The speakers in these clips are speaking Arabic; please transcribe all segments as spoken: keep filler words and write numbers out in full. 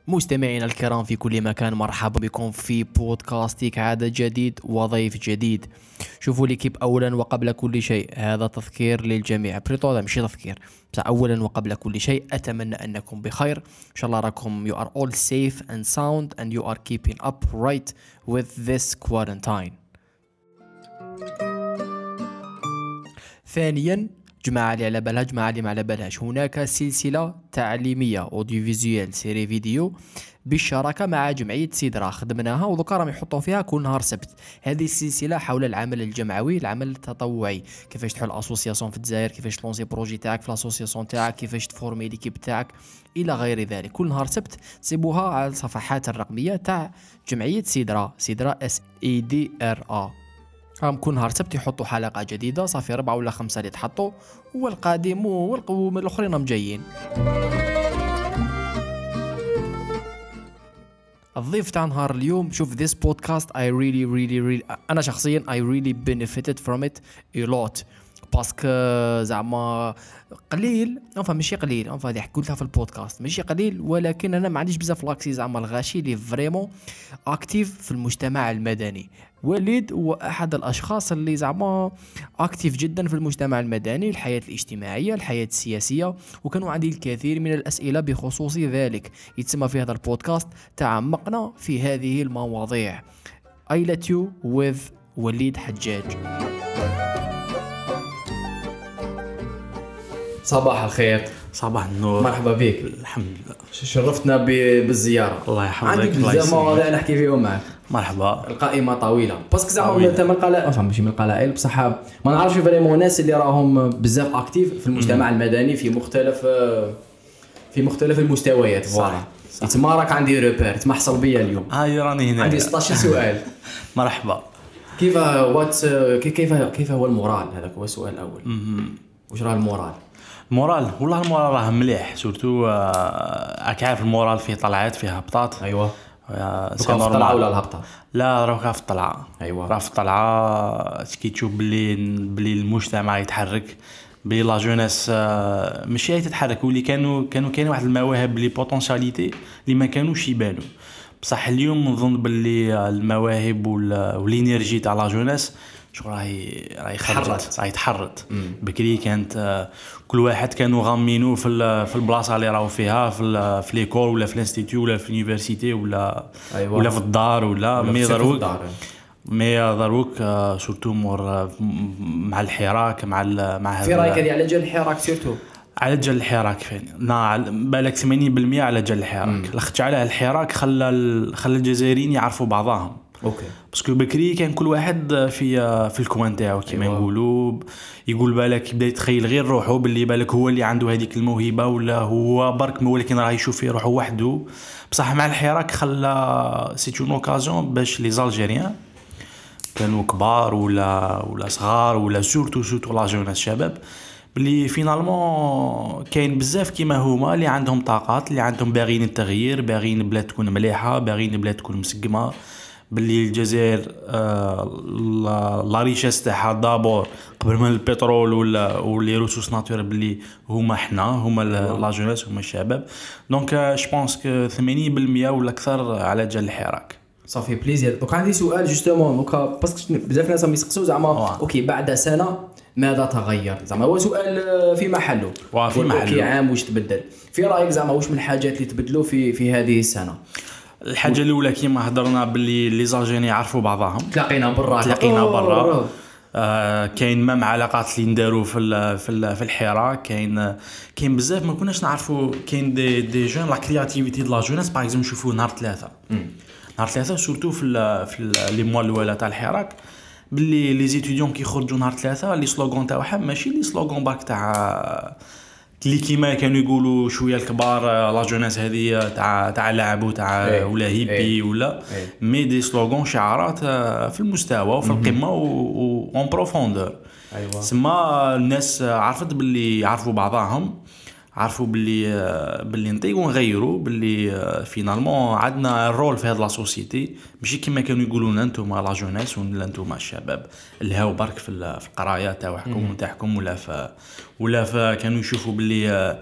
مستمعينا الكرام في كل مكان، مرحبا بكم في بودكاستيك عدد جديد وضيف جديد. شوفوا ليكيب أولا وقبل كل شيء، هذا تذكير للجميع، بريطو هذا مش تذكير بس أولا وقبل كل شيء أتمنى أنكم بخير إن شاء الله. راكم you are all safe and sound and you are keeping up right with this quarantine. ثانيا، جماعة اللي على بالها جماعة اللي ما على بالهاش، هناك سلسلة تعليمية أوديو سيري فيديو بالشراكة مع جمعية سيدرا خدمناها وذكر راهم يحطوا فيها كل نهار سبت. هذه السلسلة حول العمل الجمعوي، العمل التطوعي، كيفاش تحل اسوسياسيون في الجزائر، كيفاش تلونسي بروجي تاعك في الاسوسياسيون تاعك، كيفاش تفورمي ليكيب تاعك الى غير ذلك. كل نهار سبت تسيبوها على الصفحات الرقمية تاع جمعية سيدرا، سيدرا اس اي دي ار ا. هم كل نهار سبت يحطوا حلقة جديدة، صافي أربعة ولا خمسة اللي تحطوا، والقادم والقوم الآخرين هم جايين. الضيف تاع نهار اليوم، شوف this podcast I really really really أنا شخصيا I really benefited from it a lot باسكو زعما قليل انفا ماشي قليل انفا هذه قلتها في البودكاست ماشي قليل، ولكن انا ما عنديش بزاف لاكسي زعما الغاشي اللي فريمون اكتيف في المجتمع المدني. وليد هو احد الاشخاص اللي زعما اكتيف جدا في المجتمع المدني، الحياه الاجتماعيه، الحياه السياسيه، وكانوا عندي الكثير من الاسئله بخصوص ذلك. يتسمى في هذا البودكاست تعمقنا في هذه المواضيع. I let you with وليد حجاج. صباح الخير. صباح النور. مرحبا بك. الحمد لله، شرفتنا بالزياره. الله يحفظك. عندك بزاف مواضيع نحكي فيهم معك. مرحبا. القائمه طويله باسكو زعما انت من القلائل، افهم ماشي من القلائل بصح ما نعرفش فريمون الناس اللي راهم بزاف اكتيف في المجتمع المدني في مختلف في مختلف المستويات. صح. تما راك عندي روبير تمحصل بيا اليوم. هاي راني هنا. عندي ستة عشر سؤال. مرحبا. كيف وات كيف كيف هو المورال؟ هذاك هو السؤال الاول. واش راه المورال؟ المورال والله المورال راه مليح، سورتو راك عارف المورال فيه طلعات فيها هبطات. ايوا سي نورمال ولا الهبطه؟ لا راه في الطلعه. ايوا راه في الطلعه كي تشوف بلي بلي المجتمع يتحرك، بلي لا جونيس ماشي تتحرك، واللي كانوا كانوا كاين واحد المواهب لي بوتونسياليتي اللي ما كانوش يبانوا. بصح اليوم نظن باللي المواهب والانرجي تاع لا جونيس شو راهي راهي خرجت، راهي تحرت. بكري كانت كل واحد كانوا غامينو في في البلاصه اللي راهو فيها، في في ليكول ولا في الانستيتيو ولا في اليونيفرسيتي ولا أيوة. ولا في الدار ولا مي دروك مي دروك سورتو مور مع الحراك مع مع في رايك هذه على جال الحراك سورتو على جال الحراك فين نا بالك ثمانين بالمئة على جال الحراك. لاخت على الحراك خلى خلى الجزائريين يعرفوا بعضهم. اوكي باسكو بكري كان كل واحد في في الكوان تاعو كيما نقولوا. أيوة. يقول بالك يبدا يتخيل غير روحه باللي بالك هو اللي عنده هذيك الموهبه، ولا هو برك ولكن راه يشوف في روحه وحده. بصح مع الحراك خلى سي اون اوكازيون باش لي زالجيريان كانوا كبار ولا ولا صغار ولا سورتو سورتو لا جوناس الشباب، بلي فينالمون كاين بزاف كيما هما اللي عندهم طاقات، اللي عندهم باغيين التغيير، باغيين بلاد تكون مليحه، باغيين بلاد تكون مسقمه. باللي الجزائر آه لا ريشيس تاعها دابور قبل من البترول ولا ولي ريسورس ناتورال، باللي هما حنا هما لا جونيس هما الشباب. دونك جو بونس كو ثمانين بالمئة ولا اكثر على جال الحراك. صافي بليزير. دوك عندي سؤال جوستومون دوكا باسكو بزاف ناس يسقسوا زعما اوكي بعد سنه ماذا تغير؟ زعما هو سؤال في محله في محله اوكي عام واش تبدل في رايك؟ زعما واش من الحاجات اللي تبدلوا في في هذه السنه؟ الحاجه الاولى كيما هضرنا باللي لي زالجيريين يعرفوا بعضهم، تلاقينا برا تلاقينا برا. آه كاين مام علاقات اللي نداروا في في في الحراك، كاين كاين بزاف ما كناش نعرفوا. كاين دي دي جون لا كرياتيفيتي د لا جونيس باغ اكزومبل نشوفوا نهار ثلاثه نهار ثلاثه سورتو في في لي موا الاولى تاع الحراك، باللي لي زيتيديون كيخرجوا نهار ثلاثه لي سلوغون تاعهم ماشي لي سلوغون باك تاع اللي كيما كانوا يقولوا شويه الكبار لا جونيس هذه تاع تاع لعب وتاع ولا هيبي ولا مي دي سلوغون شعارات في المستوى وفي القمه وان بروفوندور. ايوه سما الناس عرفت باللي يعرفوا بعضهم، عرفوا باللي باللي نطيقوا نغيروا، باللي فينالمون عندنا الرول في هذه لا سوسيتي، ماشي كما كانوا يقولوا لنا انتم لا جونيس ولا انتم الشباب اللي هاو برك في القرايه تاعكم تاعكم ولا في ولا في كانوا يشوفوا باللي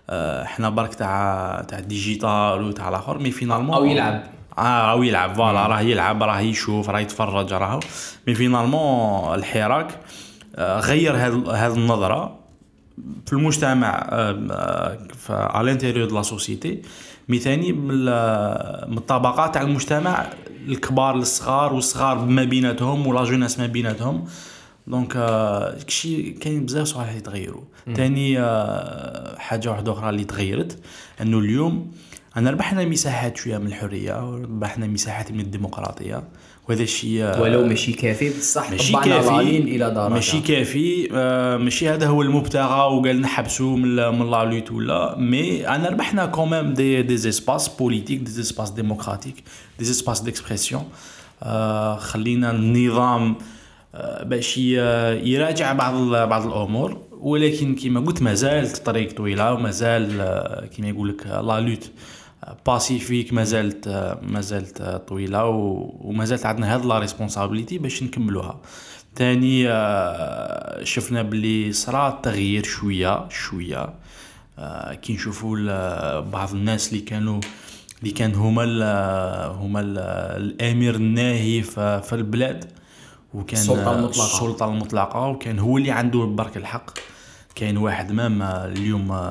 احنا برك تاع تاع الديجيتال وتاع الاخر مي فينالمون او يلعب اه او يلعب فوالا راه يلعب راه يشوف راه يتفرج راهو مي فينالمون الحراك غير هذه هذه النظره في المجتمع في على الانتيريور دو لا سوسيتي مي ثاني من الطبقات تاع المجتمع الكبار للصغار والصغار ما بيناتهم ولا جوناس ما بيناتهم دونك كشي كاين بزاف صوالح يتغيروا ثاني حاجه واحده اخرى اللي تغيرت انه اليوم انا ربحنا مساحات شويه من الحريه وربحنا مساحات من الديمقراطيه وهذا الشيء ولو ماشي كافي بصح ماشي طبعنا كافي غالين الى درجه ماشي كافي آه ماشي هذا هو المبتغى وقال نحبسوا من من لا لوت ولا مي انا ربحنا كوميم دي دي اسباس بوليتيك دي اسباس ديموكراتيك دي اسباس ديكسبرسيون آه خلينا النظام آه باش يراجع بعض بعض الامور ولكن كما قلت مازالت طريق طويله ومازال آه كما يقول لك لا لوت باسيفيك مازالت مازالت طويله ومازالت عندنا هاد لا ريسبونسابيلتي باش نكملوها ثاني شفنا بلي صرا تغيير شويه شويه كي نشوفوا بعض الناس اللي كانوا اللي كان هما ال هما ال الامير الناهي في البلاد وكان السلطه المطلقه السلطه المطلقه وكان هو اللي عنده برك الحق كاين واحد مام اليوم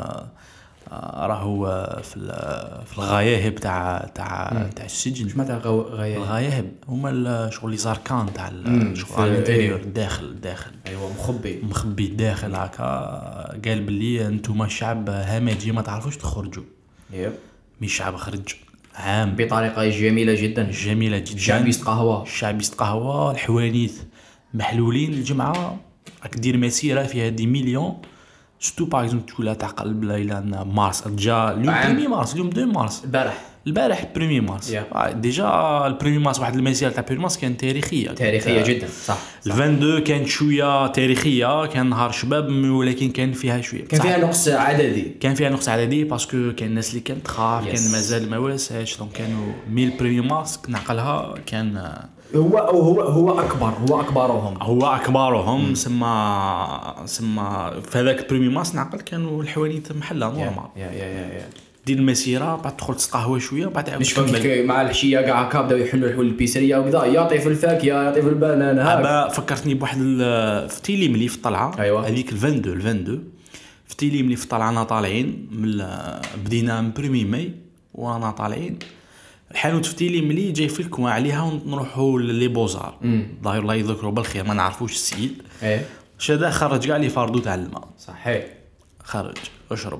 راهو في في الغياهب تاع تاع تاع السجن شنو تاع غياهب الغياهب هما شغل لي زاركان تاع شغل الانتيريور الداخل الداخل ايوا مخبي مخبي الداخل هكا قال بلي انتم الشعب همجي ما تعرفوش تخرجوا يب مي الشعب خرج عام بطريقه جميله جدا جميله جدا الشعب يستقهوى الشعب يستقهوى الحوانيت محلولين الجمعه راك دير مسيره فيها دي مليون ستو باغ اكزومبل تقول لا تعقل بلا الى مارس جا اليوم بريمي مارس اليوم دو مارس البارح البارح بريمي مارس yeah. ديجا البريمي مارس واحد المسيره تاع بريمي مارس كانت تاريخيه تاريخيه جدا صح, صح. اثنين وعشرين كانت شويه تاريخيه كان نهار شباب ولكن كان فيها شويه كان فيها نقص عددي كان فيها نقص عددي باسكو كان الناس اللي كانت تخاف yes. كان مازال ما واساش دونك كانوا ميل بريمي مارس نعقلها كان هو هو هو اكبر هو اكبرهم هو اكبرهم سما سما في هذاك بريمي مارس نعقل كانوا الحوانيت محله نورمال يا يا يا يا دير المسيره بعد تدخل تقهوى شويه بعد مش فكك مع الحشيه كاع هكا بداو يحلوا الحلول البيسريه وكذا يعطي في الفاكهه يعطي في البنان هكا فكرتني بواحد في تيلي ملي في الطلعه أيوة. هذيك ال اثنين وعشرين اثنين وعشرين في تيلي ملي في الطلعه انا طالعين من بدينا من بريمي ماي وانا طالعين الحانوت في تيلي ملي جاي في الكوا عليها ونروحوا لي بوزار ضاير الله يذكروا بالخير ما نعرفوش السيد ايه شدا خرج كاع لي فاردو تاع الماء صحيح خرج اشرب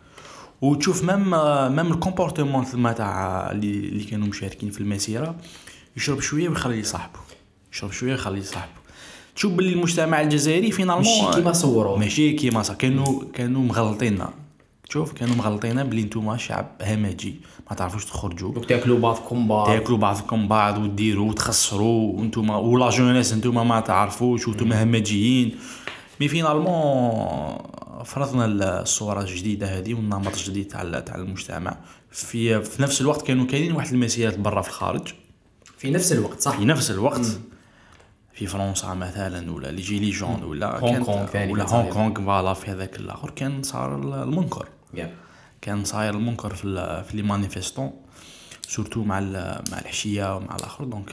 وتشوف مام مام الكومبورتمون تما تاع اللي اللي كانوا مشاركين في المسيره يشرب شويه ويخلي صاحبه يشرب شويه يخلي صاحبه تشوف باللي المجتمع الجزائري فينالمون ماشي كيما صوروا ماشي كيما صا كانوا كانوا مغلطيننا شوف كانوا مغلطيننا بلي نتوما شعب همجي ما تعرفوش تخرجوا دوك تاكلوا بعضكم بعض تاكلوا بعضكم بعض وديروا وتخسروا وانتوما ولا جونيس انتوما ما تعرفوش وانتوما همجيين مي فينالمون فرضنا الصوره الجديده هذه والنمط الجديد تاع تاع المجتمع في في نفس الوقت كانوا كاينين واحد المسيرات برا في الخارج في نفس الوقت صح في نفس الوقت مم. في فرنسا مثلا ولا لي جيلي جون ولا هونغ كونغ ولا هونغ كونغ فوالا في هذاك الاخر كان صار المنكر yeah. كان صاير المنكر في في لي مانيفيستون سورتو مع مع الحشيه ومع الاخر دونك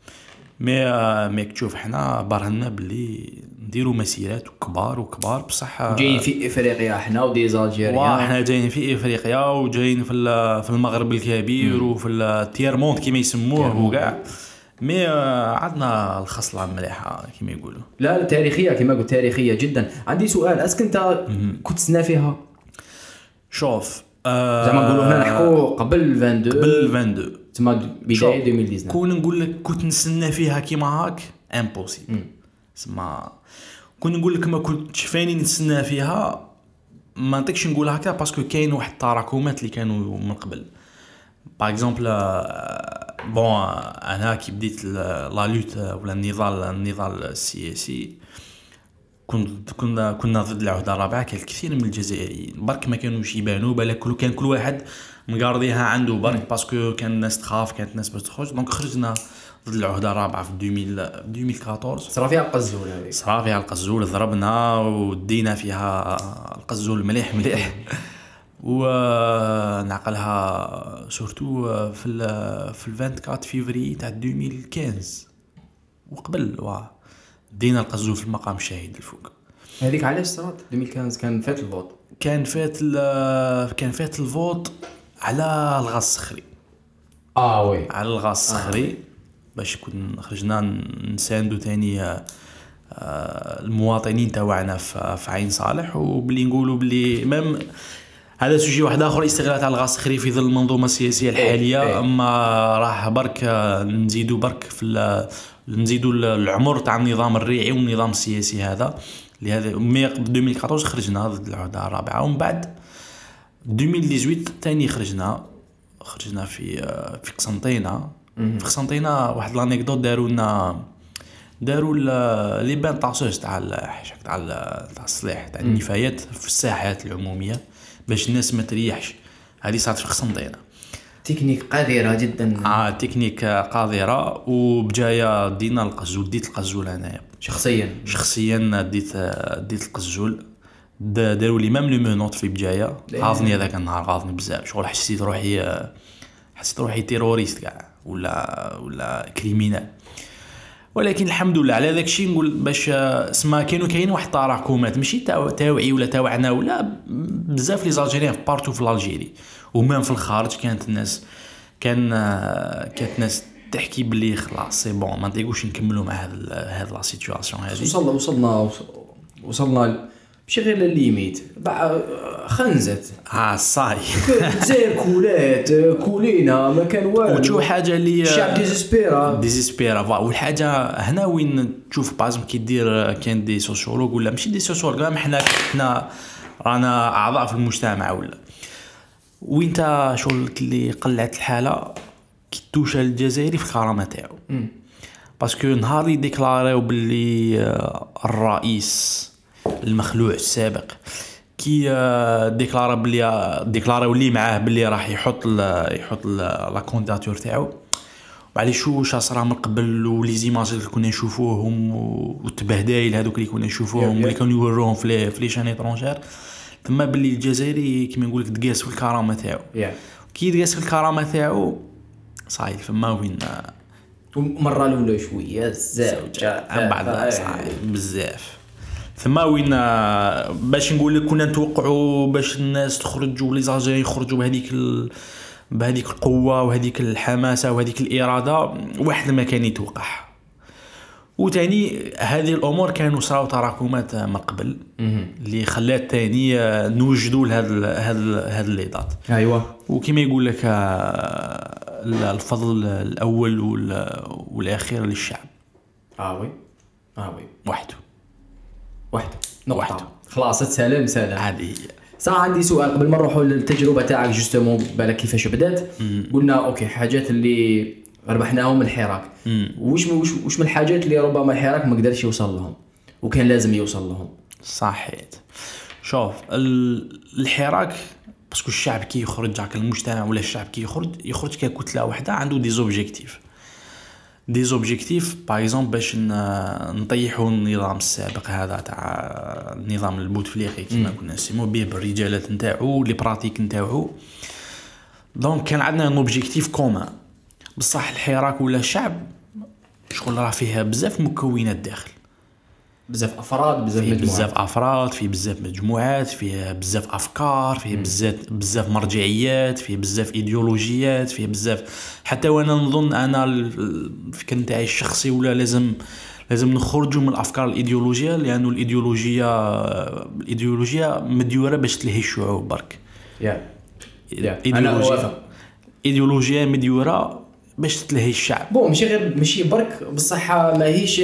مي مي تشوف حنا برهنا بلي نديروا مسيرات كبار وكبار بصح جايين في افريقيا حنا ودي زالجيريا حنا جايين في افريقيا وجايين في في المغرب الكبير وفي التير موند كيما يسموه وكاع مي عندنا الخصله مليحه كيما يقولوا لا تاريخيه كيما قلت تاريخيه جدا عندي سؤال اسك انت كنت تسنى فيها شوف آه زعما نقولوا هنا نحكوا قبل اثنين وعشرين قبل اثنين وعشرين تما بدايه ألفين وتسعطاش كون نقول لك كنت نسنى فيها كيما هاك امبوسيبل اسمع كون نقول لك ما كنتش فاني نتسنى فيها ما نطيقش نقول هكا باسكو كاين واحد التراكمات اللي كانوا من قبل باغ اكزومبل بون انا كي بديت لا لوت ولا النضال النضال السياسي كنت كنا كنا ضد العهده الرابعه. كان الكثير من الجزائريين برك ما كانوش يبانوا بالك كل كان كل واحد مقارضيها عنده برك باسكو كان الناس تخاف كانت الناس باش تخرج دونك خرجنا ضد العهده الرابعه في ألفين وأربعطاش. صرا فيها القزول هذيك صرا فيها القزول ضربنا ودينا فيها القزول مليح مليح ونعقلها سورتو في ال في أربعة وعشرين فيفري تاع ألفين وخمسطاش وقبل واه دينا القزو في المقام الشهيد الفوق. هذيك علاش صرات ألفين وخمسطاش؟ كان فات الفوت كان فات كان فات الفوت على الغاز الصخري. اه وي على الغاز الصخري آه. باش كنا خرجنا نساندو تاني آه المواطنين تاعنا في عين صالح، وبلي نقولوا بلي ميم هذا سوجي واحد اخر استغلال تاع الغاز الصخري في ظل المنظومه السياسيه الحاليه. إيه. اما راح برك نزيدوا برك في نزيدوا العمر تاع النظام الريعي والنظام السياسي هذا لهذا مي ألفين وأربعة عشر خرجنا ضد العهده الرابعه، ومن بعد ألفين وثمانية عشر ثاني خرجنا خرجنا في في قسنطينه. في قسنطينه واحد لانيكدوت داروا لنا داروا لي بان طاسوس تاع تاع تاع الصلاح تاع النفايات في الساحات العموميه باش الناس ما تريحش. هذه صارت في قسنطينه. تكنيك قذره جدا. اه تكنيك قذره. وبجايه دينا القزول، ديت القزول انايا شخصيا شخصيا ديت ديت القزول. داروا لي ميم لو مونوت في بجايه. غاضني هذاك النهار، غاضني بزاف. شغل حسيت روحي حسيت روحي تيروريست كاع ولا ولا كريمينال. ولكن الحمد لله على داك الشيء. نقول باش اسما كانوا كاين واحد التراكمات ماشي تاوعي ولا تاوعنا ولا بزاف لي زالجيريان في بارتو في الجيري ومام في الخارج. كانت الناس كان كانت ناس تحكي بلي خلاص سي بون ما نطيقوش نكملوا مع هذا هذا لا سيتوياسيون هذه. وصلنا وصلنا وصلنا ماشي غير للليميت خنزت. اه صاي زي كولات كولينا ما كان والو. وتشوف حاجه اللي الشعب ديزيسبيرا ديزيسبيرا. والحاجه هنا وين تشوف بازم كي دير كان دي سوسيولوج ولا ماشي دي سوسيولوج، حنا حنا رانا اعضاء في المجتمع ولا وين تا شغل اللي قلعت الحاله كي توشى الجزائري في الكرامه تاعو. باسكو نهار اللي ديكلاريو باللي الرئيس المخلوع السابق كي ديكلارا بلي ديكلاريو لي معاه بلي راح يحط ال يحط لا كونديداتور تاعو. بعد شو شا صرا من قبل ولي زيماج اللي كنا نشوفوهم والتبهدايل هذوك اللي كنا نشوفوهم اللي كانوا يوروهم في في لي شان ايترونجير ثم باللي الجزائري كيما نقول لك دقاس في الكرامه تاعو. كي دقاس في الكرامه تاعو صايل فما وين مره الاولى شويه الزوجه بعد صايل بزاف. ثم وين باش نقول لك كنا نتوقعوا باش الناس تخرج ولي زاجي يخرجوا بهذيك ال... بهذيك القوه وهذيك الحماسه وهذيك الاراده واحد ما كان يتوقع. وثاني هذه الامور كانوا صراو تراكمات من قبل اللي خلات ثاني نوجدوا لهذا هذا هذا لي دات. ايوه وكما يقول لك الفضل الاول والاخير للشعب. اه وي اه وي وحده واحد نقطة خلاص سلام سلام. هذه صار عندي سؤال قبل ما نروحوا للتجربة تاعك جوستومون بالك كيفاش بدات. قلنا اوكي حاجات اللي ربحناهم من الحراك وش وش وش من الحاجات اللي ربما الحراك ما قدرش يوصل لهم وكان لازم يوصل لهم. صحيح. شوف الحراك باسكو الشعب كي يخرج على المجتمع ولا الشعب كي يخرج يخرج ككتلة واحدة عنده دي زوبجيكتيف دي زوبجيكتيف باغ اكزومبل باش نطيحوا النظام السابق هذا تاع النظام البوتفليقي كما كنا نسموه به بالرجالات نتاعو لي براتيك نتاعو. دونك كان عندنا ان اوبجيكتيف كومان. بصح الحراك ولا الشعب شغل راه فيها بزاف مكونات داخل، بزاف افراد بزاف مجموعات بزاف افراد في بزاف مجموعات فيه بزاف افكار فيه بزاف بزاف مرجعيات فيه بزاف ايديولوجيات فيه بزاف. حتى وانا نظن انا الفكر نتاعي الشخصي ولا لازم لازم نخرجوا من الافكار الايديولوجيه لانه الايديولوجيه الايديولوجيه مديوره باش تلهي الشعوب برك. يا انا ايديولوجيه مديوره باش تلهي الشعب. بون ماشي غير ماشي برك بصحه ماهيش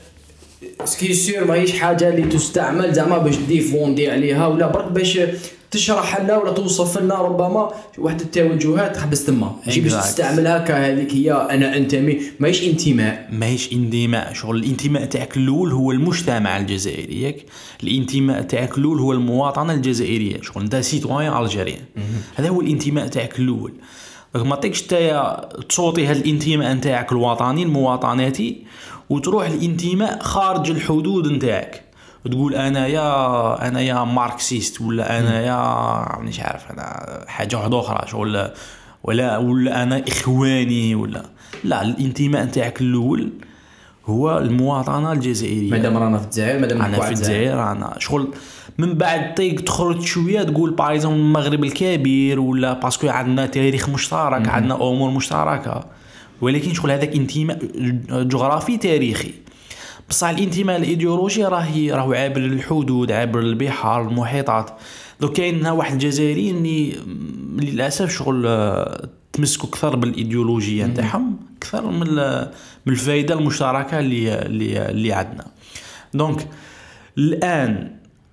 سكي سير ماهيش حاجه اللي تستعمل زعما باش ديفوندي عليها ولا برك باش تشرح لنا ولا توصف لنا ربما واحد التوجهات تحبس تما ماشي باش تستعملها كهذيك هي انا انتمي. ماهيش انتماء ماهيش انتماء. شغل الانتماء تاعك الاول هو المجتمع الجزائري ياك. الانتماء تاعك الاول هو المواطنه الجزائريه. شغل انت سيتويان الجيريان هذا هو الانتماء تاعك الاول. ما تيكش تايا تصوتي هذا الانتماء نتاعك الوطني المواطناتي وتروح الانتماء خارج الحدود نتاعك وتقول انا يا انا يا ماركسيست ولا انا يا مش عارف انا حاجه واحده اخرى شغل ولا ولا انا اخواني ولا لا. الانتماء نتاعك الاول هو المواطنه الجزائريه. مادام رانا في الجزائر مادام انا في الجزائر انا شغل من بعد طيق تخرج شويه تقول بايزون المغرب الكبير ولا باسكو عندنا تاريخ مشترك عندنا امور مشتركه ولكن شغل هذاك انتماء جغرافي تاريخي. بصح الانتماء الايديولوجي راهي راهو عابر الحدود عابر البحار المحيطات. دوك كاين واحد الجزائريين اللي للاسف شغل تمسكوا اكثر بالايديولوجيه نتاعهم اكثر من من الفائده المشتركه اللي اللي, اللي عندنا. دونك الان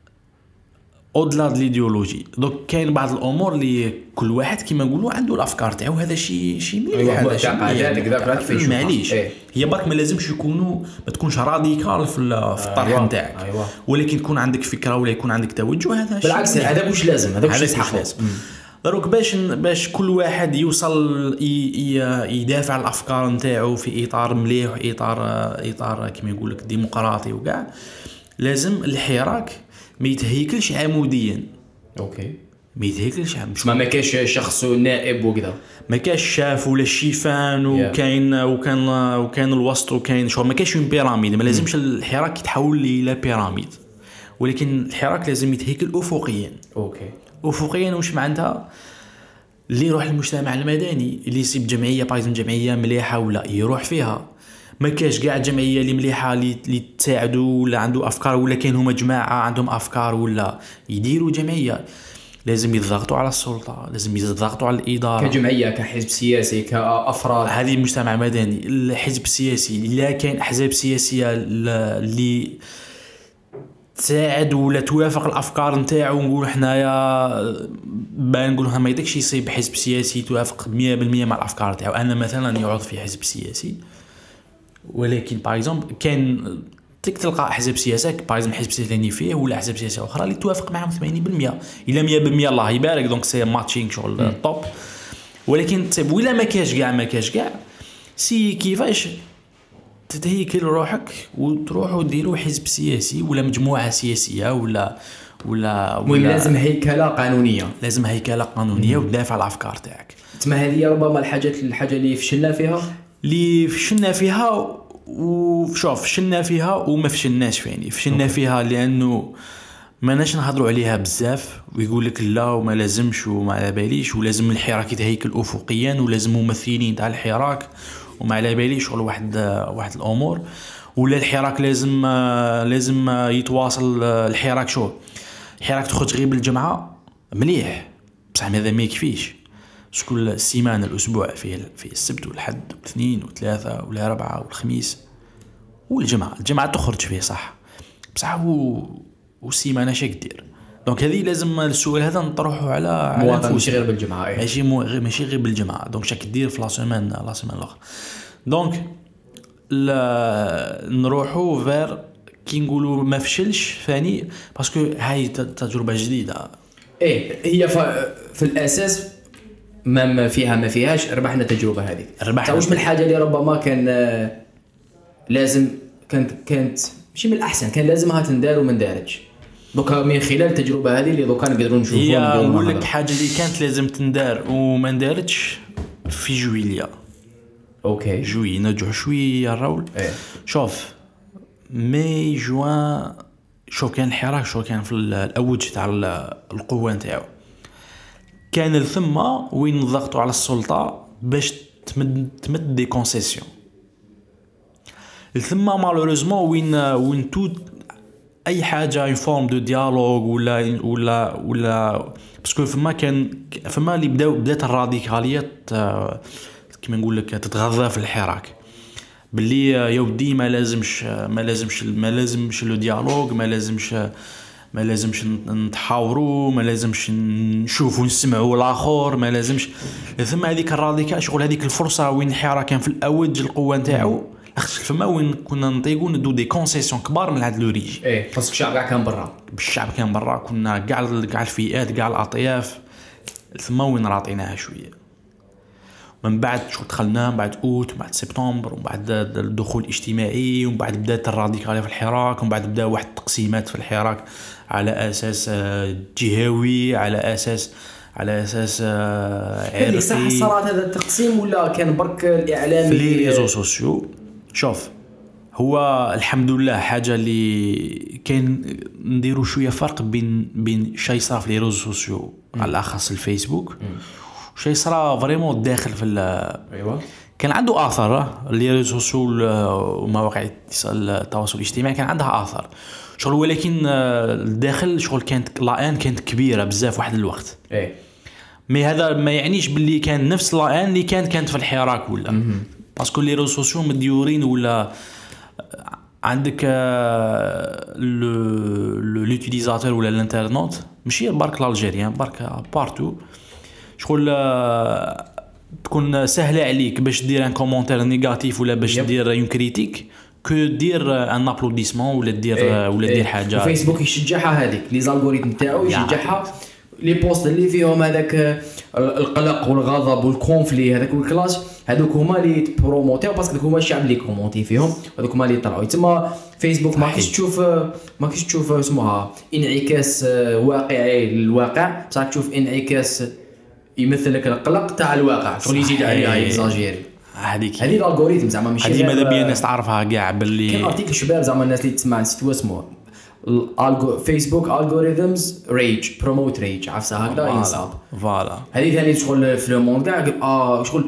اودلا د ليديولوجي دوك كاين بعض الامور اللي كل واحد كيما نقولوا عنده الافكار تاعو. هذا شيء شيء مليح هذا شيء معليش هي برك ما لازمش يكونوا ما تكونش راديكال في الطرح نتاعك أيوة. أيوة. ولكن يكون عندك فكره ولا يكون عندك توجه هذا شيء بالعكس هذا واش لازم هذا واش لازم دروك باش باش كل واحد يوصل يدافع عن الافكار نتاعو في اطار مليح اطار اطار كيما يقول لك ديمقراطي وكاع. لازم الحراك ما يتهيكلش عموديا. اوكي ما يتهيكلش مش ما ما كاش شخص نائب وكذا ما كاش شاف ولا الشيفان وكاين وكان وكان الوسط وكاين شو ما كاش بيراميد. ما لازمش الحراك يتحول الى بيراميد ولكن الحراك لازم يتهيكل افقيا. اوكي افقيا واش معناتها اللي يروح للمجتمع المدني اللي يسيب جمعيه بايزون جمعيه مليحه ولا يروح فيها. ما كاش كاع جمعيه اللي مليحه اللي تساعدوا ولا عنده افكار ولا كاين هما جماعه عندهم افكار ولا يديروا جمعيه. لازم يضغطوا على السلطه لازم يضغطوا على الاداره كجمعيه كحزب سياسي كافراد. هذه المجتمع المدني الحزب السياسي لا كاين احزاب سياسيه اللي تساعد ولا توافق الافكار نتاعو. نقول حنايا بان نقولوا ما يدكش يصيب حزب سياسي توافق مية بالمية مع الافكار تاعو. انا مثلا يعود في حزب سياسي ولكن باغ اكزومبل كاين تلقى احزاب سياسيه باغ اكزومبل حزب سياسي اللي فيه ولا احزاب سياسيه اخرى اللي توافق معهم ثمانين بالمية الى مية بالمية الله يبارك. دونك سي ماتشينغ شغل توب. ولكن تسب ولا ما كاش كاع ما كاش كاع سي كيفاش تتهيكل روحك وتروح وديروا حزب سياسي ولا مجموعه سياسيه ولا ولا, ولا لازم هيكله قانونيه لازم هيكله قانونيه وتدافع على الافكار تاعك. تما هذه ربما الحاجات الحاجه اللي فشلنا فيها اللي فشلنا فيها وشوف فشلنا فيها وما فشلناش فيني فشلنا أوكي. فيها لانه ما ناش نهضروا عليها بزاف ويقول لك لا وما لازمش وما على باليش ولازم الحراك يتهيكل افقيا ولازم ممثلين تاع الحراك وما على باليش شغل واحد واحد الامور ولا الحراك لازم لازم يتواصل. الحراك شو الحراك تخرج غير بالجمعه مليح بصح هذا ما يكفيش. كل السيمانه الاسبوع فيه في السبت والحد والاثنين والثلاثاء والاربعاء والخميس والجمعه الجمعه تخرج فيه صح بصح هو والسيمانه شي كدير. دونك هذه لازم السؤال هذا نطرحه على على ماشي غير بالجمعه ايه. ماشي مو غير ماشي غير بالجمعه. دونك شاك دير في لا سيمين لا سيمين الاخر. دونك نروحوا فير كي نقولوا ما فشلش ثاني باسكو هاي تجربه جديده ايه. هي في الاساس ما فيها ما فيهاش ربحنا التجربه هذه. ربحنا واش من الحاجه اللي ربما كان لازم كانت كانت ماشي من الاحسن كان لازمها تندار وما ندارتش. دوكا من خلال التجربه هذه اللي دوكا نقدروا نشوفوها نقول لك حاجه اللي كانت لازم تندار وما ندارتش في جويليا. اوكي جوي نرجعوا شويه الرول ايه. شوف مي جوان شوف كان الحراك شو كان في الاوج تاع القوه نتاعو كان الثم وين ضغطوا على السلطه باش تمد تمد دي كونسيسيون. الثم مالوريزمون وين وين تو اي حاجه اون فورم دو ديالوج ولا ولا ولا باسكو فما كان فما اللي بداو بدات الراديكاليات كيما نقول لك تتغذى في الحراك باللي يا ودي ما لازمش ما لازمش ما لازمش لو ديالوج ما لازمش ما لازمش نتحاوروا ما لازمش نشوفوا نسمعوا الاخر ما لازمش. ثم هذيك الراديكال شغل هذيك الفرصه وين الحراك كان في الاوج القوه نتاعو فما وين كنا نطيقوا ندو دي كونسيسيون كبار من هاد لوريجي ايه خاصك الشعب كاع كان برا الشعب كان برا كنا كاع كاع الفئات كاع الاطياف ثم وين راطيناها شويه من بعد شو دخلنا من بعد اوت، من بعد سبتمبر، ومن بعد الدخول الاجتماعي، ومن بعد بدات الراديكاليه في الحراك، ومن بعد بدا واحد التقسيمات في الحراك على اساس جهوي، على اساس على اساس عرقي. صح صراحه هذا التقسيم ولا كان برك الاعلام في لي ريزو سوسيو؟ شوف هو الحمد لله حاجه اللي كان نديروا شويه فرق بين بين شيء صار في لي ريزو سوسيو على الاخص الفيسبوك وشيء صار فريمون داخل في ايوه كان عنده اثر. لي ريزو سوسيو ومواقع التواصل الاجتماعي كان عندها اثر شغل، ولكن الداخل شغل كانت لان كانت كبيره بزاف واحد الوقت. ايه مي هذا ما يعنيش باللي كان نفس لان اللي كانت كانت في الحراك ولا باسكو لي ريزو سوسيو مديورين ولا عندك لو لوتيليزاتور ولا الانترنت ماشي برك الجيريان برك بارتو شغل تكون سهله عليك باش دير ان كومونتير نيجاتيف ولا باش دير اون كريتيك كو دير ان ابلوديسمون ولا دير إيه. ولا دير حاجه. فيسبوك يشجعها هذيك لي زالغوريثم تاعو يشجعها لي بوست اللي فيهم هذاك القلق والغضب والكونفلي هذاك الكلاش هذوك هما اللي بروموتيو باسكو هذوك هما الشعب اللي كومونتي فيهم هذوك هما اللي طلعوا. تما فيسبوك ما كاينش تشوف ما كاينش تشوف اسمها انعكاس واقعي للواقع، بصح تشوف انعكاس يمثل لك القلق تاع الواقع شغل يزيد عليها اكزاجيري. هذيك هذه الالغوريثم زعما ماشي هذه ماذا بيا الناس تعرفها كاع باللي كاين ارتيكل شباب زعما الناس اللي تسمع نسيت اسمه فيسبوك الجوريثمز ريج بروموت ريج عفسه هكذا ينصاب فوالا. هذه ثاني شغل في الموند كاع اه شغل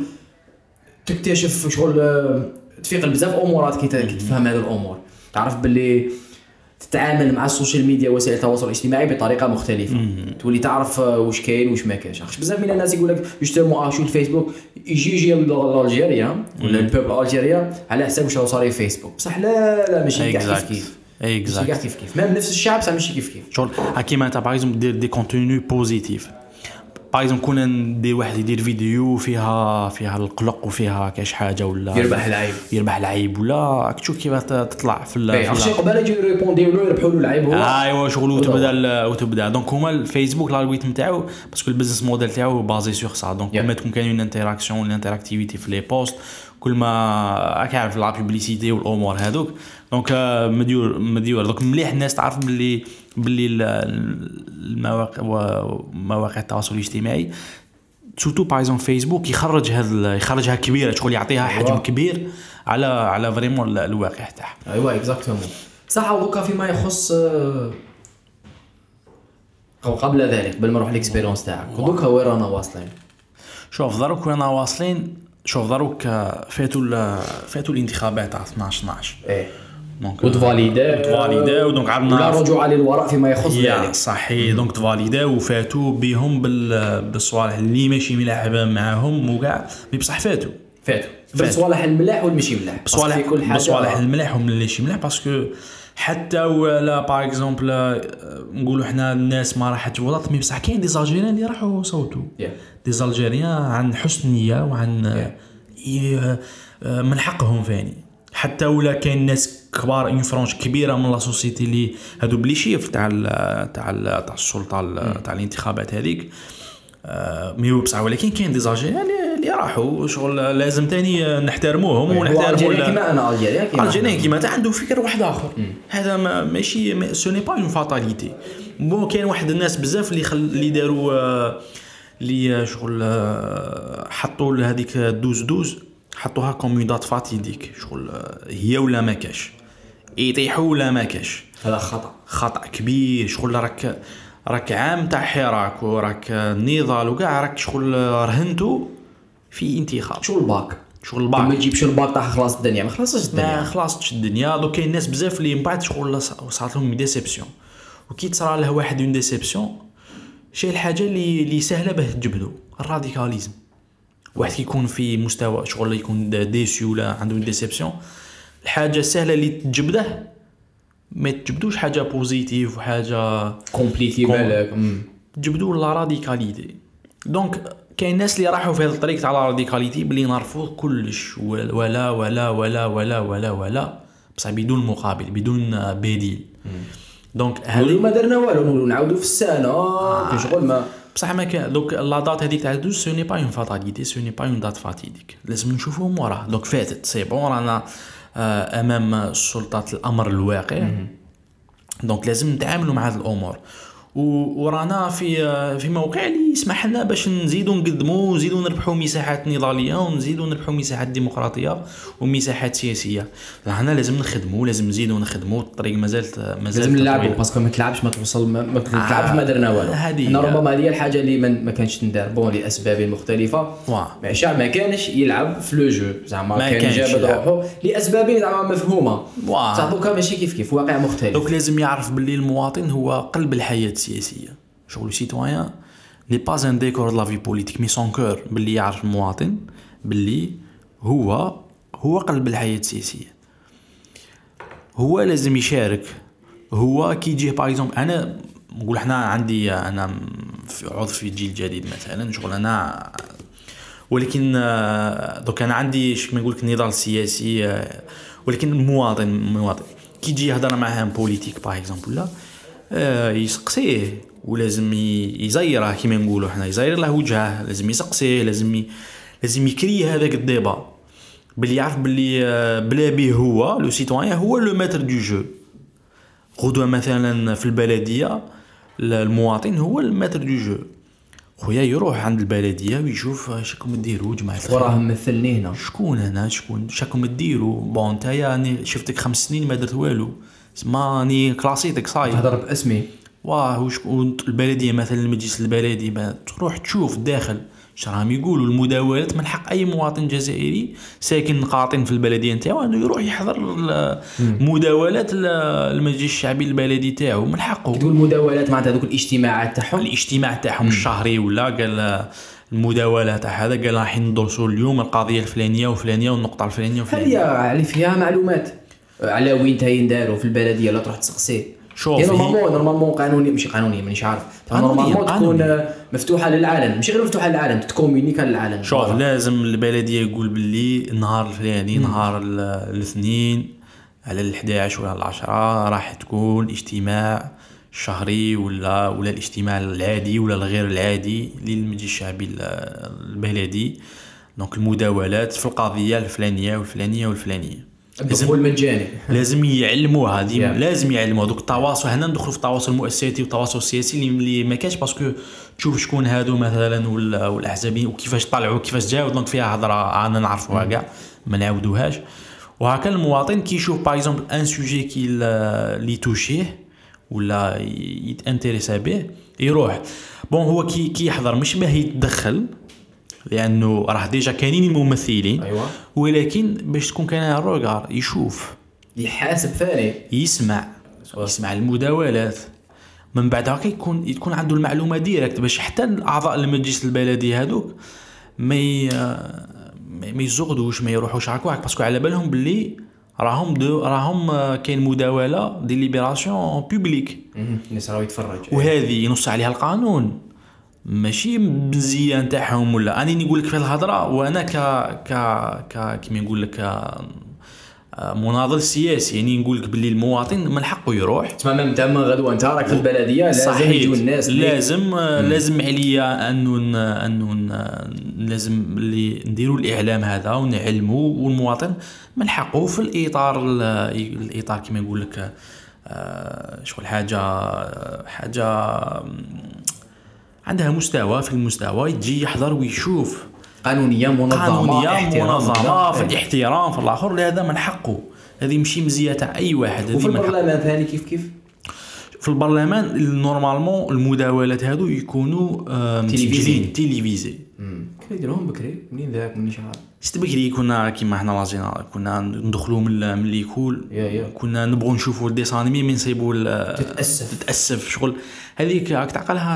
تكتشف شغل تفيق بزاف امورات كي تفهم هذه الامور، تعرف باللي تتعامل مع السوشيال ميديا وسائل التواصل الاجتماعي بطريقه مختلفه م- تولي تعرف واش كاين واش ما كاينش. بزاف من الناس يقول لك يشتموا شو الفيسبوك يجي يجي الجيريا ولا البوبل الجيريا على حساب واش صار في فيسبوك، بصح لا لا ماشي كاع كيف كيف اكزاكت ماشي كيف كيف ميم نفس الشعب بصح ماشي كيف كيف شغل كيما انت باغ اكزومبل دير دي كونتوني بوزيتيف باغ اكزومبل كنا ندير واحد يدير فيديو فيها فيها القلق وفيها كاش حاجه ولا يربح العيب يربح العيب ولا تشوف كيف تطلع في الشيء قبل يجي ريبونديو له يربحوا له العيب هو ايوا شغل وتبدا وتبدا دونك هما الفيسبوك الالغوريثم تاعو باسكو البيزنس موديل تاعو بازي سور سا دونك كل ما تكون كاين انتراكسيون ولا انتراكتيفيتي في لي بوست كل ما راك عارف لا بوبليسيتي والامور هذوك دونك مديور مديور دونك مليح الناس تعرف باللي باللي المواقع ومواقع التواصل الاجتماعي سورتو باغ اكزومبل فيسبوك يخرج هذا يخرجها كبيره شغل يعطيها حجم كبير على على فريمون الواقع تاعها. ايوا اكزاكتومون صح. دوكا فيما يخص قبل ذلك قبل ما نروح الاكسبيريونس تاعك دوكا وين رانا واصلين؟ شوف دروك وين واصلين شوف دروك فاتوا فاتوا الانتخابات تاع اثناش اثناش ايه دونك وتفاليدا تفاليدا ودونك عندنا لا رجوع للوراء فيما يخص ذلك صحيح دونك تفاليدا وفاتوا بهم بالصوالح اللي ماشي ملاح معاهم وكاع بصح فاتوا فاتوا بالصوالح الملاح والمشي ملاح بصوالح كل حاجه بصوالح الملاح ومن اللي ماشي ملاح باسكو حتى ولا باغ اكزومبل نقولوا حنا الناس ما راحت تفوت مي بصح كاين دي زالجيريان اللي راحوا صوتوا yeah. دي زالجيريان عن حسن نيه وعن yeah. من حقهم فاني حتى ولا كاين ناس كبار اون فرانش كبيره من لا سوسيتي اللي هادو بلي شيف تاع تاع تاع السلطه تاع الانتخابات هذيك مي بصح ولكن كاين دي زالجيريان اللي راحوا شغل لازم تاني نحترموهم ونحترموا كيما انا الجيريان كيما الجيريان كيما عنده فكر واحد اخر هذا ماشي سو ني با اون فاتاليتي بون كاين واحد الناس بزاف اللي خل... اللي داروا اللي شغل حطوا لهذيك دوز دوز حطوها كوميدات فاتيديك شغل هي ولا ما كاش يطيحوا ولا ما كاش هذا خطا خطا كبير شغل راك راك عام تاع حراك وراك نضال وكاع راك شغل رهنتو في انتخاب شغل باك شغل باك ما تجيبش الباك تاع خلاص الدنيا ما خلاصش الدنيا ما خلاصش الدنيا دوك كاين ناس بزاف اللي من بعد شغل صارت لهم ديسيبسيون وكي تصرى له واحد اون ديسيبسيون شي الحاجه اللي اللي سهله به تجبدو الراديكاليزم واحد كيكون في مستوى شغل يكون ديسيو ولا عنده ديسيبسيون الحاجه السهله اللي تجبده ما تجبدوش حاجه بوزيتيف وحاجه كومبليكي بالك تجبدوا لا راديكاليتي دونك كاين ناس اللي راحوا في هذا الطريق تاع لا راديكاليتي بلي نرفض كلش ولا ولا ولا ولا ولا ولا بصح بدون مقابل بدون بديل دونك هذه ما درنا والو نعاودوا في السنه شغل ما بصح ما كان دوك لا دات هذيك تاع دوز سو ني با اون فاتاليتي سو ني با اون دات فاتيديك لازم نشوفوهم وراه دوك فاتت سي بون رانا امام سلطات الامر الواقع دونك لازم نتعاملوا مع هذه الامور ورانا في في موقع اللي يسمح لنا باش نزيدوا نقدموا ونزيدوا نربحوا مساحات نضاليه ونزيدوا نربحوا مساحات ديمقراطيه ومساحات سياسيه. هنا لازم نخدموا لازم نزيدوا نخدموا الطريق مازالت مازال لازم نلعبوا باسكو ما تلعبش ما توصل ما, ما تلعبش ما درنا والو. هذه ربما هذه الحاجه اللي ما كانش ندار بون لاسباب مختلفه ماشي ما كانش يلعب في لو جو زعما كان جاب روحه لاسباب زعما مفهومه صح دوكا ماشي كيف كيف واقع مختلف. دوك لازم يعرف باللي المواطن هو قلب الحياه السياسيه. شغل سيتويان ني با ان ديكور دو لا في بوليتيك مي سون كور باللي يعرف المواطن باللي هو هو قلب الحياه السياسيه. هو لازم يشارك. هو كي يجي باغ اكزومبل انا نقول احنا عندي انا عضو في جيل جديد مثلا شغل انا ولكن دوك انا عندي شك ما نقول لك نضال سياسي ولكن المواطن المواطن كي يجي يهضر معاه بوليتيك باغ اكزومبل لا يسقسيه ولازم يزيره كيما نقولوا احنا يزير له وجهه لازم يسقسيه لازم ي... لازم يكري هذاك الديبا باللي يعرف باللي بلا بيه هو لو سيتويان هو لو ماتر دو جو. غدوه مثلا في البلديه المواطن هو الماتر دو جو خويا يروح عند البلديه ويشوف شكون ديروا جماعه وراه ممثلني هنا شكون هنا شكون شكون ديروا بون نتايا راني شفتك خمس سنين ما درت والو اسماني كلاسيتك صاي تهضر باسمي واه وشكون البلديه مثلا المجلس البلدي تروح تشوف داخل شراهم يقولوا المداولات من حق اي مواطن جزائري ساكن قاطن في البلديه نتاعو انه يروح يحضر المداولات المجلس الشعبي البلدي تاعو من حقه. تقول مداولات معناتها هذوك الاجتماعات تاعهم الاجتماع تاعهم الشهري ولا قال المداولة تاع هذا قال راح ندرسوا اليوم القضيه الفلانيه وفلانيه والنقطه الفلانيه وفلانيه. هل فيها معلومات على وين تاين داروا في البلديه لا تروح تسقسي شوف نورمالمون نورمالمون قانوني ماشي قانوني مانيش عارف نورمالمون تكون مفتوحه للعالم ماشي غير مفتوحه للعالم تكومونيكا للعالم. شوف لازم البلديه يقول باللي النهار الفلاني نهار الاثنين على الحادي عشر ولا العشرة راح تكون اجتماع شهري ولا ولا الاجتماع العادي ولا الغير العادي للمجلس الشعبي البلدي دونك المداولات في القضيه الفلانيه والفلانيه والفلانيه الدخول مجاني. لازم يعلموها هذه yeah. لازم يعلموا دوك التواصل. هنا ندخلوا في التواصل المؤسساتي والتواصل السياسي اللي ما كانش باسكو تشوف شكون هادو مثلا ولا والاحزابيين وكيفاش طلعوا كيفاش جاوا دونك فيها هضره انا نعرفوها كاع ما نعاودوهاش. وهكا المواطن كي يشوف باغ اكزومبل ان سوجي كي لي توشيه ولا يتانتريسا به يروح بون هو كي كي يحضر مش باه يتدخل لانه راه ديجا كاينين الممثلين أيوة. ولكن باش تكون كاين الروغار يشوف يحاسب ثاني يسمع يسمع المداولات من بعد هكا يكون يكون عنده المعلومه ديريكت باش حتى اعضاء المجلس البلدي هذوك ما ما يزغدوش ما يروحوش هكاك باسكو على بالهم باللي راهم دو راهم كاين مداوله دي ليبراسيون بوبليك الناس راهو يتفرج وهذه ينص عليها القانون ماشي مزيان تاعهم ولا اني نقول لك في الهضره وانا ك ك ك كيما نقول لك مناضل سياسي يعني نقول لك باللي المواطن من حقه يروح تماما انت من غدوه انت راك في البلديه لازم يجوا الناس لازم مم. لازم عليا انه انه لازم اللي نديروا الاعلام هذا ونعلموا والمواطن من حقه في الاطار الاطار كيما نقول لك شغل حاجه حاجه عندها مستوى في المستوى يجي يحضر ويشوف قانونيه منظمه قانونيه منظمه في الاحترام في الاخر لهذا من حقه. هذه ماشي مزيه تاع اي واحد. وفي البرلمان ثاني كيف كيف في البرلمان نورمالمون المداولات هادو يكونوا مسجلين تيليفيزي كي يديروهم بكري منين ذاك منين شحال ست بكري كنا كيما حنا لازينا كنا ندخلوا من من ليكول كنا نبغوا نشوفوا الديسانيمي من نصيبوا تتاسف تتاسف شغل هذيك راك تعقلها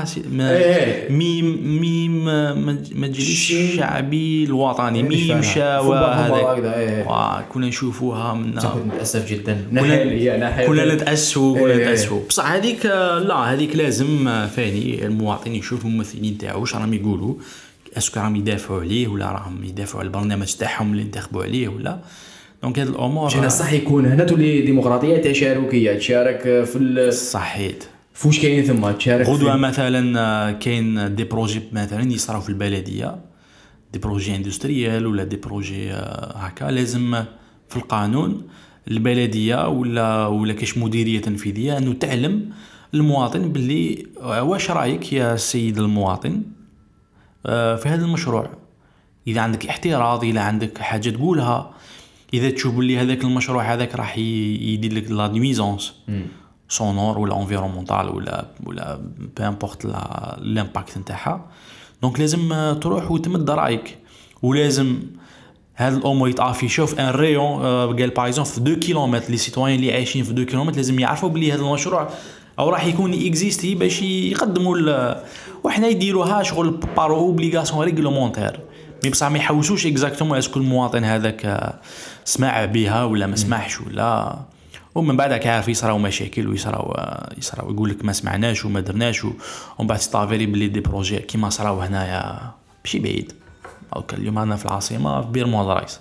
ميم ميم مجلس الشعبي الوطني ميم شاوى هذاك كنا نشوفوها من نتاسف جدا كنا نتاسفوا كنا نتاسفوا بصح هذيك لا هذيك لازم ثاني المواطن يشوف الممثلين تاعو واش راهم يقولوا اسكو راهم يدافعوا عليه ولا راهم يدافعوا على البرنامج تاعهم اللي انتخبوا عليه ولا دونك هاد الامور جينا صح يكون هنا تولي ديمقراطيه تشاركيه تشارك في صحيت فوش كاين ثم تشارك غدوه مثلا كاين دي بروجي مثلا يصراو في البلديه، دي بروجي اندستريال ولا دي بروجي هكا، لازم في القانون البلديه ولا ولا كاش مديريه تنفيذيه انه تعلم المواطن باللي واش رايك يا سيد المواطن في هذا المشروع، اذا عندك احتراض، اذا عندك حاجه تقولها، اذا تشوف باللي هذاك المشروع هذاك راح يدير لك لا نويزونس سونور ولا انفيرونمونتال ولا ولا بامبورط لامباكت نتاعها، دونك لازم تروح وتمد رايك، ولازم هذا الامور يتعافي في ان ريون قال باغ اكزومبل في اثنين كيلومتر لي سيتويان اللي عايشين في اثنين كيلومتر لازم يعرفوا بلي هذا المشروع او راح يكون اكزيستي باش يقدموا، وحنا يديروها شغل بارو اوبليغاسيون ريغلومونتير، مي بصح ما يحوسوش اكزاكتومون اسكو المواطن هذاك سمع بها ولا ما سمعش ولا، ومن بعد عارف يصراو مشاكل ويصراو يصراو يقول لك ما سمعناش وما درناش، ومن بعد تستافيري بلي دي بروجي كيما صراو هنايا ماشي بعيد، او اليوم انا في العاصمه في بير موضرايس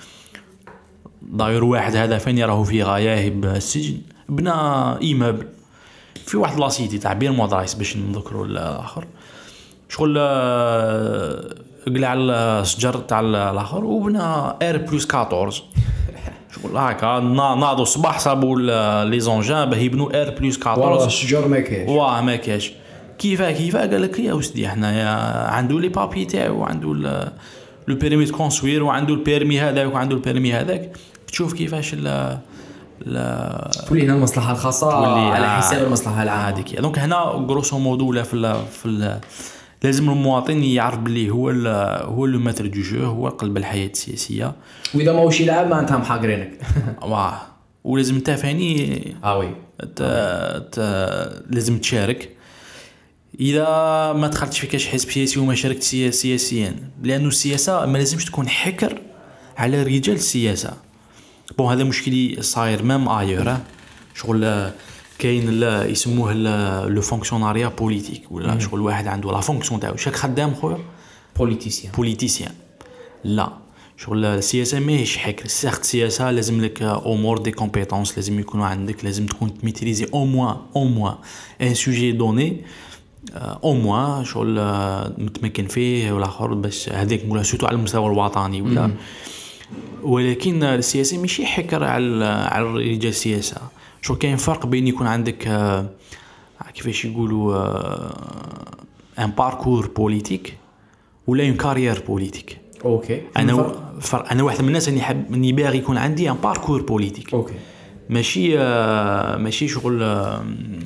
داير واحد هذا فين راهو في غياهب السجن بنى ايمابل في واحد لاسيتي تاع بير موضرايس باش نذكروا الاخر، شغل قلع الشجر تاع الاخر وبنى اير بلس أربعطاش شغل هكا ناضوا الصباح صابوا لي زونجان باه يبنوا اير بلس أربعطاش والله الشجر ما كاش واه ما كاش كيفاه كيفاه قال لك يا ودي حنايا عنده لي بابي تاعو، عنده لو بيرمي دو كونسوير وعنده البيرمي هذاك وعنده البيرمي هذاك، تشوف كيفاش لا لا تولي هنا المصلحه الخاصه على حساب المصلحه العامه هذيك. دونك هنا غروسو مودو ولا في ال في ال لازم المواطن يعرف باللي هو هو لو ماتر دو جو، هو قلب الحياه السياسيه، واذا ماهوش يلعب معناتها محاقرينك واه ولازم انت فاني اه وي لازم تشارك. اذا ما دخلتش في كاش حزب سياسي وما شاركت سياسيا، لانه السياسه ما لازمش تكون حكر على رجال السياسه. بون هذا مشكلي صاير مام ايور، شغل كاين لا يسموه لو فونكسيوناريا بوليتيك ولا شغل واحد عنده لا فونكسيون تاعو شاك خدام خويا بوليتيسيان بوليتيسيان لا شغل السياسه ماهيش حكر، سيغت السياسه لازم لك امور دي كومبيتونس، لازم يكونوا عندك، لازم تكون تميتريزي او موان او موان ان سوجي دوني او موان شغل متمكن فيه ولا اخر، باش هذيك نقولها سوتو على المستوى الوطني ولا مم. ولكن السياسي ماشي حكر على على رجال السياسه، شو كاين فرق بين يكون عندك آه كيفاش يقولوا ان باركور بوليتيك ولا اون كارير بوليتيك. اوكي انا فرق. انا واحد من الناس اللي حاب اني باغي يكون عندي ان باركور بوليتيك، اوكي ماشي آه ماشي شغل آه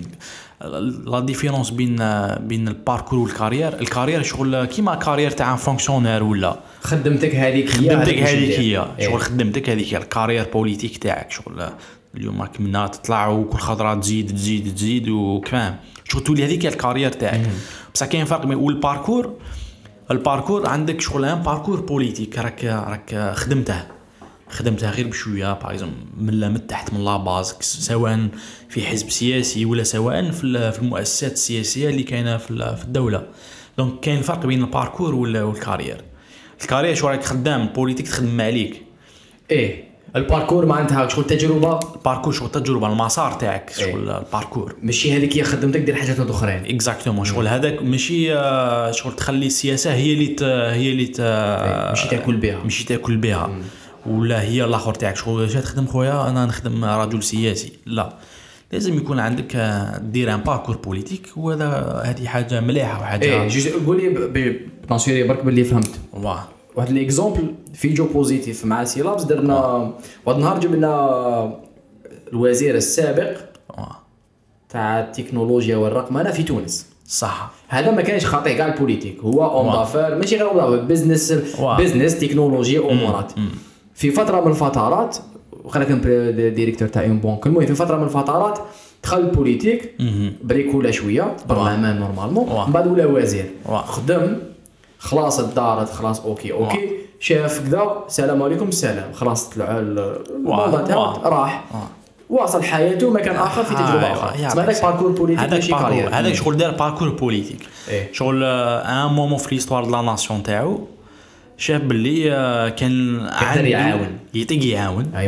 لا ديفيرونس بين بين الباركور والكارير. الكارير شغل كيما كارير تاع فونكسيونير ولا خدمتك هذيك خدمتك هذيك هي شغل خدمتك هذيك هي الكارير بوليتيك تاعك، شغل اليوم راك منا تطلع وكل خضره تزيد تزيد تزيد وكفاهم شغل تولي هذيك الكارير تاعك. بصح كاين فرق بين والباركور، الباركور عندك شغل ان باركور بوليتيك راك راك خدمته خدمتها غير بشويه باغ اكزومبل من لا من تحت من لا باز، سواء في حزب سياسي ولا سواء في في المؤسسات السياسيه اللي كاينه في الدوله. دونك كاين فرق بين الباركور والكارير. الكارير شو راك خدام، البوليتيك تخدم عليك ايه، الباركور معناتها شغل تجربه، الباركور شغل تجربه المسار تاعك شغل إيه؟ الباركور ماشي هذيك هي خدمتك دير حاجات اخرين اكزاكتومون شغل هذاك ماشي شغل تخلي السياسه هي اللي هي اللي إيه؟ ماشي تاكل بها ماشي تاكل بها مم. ولا هي الاخر تاعك شغل جات تخدم خويا انا نخدم رجل سياسي، لا لازم يكون عندك دير ان باركور بوليتيك، وهذا هذه حاجه مليحه وحاجه ايه. قول لي بانسيري برك باللي فهمت واه واحد ليكزامبل في جو بوزيتيف مع سيلابس درنا واحد النهار جبنا الوزير السابق تاع التكنولوجيا والرقمنه في تونس صح. هذا ما كانش خاطئ كاع البوليتيك، هو اون دافير ماشي غير اون بزنس بزنس تكنولوجيا امورات. في فتره من الفترات وخلى كان ديريكتور تاع اون بنك، المهم في فتره من الفترات دخل البوليتيك بريكولا شويه برلمان نورمالمون، من بعد ولا وزير خدم خلاص دارت خلاص اوكي اوكي واو. شاف كذا السلام عليكم السلام خلاص طلع الموضوع تاعو راح واصل حياته مكان اخر في تجربه اخرى. اسمه هذاك باركور بوليتيك ماشي كارير، هذاك شغل دار باركور بوليتيك إيه؟ شغل ان مومون في ليستوار دو لا ناسيون تاعو شاف باللي كان يقدر يعاون يطيق يعاون ايوا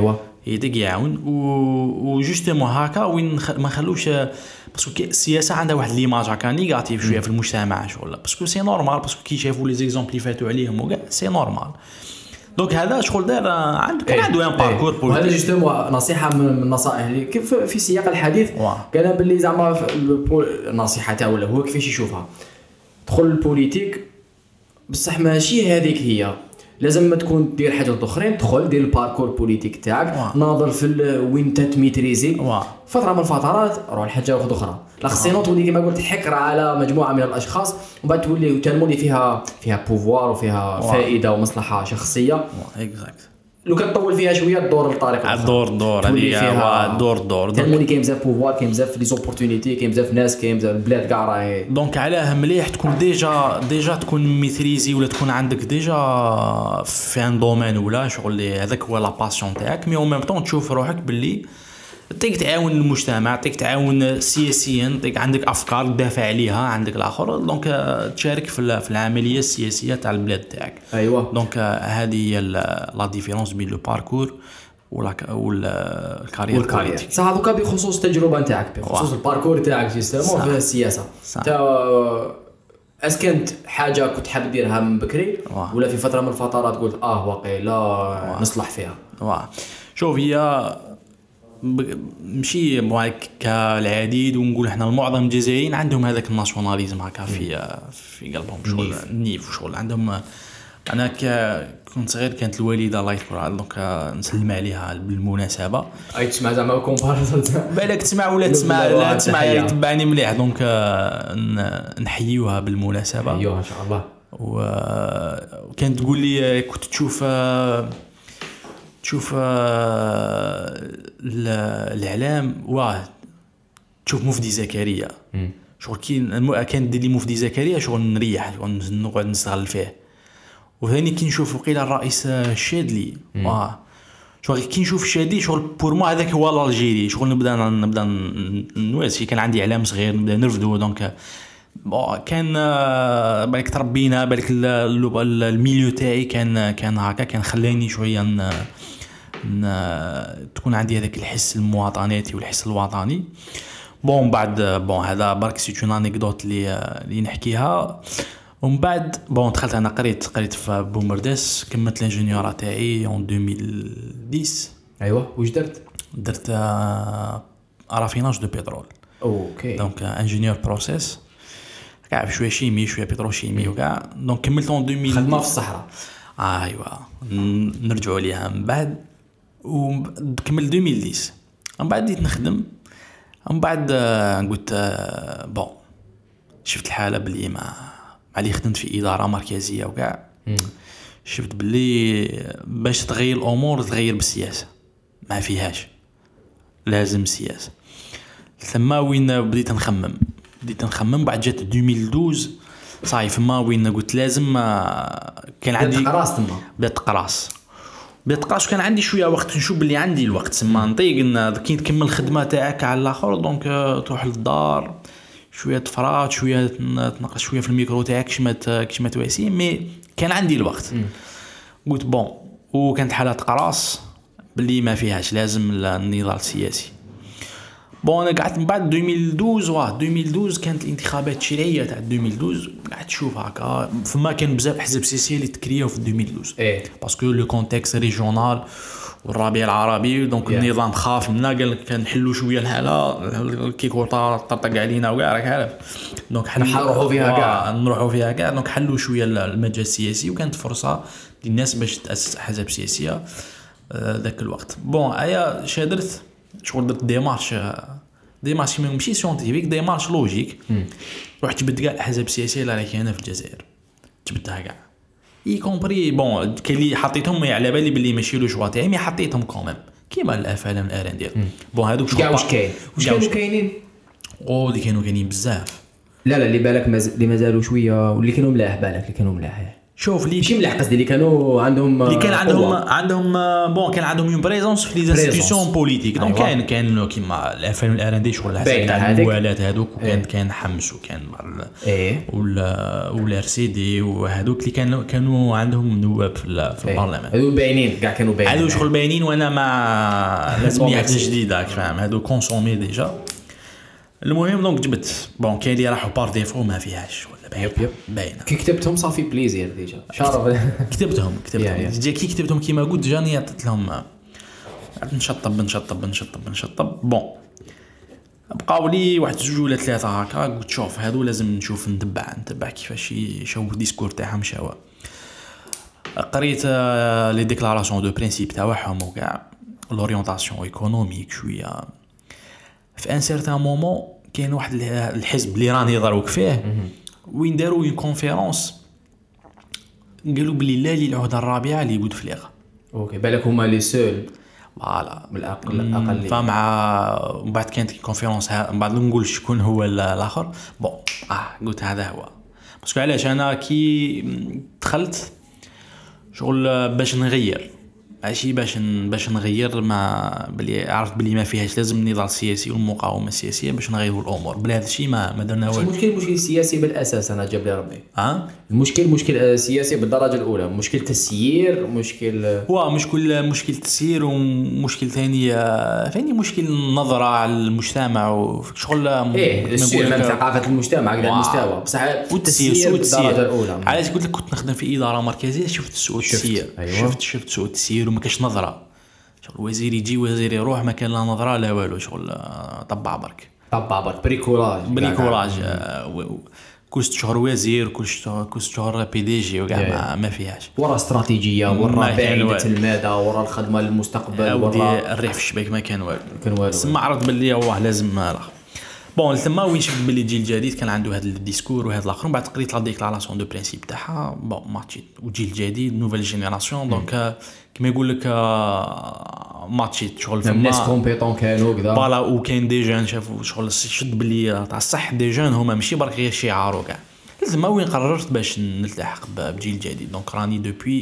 يديك يعاون وجوستومون هكا وين ما نخلوش باسكو السياسه عندها واحد ليماج هكا نيجاتيف شويه في المجتمع شغل باسكو سي نورمال باسكو كي شافوا لي زيكزامبل اللي فاتوا عليهم وكاع سي نورمال دونك هذا شغل دار عنده كان عنده ان باركور بوليتيك. وهذا جوستومون نصيحه من النصائح اللي كيف في سياق الحديث قال باللي زعما النصيحه تاعو ولا هو كيفاش يشوفها دخل البوليتيك بصح ماشي هذيك هي لازم ما تكون دير حاجات اخرين تدخل دير الباركور بوليتيك تاعك ناظر في وين تتميتريزي فتره من الفترات روح لحاجه واحده اخرى لا خصينا تولي كما قلت حكر على مجموعه من الاشخاص ومن بعد تولي تالمولي فيها فيها بوفوار وفيها فائده ومصلحه شخصيه اكزاكت لو كتطول فيها شويه الدور الطريق الدور دور هذه دور دور تالمولي كاين بزاف بوفوار كاين بزاف لي زوبورتونيتي كاين بزاف ناس كاين بزاف البلاد كاع راهي دونك علاه مليح تكون ديجا ديجا تكون ميتريزي ولا تكون عندك ديجا في ان دومين ولا شغل هذاك هو لا باسيون تاعك مي او ميم طون تشوف روحك باللي تيك تعاون المجتمع تيك تعاون سياسيا تيك عندك افكار تدافع عليها عندك الاخر دونك تشارك في في العمليه السياسيه تاع البلاد تاعك. ايوه دونك هذه هي لا ديفيرونس بين لو باركور ولا والكارير والكارير صح. هذوك بخصوص التجربه نتاعك بخصوص الباركور تاعك جيستمون في السياسه تا اسكنت حاجه كنت حاب ديرها من بكري ولا في فتره من الفترات قلت اه واقي لا نصلح فيها. واه شوف هي مشي معك كالعديد ونقول احنا المعظم الجزائريين عندهم هذاك الناسيوناليزم هكا في في قلبهم شغل نيف شغل عندهم. انا كنت صغير كانت الوالده الله يذكرها دونك نسلم عليها بالمناسبه اي تسمع زعما كومباريزون بالك تسمع ولا تسمع لا تسمع يتبعني مليح دونك نحييوها بالمناسبه ايوه ان شاء الله. وكانت تقول لي كنت تشوف تشوف الاعلام واه تشوف مفدي زكريا شغل كي كان دير لي مفدي زكريا شغل نريح شغل نقعد نستغل فيه. وثاني كي نشوف وقيل الرئيس الشادلي واه شغل كي نشوف الشادلي شغل بور مو هذاك هو الجيري شغل نبدا نبدا نواسي كان عندي اعلام صغير نبدا نرفدو دونك كان بالك تربينا بالك الميليو تاعي كان كان هكا كان خلاني شويه ن... ن... تكون عندي هذاك الحس المواطناتي والحس الوطني. بون بعد بون هذا برك سي اون انيكدوت اللي اللي نحكيها. ومن بعد بون دخلت انا قريت قريت في بومرداس كملت الانجينيور تاعي اون ألفين وعشرة. ايوه واش درت؟ درت رافيناج دو بترول. اوكي دونك انجينيور بروسيس كاع شويه شيمي شويه بتروشيمي وكاع دونك كملت اون ألفين خدمه في الصحراء. آه ايوا نرجعوا ليها من بعد وكمل ألفين وعشرة من بعد بديت نخدم. من بعد قلت بون شفت الحاله بلي ما علي خدمت في اداره مركزيه وكاع شفت بلي باش تغير الامور تغير بالسياسه ما فيهاش لازم سياسه. ثم وين بديت نخمم بديت نخمم بعد جات ألفين واثناشر صاي فما وين قلت لازم كان عندي قراص تما بدات قراص بدات قراص كان عندي شويه وقت نشوف بلي عندي الوقت سما نطيق كي تكمل الخدمه تاعك على الاخر دونك تروح للدار شويه تفرات شويه تنقص شويه في الميكرو تاعك كيما كيما تواسي مي كان عندي الوقت. قلت بون وكانت حالات قراص بلي ما فيهاش لازم النضال السياسي. بون انا قعدت من بعد ألفين واثناشر واه ألفين واثناشر كانت الانتخابات التشريعيه تاع ألفين واثناشر قعدت تشوف هكا فما كان بزاف حزب سياسي اللي تكرياو في ألفين واثناشر ايه باسكو لو كونتكست ريجيونال والربيع العربي دونك yeah. النظام خاف منا قال لك كنحلوا شويه الحاله كي كورطا طرطق علينا وكاع راك عارف دونك حنا نروحوا فيها كاع نروحوا فيها كاع دونك حلوا شويه المجال السياسي وكانت فرصه للناس باش تاسس احزاب سياسيه ذاك الوقت. بون ايا شادرت شغل درت ديمارش ديمارش ماشي سيونتيفيك ديمارش لوجيك رحت جبت كاع الاحزاب السياسيه اللي راهي هنا في الجزائر جبتها كاع اي كومبري بون كاين اللي حطيتهم على بالي باللي ماشي لو جوا تاعي مي حطيتهم كوميم كيما الافلام الاران ديال بون هذوك كاع واش كاين واش كانوا كاينين او اللي كانوا كاينين بزاف لا لا اللي بالك مز... اللي مازالوا شويه واللي كانوا ملاح بالك اللي كانوا ملاح شوف لي ماشي مليح قصدي اللي كانوا عندهم اللي كان عندهم عندهم بون كان عندهم اون بريزونس في لي انستيتيوشن بوليتيك. دونك كاين كان كيما الاف ام الار ان دي شغل تاع الموالات هذوك وكان كان حمس وكان ولا ولا ار سي دي وهذوك اللي كانوا كانوا عندهم نواب في في البرلمان. هذو باينين كاع كانوا باينين هذو شغل باينين وانا ما لازم حاجه جديده فاهم. هذو كونسومي ديجا. المهم دونك جبت بون كاين اللي راحوا بار ديفو ما فيهاش ولا باينه كي كتبتهم صافي بليزير ديجا شرف كتبتهم كتبتهم ديجا كي كتبتهم كيما قلت جاني عطيت لهم نشطب نشطب نشطب نشطب بون بقاو لي واحد جوج ولا ثلاثه هكا. قلت شوف هادو لازم نشوف ندبع ندبع كيفاش يشوفوا الديسكور تاعهم شاوا. قريت لي ديكلاراسيون دو برينسيپ تاعهم وكاع لورينتاسيون ايكونوميك شويه. في ان سيرتان مومون كاين واحد الحزب اللي راني ضروك فيه وين داروا اون كونفيرونس قالوا بلي لا لي العهده الرابعه اللي بوتفليغه. اوكي بالك هما لي سول فوالا من الاقل الاقل فمع من بعد كانت كونفيرونس من بعد نقول شكون هو الاخر. بون اه قلت هذا هو باسكو علاش انا كي دخلت شغل باش نغير ماشي باش باش نغير ما بلي عرفت بلي ما فيهاش لازم النضال السياسي والمقاومه السياسيه باش نغيروا الامور. بلا هذا الشيء ما ما درنا والو. المشكل مشكل سياسي بالاساس انا جاب لي ربي ها المشكل مشكل سياسي بالدرجه الاولى. مشكل تسيير مشكل هو مشكل مشكل تسيير ومشكل ثاني ثاني مشكل نظره على المجتمع وشغل ايه السير من ثقافه المجتمع على المستوى بصح والتسيير بالدرجه الاولى. علاش قلت لك كنت نخدم في اداره مركزيه شفت سوء التسيير. أيوة. شفت شفت سوء التسيير وما كاش نظره شغل وزير يجي وزير يروح ما كان لا نظره لا والو شغل طبع برك طبع برك بريكولاج بريكولاج كل شهر وزير كل شهر كل شهر بي دي جي وكاع ما فيهاش ورا استراتيجيه ورا بعيده المدى ورا الخدمه للمستقبل ورا الريح في الشباك ما كان والو كان والو. سما عرض باللي هو لازم الاخر بون ثما وين شفت باللي الجيل الجديد كان عنده هذا الديسكور وهذا الاخر. من بعد قريت لا ديكلاراسيون دو برينسيپ تاعها بون ماتشيت وجيل جديد نوفيل جينيراسيون دونك كما يقول لك ماتشيت شغل فما ناس كومبيتون كانوا كذا فوالا وكاين دي جون شافوا شغل شد باللي تاع الصح دي جون هما ماشي برك غير شعار وكاع. ثما وين قررت باش نلتحق بجيل جديد. دونك راني دوبوي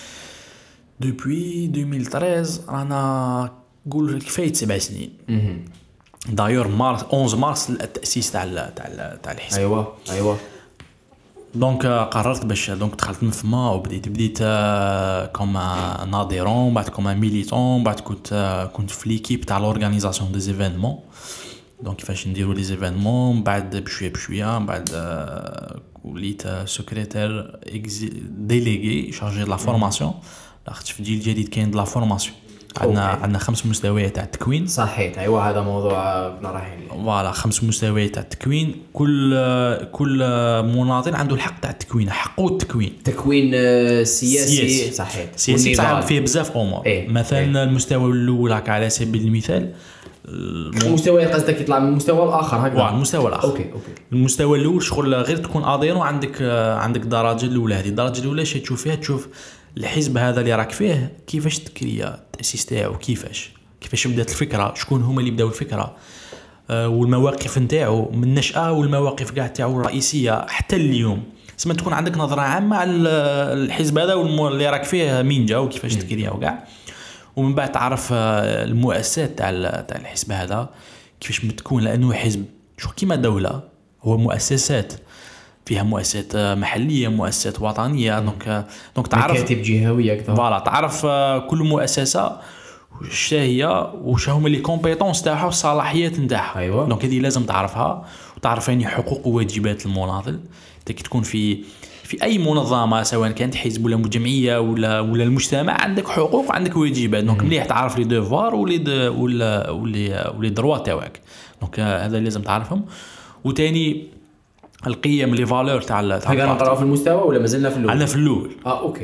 دوبوي ألفين وثلاثة عشر رانا نقول كفايه سبع سنين. دايور مارس أحد عشر مارس التاسيس تاع تاع تاع الحزب. ايوه ايوه دونك قررت باش دونك دخلت من فما وبديت بديت كوم ناظرون بعد كوم ميليتون بعد كنت كنت في ليكيب تاع لورغانيزاسيون دي زيفينمون. دونك كيفاش نديروا لي زيفينمون بعد بشويه بشويه بعد وليت سكرتير ديليغي شارجي دو لا فورماسيون. لاخت في الجيل الجديد كاين دو لا فورماسيون عندنا عندنا خمس مستويات تاع التكوين. صحيح ايوه هذا موضوع كنا رايحين ليه. فوالا خمس مستويات تاع التكوين. كل كل مواطن عنده الحق تاع التكوين حقه التكوين تكوين سياسي, سياسي. صحيح سياسي صعب فيه بزاف امور. إيه؟ مثلا إيه؟ المستوى الاول على سبيل المثال المستوى قصدك يطلع من المستوى الاخر هكذا. المستوى الاخر اوكي اوكي المستوى الاول شغل غير تكون اديرو عندك عندك الدرجه الاولى. هذه الدرجه الاولى شي تشوف فيها تشوف الحزب هذا اللي راك فيه كيفاش تكريا التاسيس تاعو كيفاش كيفاش بدات الفكره شكون هما اللي بداو الفكره أه والمواقف نتاعو من النشأه والمواقف كاع تاعو الرئيسيه حتى اليوم. سما تكون عندك نظره عامه على الحزب هذا اللي راك فيه مين جا وكيفاش تكريا وكاع. ومن بعد تعرف المؤسسات تاع تاع الحزب هذا كيفاش متكون لانه حزب شو كيما دوله هو مؤسسات فيها مؤسسات محليه مؤسسات وطنيه. دونك دونك تعرف مكاتب جهويه كذا. فوالا تعرف كل مؤسسه واش هي واش هما لي كومبيتونس تاعها والصلاحيات نتاعها. أيوة. دونك هذه لازم تعرفها وتعرف يعني حقوق وواجبات المناضل. انت كي تكون في في اي منظمه سواء كانت حزب ولا جمعيه ولا ولا المجتمع عندك حقوق وعندك واجبات. دونك مليح تعرف لي ديفوار ولي ولا ولي ولي دروا تاعك. دونك هذا لازم تعرفهم. وثاني القيم لي فالور تاع تاع نقراو في المستوى ولا مازلنا في الاول؟ عندنا في الاول. اه اوكي.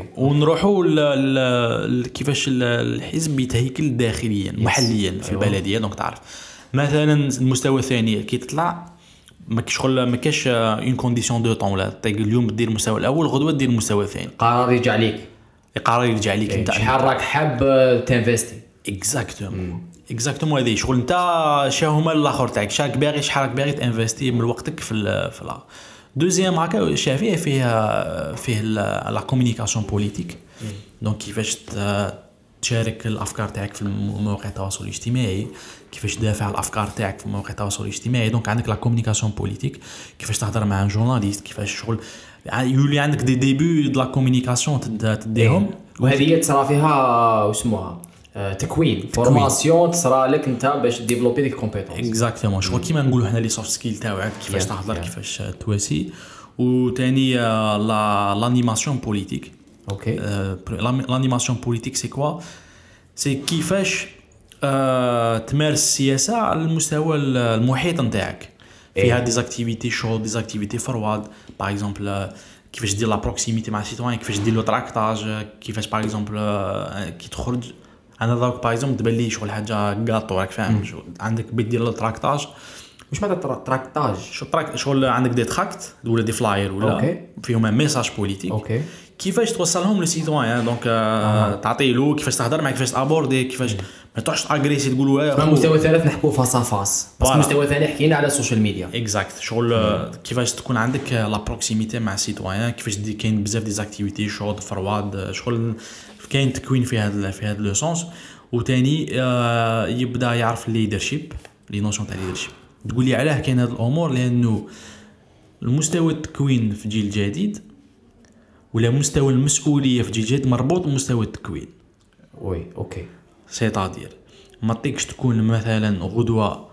ونروحوا كيفاش الحزب يتهيكل داخليا محليا في أيوة. البلديه. دونك تعرف مثلا المستوى الثاني كي تطلع ما شغل ما كاش اون كونديسيون دو طون لا اليوم دير المستوى الاول غدوه دير المستوى الثاني. قرار يرجع ليك. قرار يرجع ليك انت شحال راك حاب تنفيستي. اكزاكتومون اكزاكتومون هذه شغل انت شا هما الاخر تاعك شاك باغي شحال راك باغي تانفيستي من وقتك في في لا. دوزيام هكا شافيه فيه فيه لا كومونيكاسيون بوليتيك دونك كيفاش تشارك الافكار تاعك في مواقع التواصل الاجتماعي كيفاش تدافع الافكار تاعك في مواقع التواصل الاجتماعي دونك عندك لا كومونيكاسيون بوليتيك كيفاش تهضر مع ان جورناليست كيفاش شغل يولي عندك دي ديبي دو لا كومونيكاسيون تديهم وهذه تصرا فيها واسمها تكوين فورماسيون تصرا لك انت باش ديفلوبي ديك كومبيتونس اكزاكتومون شغل كيما نقولوا حنا لي سوفت سكيل تاعك كيفاش تهضر كيفاش تواسي وثاني لا لانيماسيون بوليتيك اوكي لانيماسيون بوليتيك سي كوا سي كيفاش آه تمارس السياسه على المستوى المحيط نتاعك فيها ديزاكتيفيتي شو ديزاكتيفيتي فرواد باغ اكزومبل كيفاش دير لا بروكسيميتي مع السيتوان كيفاش دير لو تراكتاج كيفاش باغ اكزومبل كي تخرج انا داك باغ اكزومبل تبان لي شغل حاجه غاطو راك فاهم عندك بيدير لو تراكتاج واش معناتها تراكتاج شو تراك شغل عندك دي تراكت ولا دي فلاير ولا أوكي. فيهم ميساج بوليتيك اوكي كيفاش توصلهم للسيتوان دونك آه. تعطي له كيفاش تهضر معاه كيفاش تابوردي كيفاش ما تروحش اغريسي تقولوا اه مستوى ثالث نحكوا فاس فاس بس مستوى ثاني حكينا على السوشيال ميديا اكزاكت شغل آه. كيفاش تكون عندك لا بروكسيميتي مع السيتوان كيفاش دي كاين بزاف ديزاكتيفيتي شوط فرواد شغل كاين تكوين في هذا في هذا لو سونس وثاني آه يبدا يعرف الليدرشيب لي نوشن تاع الليدرشيب تقول لي علاه كاين هاد الامور لانه المستوى التكوين في جيل جديد ولا مستوى المسؤوليه في جيل جديد مربوط بمستوى التكوين وي اوكي سيتادير ما تقدرش تكون مثلا غدوه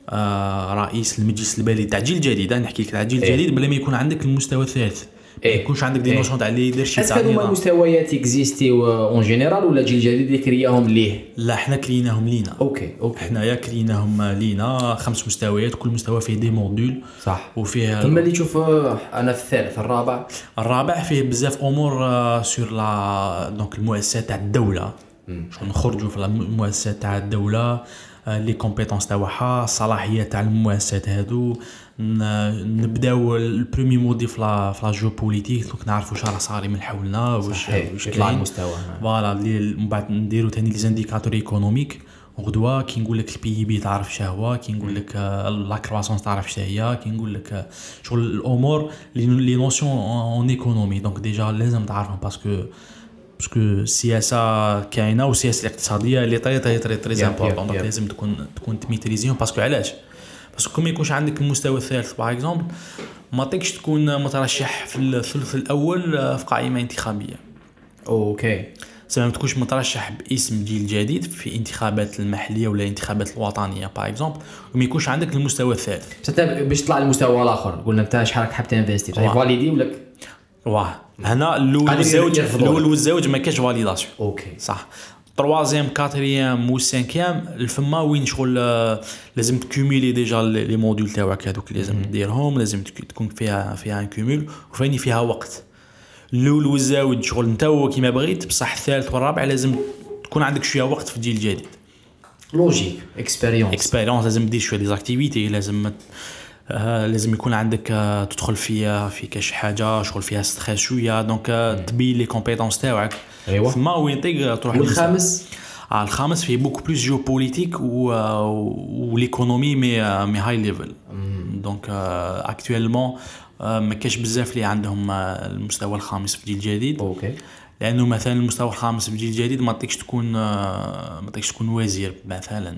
آه رئيس المجلس البلدي تاع جيل جديد نحكي لك تاع جيل إيه. جديد بلا ما يكون عندك المستوى الثالث ما يكونش عندك دي نوشن تاع ليدرشيب تاع هذوما المستويات اكزيستي اون جينيرال ولا جيل جديد اللي كرياهم ليه لا احنا كريناهم لينا اوكي اوكي حنايا كريناهم لينا خمس مستويات كل مستوى فيه دي موديول صح وفيه ثم اللي تشوف انا في الثالث الرابع الرابع فيه بزاف امور سور لا دونك المؤسسات تاع الدوله شنو نخرجوا في المؤسسات تاع الدوله لي كومبيتونس تاعها الصلاحيات تاع المؤسسات هادو نبداو البريمي مودي في لا في لا جو بوليتيك دونك نعرفوا واش راه صاري من حولنا واش واش يطلع المستوى فوالا من بعد نديروا ثاني لي زانديكاتور ايكونوميك غدوه كي نقول لك البي بي تعرف شهوه كي نقول لك لا كرواسونس تعرف شتا هي كي نقول لك شغل الامور لي نوسيون اون ايكونومي دونك ديجا لازم تعرفهم باسكو باسكو السياسه كاينه والسياسه الاقتصاديه اللي طري طري طري طري امبورطون دونك لازم تكون تكون تميتريزيهم باسكو علاش باسكو ما يكونش عندك المستوى الثالث باغ اكزومبل ما تقدرش تكون مترشح في الثلث الاول في قائمه انتخابيه اوكي سواء ما تكونش مترشح باسم جيل جديد في انتخابات المحليه ولا الانتخابات الوطنيه باغ اكزومبل وما يكونش عندك المستوى الثالث حتى باش تطلع المستوى الاخر قلنا انت شحال حاب تنفيستي تاع فاليدي ولا واه هنا الاول والزوج الاول والزوج ما كاش فاليداسيون اوكي صح تروازيام كاتريام وسانكيام الفما وين شغل لازم تكوميلي ديجا لي موديول تاعك هذوك لازم ديرهم لازم تكون فيها فيها ان كومول وفاني فيها وقت الاول والزوج شغل انت كيما بغيت بصح الثالث والرابع لازم تكون عندك شويه وقت في الجيل الجديد لوجيك اكسبيريونس اكسبيريونس لازم دير شويه ديزاكتيفيتي لازم آه لازم يكون عندك آه تدخل فيها في كاش حاجه شغل فيها ستريس شويه دونك آه تبي لي كومبيتونس تاعك ايوا ما وين تقدر تروح والخامس آه الخامس فيه بوكو بلوس جيو بوليتيك و وليكونومي مي مي هاي ليفل دونك اكطوالمون ما كاش بزاف اللي عندهم المستوى الخامس في الجيل الجديد اوكي لانه مثلا المستوى الخامس في الجيل الجديد ما تقدرش تكون ما تقدرش تكون وزير مثلا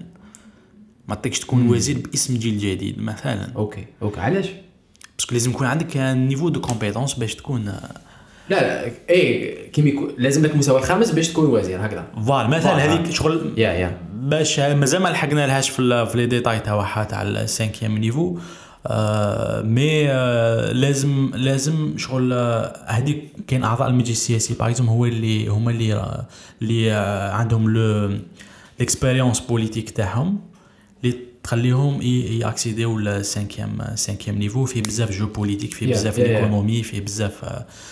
ما تقدرش تكون وزير باسم جيل جديد مثلا اوكي اوكي علاش باسكو لازم يكون عندك نيفو دو كومبيتونس باش تكون لا لا اي كيما يكون لازم لك المستوى الخامس باش تكون وزير هكذا فوالا مثلا هذيك شغل يا يا باش مازال ما لحقنا لهاش في في لي ديتاي تاعها تاع السانكيام نيفو آه مي آه لازم لازم شغل هذيك آه كاين اعضاء المجلس السياسي باغ اكزومبل هو اللي هما اللي آه اللي آه عندهم لو ليكسبيريونس بوليتيك تاعهم اللي تخليهم ياكسيديو للسانكيام سانكيام نيفو فيه بزاف جو بوليتيك فيه بزاف ايكونومي فيه بزاف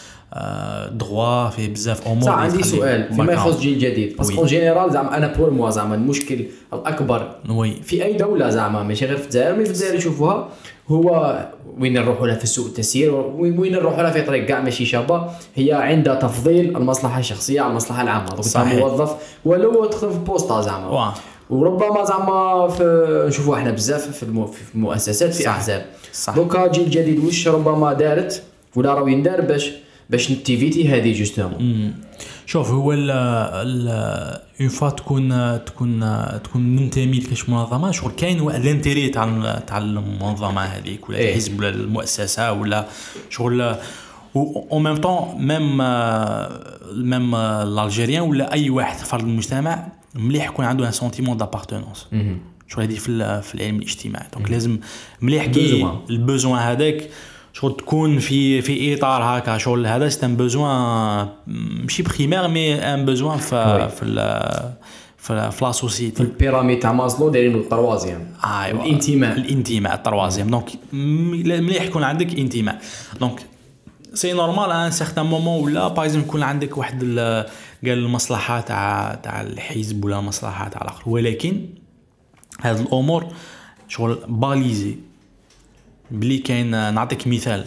آه دروا فيه بزاف امور. صح عندي سؤال فيما يخص جيل جديد باسكو جينيرال زعما انا بور موا زعما المشكل الاكبر وي في اي دوله زعما ماشي غير في الجزائر مي في الجزائر يشوفوها هو وين نروحوا لها في سوء التسيير وين نروحوا لها في طريق كاع ماشي شابه هي عندها تفضيل المصلحه الشخصيه على المصلحه العامه دونك انت موظف ولو تدخل في بوسطه زعما وربما زعما في نشوفوا احنا بزاف في, المو في المؤسسات في احزاب. دوكا جيل الجديد واش ربما دارت ولا راهو يندار باش باش نتيفيتي هذه جوستومون. شوف هو ال ال اون فوا تكون تكون تكون ننتمي لكاش منظمه شغل كاين الانتيري تاع تاع المنظمه هذيك ولا الحزب ولا المؤسسه ولا شغل و ميم طون ميم ميم الالجيريان ولا اي واحد فرد المجتمع مليح يكون عنده ان سونتيمون دابارتونونس شغل هذه في في العلم الاجتماعي. دونك لازم مليح كي البوزوان هذاك شغل تكون في في اطار هكا شغل هذا سيتان بوزوان ماشي بريمير مي ان بوزوان في في في في لا سوسيتي في البيراميد تاع ماسلو دايرين التروازيام ايوا الانتماء الانتماء التروازيام. دونك مليح يكون عندك انتماء. دونك سي نورمال ان سيغتان مومون ولا باغ يكون عندك واحد قال المصلحه تاع تاع الحزب ولا المصلحه تاع الاخر ولكن هاد الامور شغل باليزي بلي كاين. نعطيك مثال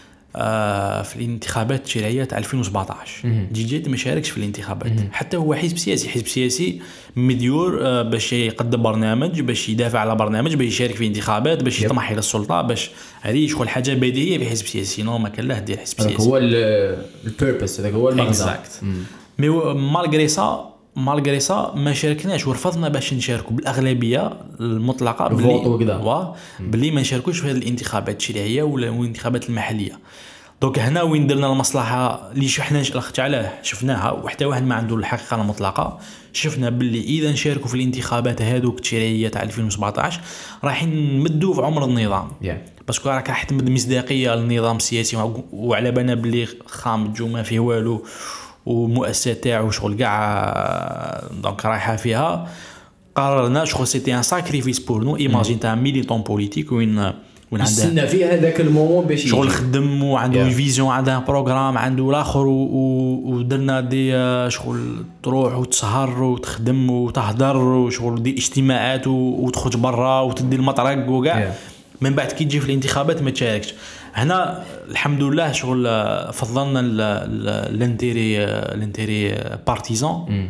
آه في الانتخابات التشريعيه تاع ألفين وسبعطاش جي جيد ما شاركش في الانتخابات حتى هو حزب سياسي حزب سياسي مديور آه باش يقدم برنامج باش يدافع على برنامج باش يشارك في انتخابات باش يطمح الى السلطه باش هذه شغل حاجه بديهيه في حزب سياسي نو ما كان له دير حزب سياسي هو البيربس هذاك هو المغزى. مي مالغري سا مالغري سا ما شاركناش ورفضنا باش نشاركوا بالاغلبيه المطلقه بلي بلي ما نشاركوش في هذه الانتخابات التشريعيه ولا الانتخابات المحليه. دونك هنا وين درنا المصلحه اللي حنا الاخت علاه شفناها وحتى واحد ما عنده الحقيقه المطلقه. شفنا باللي اذا نشاركوا في الانتخابات هذوك التشريعيه تاع ألفين وسبعطاش راح نمدوا في عمر النظام yeah. باسكو راك راح تمد مصداقيه للنظام السياسي وعلى بالنا باللي خامج وما فيه والو ومؤسسه تاعو شغل كاع دونك رايحه فيها. قررنا شغل سيتي ان ساكريفيس بور نو ايماجين تاع ميليتون بوليتيك وين وين عنده استنى فيه هذاك المومون باش شغل خدم وعنده yeah. فيزيون عنده بروغرام عنده الاخر ودرنا دي شغل تروح وتسهر وتخدم وتهدر وشغل دي اجتماعات وتخرج برا وتدي المطرق وكاع yeah. من بعد كي تجي في الانتخابات ما تشاركش. هنا الحمد لله شغل فضلنا الانتيري الانتيري بارتيزان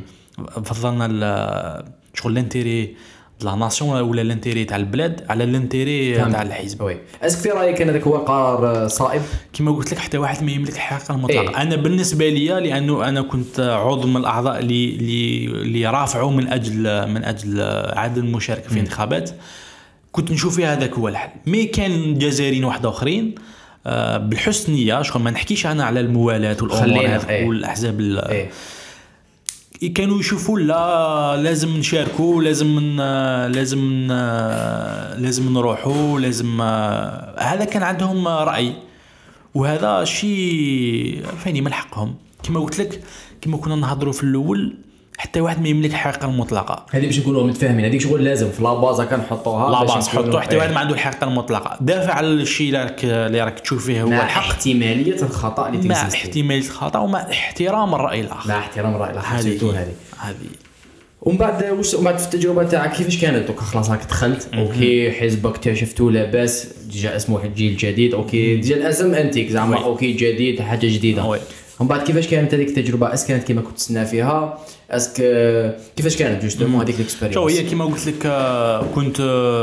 فضلنا شغل الانتيري لا ناسيون ولا الانتيري تاع البلاد على الانتيري تاع الحزب. وي اسك في رايك انا ذاك هو قرار صائب كما قلت لك حتى واحد ما يملك الحقيقه المطلقه. إيه؟ انا بالنسبه لي لانه انا كنت عضو من الاعضاء اللي اللي رافعوا من اجل من اجل عدم المشاركه في الانتخابات كنت نشوف فيها هذاك هو الحل. مي كان جزائريين واحد اخرين آه بالحسن نيه شغل ما نحكيش انا على الموالاه والامور هذه ايه. والاحزاب ايه. كانوا يشوفوا لا لازم نشاركوا لازم لازم لازم نروحوا لازم هذا كان عندهم راي وهذا شيء فاني من حقهم. كما قلت لك كما كنا نهضروا في الاول حتى واحد ما يملك الحقيقه المطلقه. هذه باش نكونوا متفاهمين هذيك شغل لازم في لاباز كنحطوها لا باز نحطوا حتى واحد ما عنده الحقيقه المطلقه. دافع على الشيء اللي راك اللي راك تشوف فيه هو الحق احتماليه الخطا اللي تكزيست مع احتماليه الخطا ومع احترام الراي الاخر مع احترام الراي الاخر هذه هذه ومن بعد واش بعد في التجربه تاعك كيفاش كانت دوك خلاص راك دخلت اوكي حزبك اكتشفتوا لاباس جا اسمه الجيل الجديد اوكي ديال الاسم انتيك زعما اوكي جديد حاجه جديده. ومن بعد كيفاش كانت هذيك التجربه اس كانت كما كنت تسنى فيها اسك كيفاش كانت جوستومون هذيك الاكسبيريونس؟ شو هي كما قلت لك كنت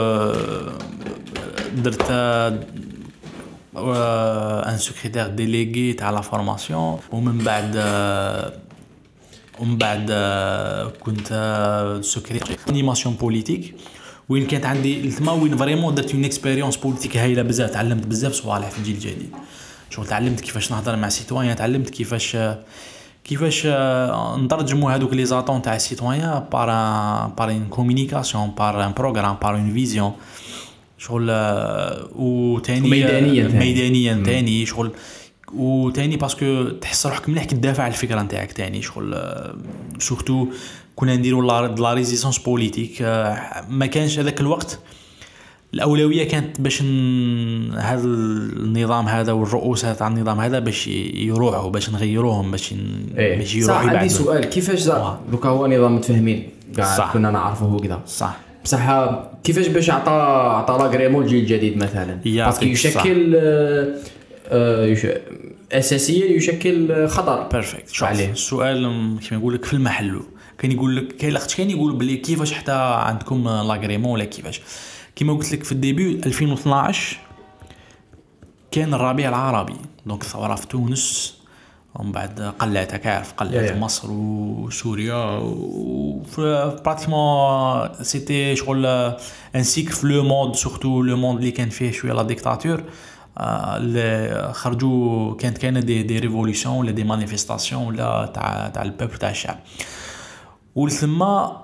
درت ان سكرتير ديليغي تاع لا فورماسيون ومن بعد ومن بعد كنت سكرتير انيماسيون بوليتيك وين كانت عندي التما وين فريمون درت اون اكسبيريونس بوليتيك هايله بزاف. تعلمت بزاف صوالح في الجيل الجديد شغل تعلمت كيفاش نهضر مع سيتويان تعلمت كيفاش كيفاش نترجموا هذوك لي زاتون تاع السيتويان بار بار ان كومونيكاسيون بار ان بروغرام بار اون فيزيون شغل وثاني ميدانيا ميدانيا ثاني شغل وثاني باسكو تحس روحك مليح كتدافع على الفكره نتاعك ثاني شغل سورتو كنا نديروا لا ريزيستانس بوليتيك. ما كانش هذاك الوقت الاولويه كانت باش هذا النظام هذا والرؤوس تاع النظام هذا باش يروحوا باش نغيروهم باش إيه. باش يروحوا يبعدوا. عندي سؤال كيفاش دوكا هو نظام متفاهمين كاع كنا نعرفوه كذا صح بصح كيفاش باش عطى عطى لاغريمون الجيل الجديد مثلا باسكو يشكل آه اساسيا يشكل خطر بيرفكت. السؤال كيما نقول لك في المحل كان يقول لك كاين لاخت كان يقول بلي كيفاش حتى عندكم لاغريمون ولا كيفاش. كيما قلت لك في الديبي ألفين واثناش كان الربيع العربي دونك الثوره في تونس ومن بعد قلعت كعرف قلعت yeah. مصر وسوريا براتيكمون سيتي شغل ان سيكل في لو موند سورتو لو موند اللي كان فيه شويه لا ديكتاتور اللي خرجوا كانت كاينه دي دي ريفوليسيون ولا دي مانيفيستاسيون ولا تاع تاع البوبل تاع الشعب. ولثم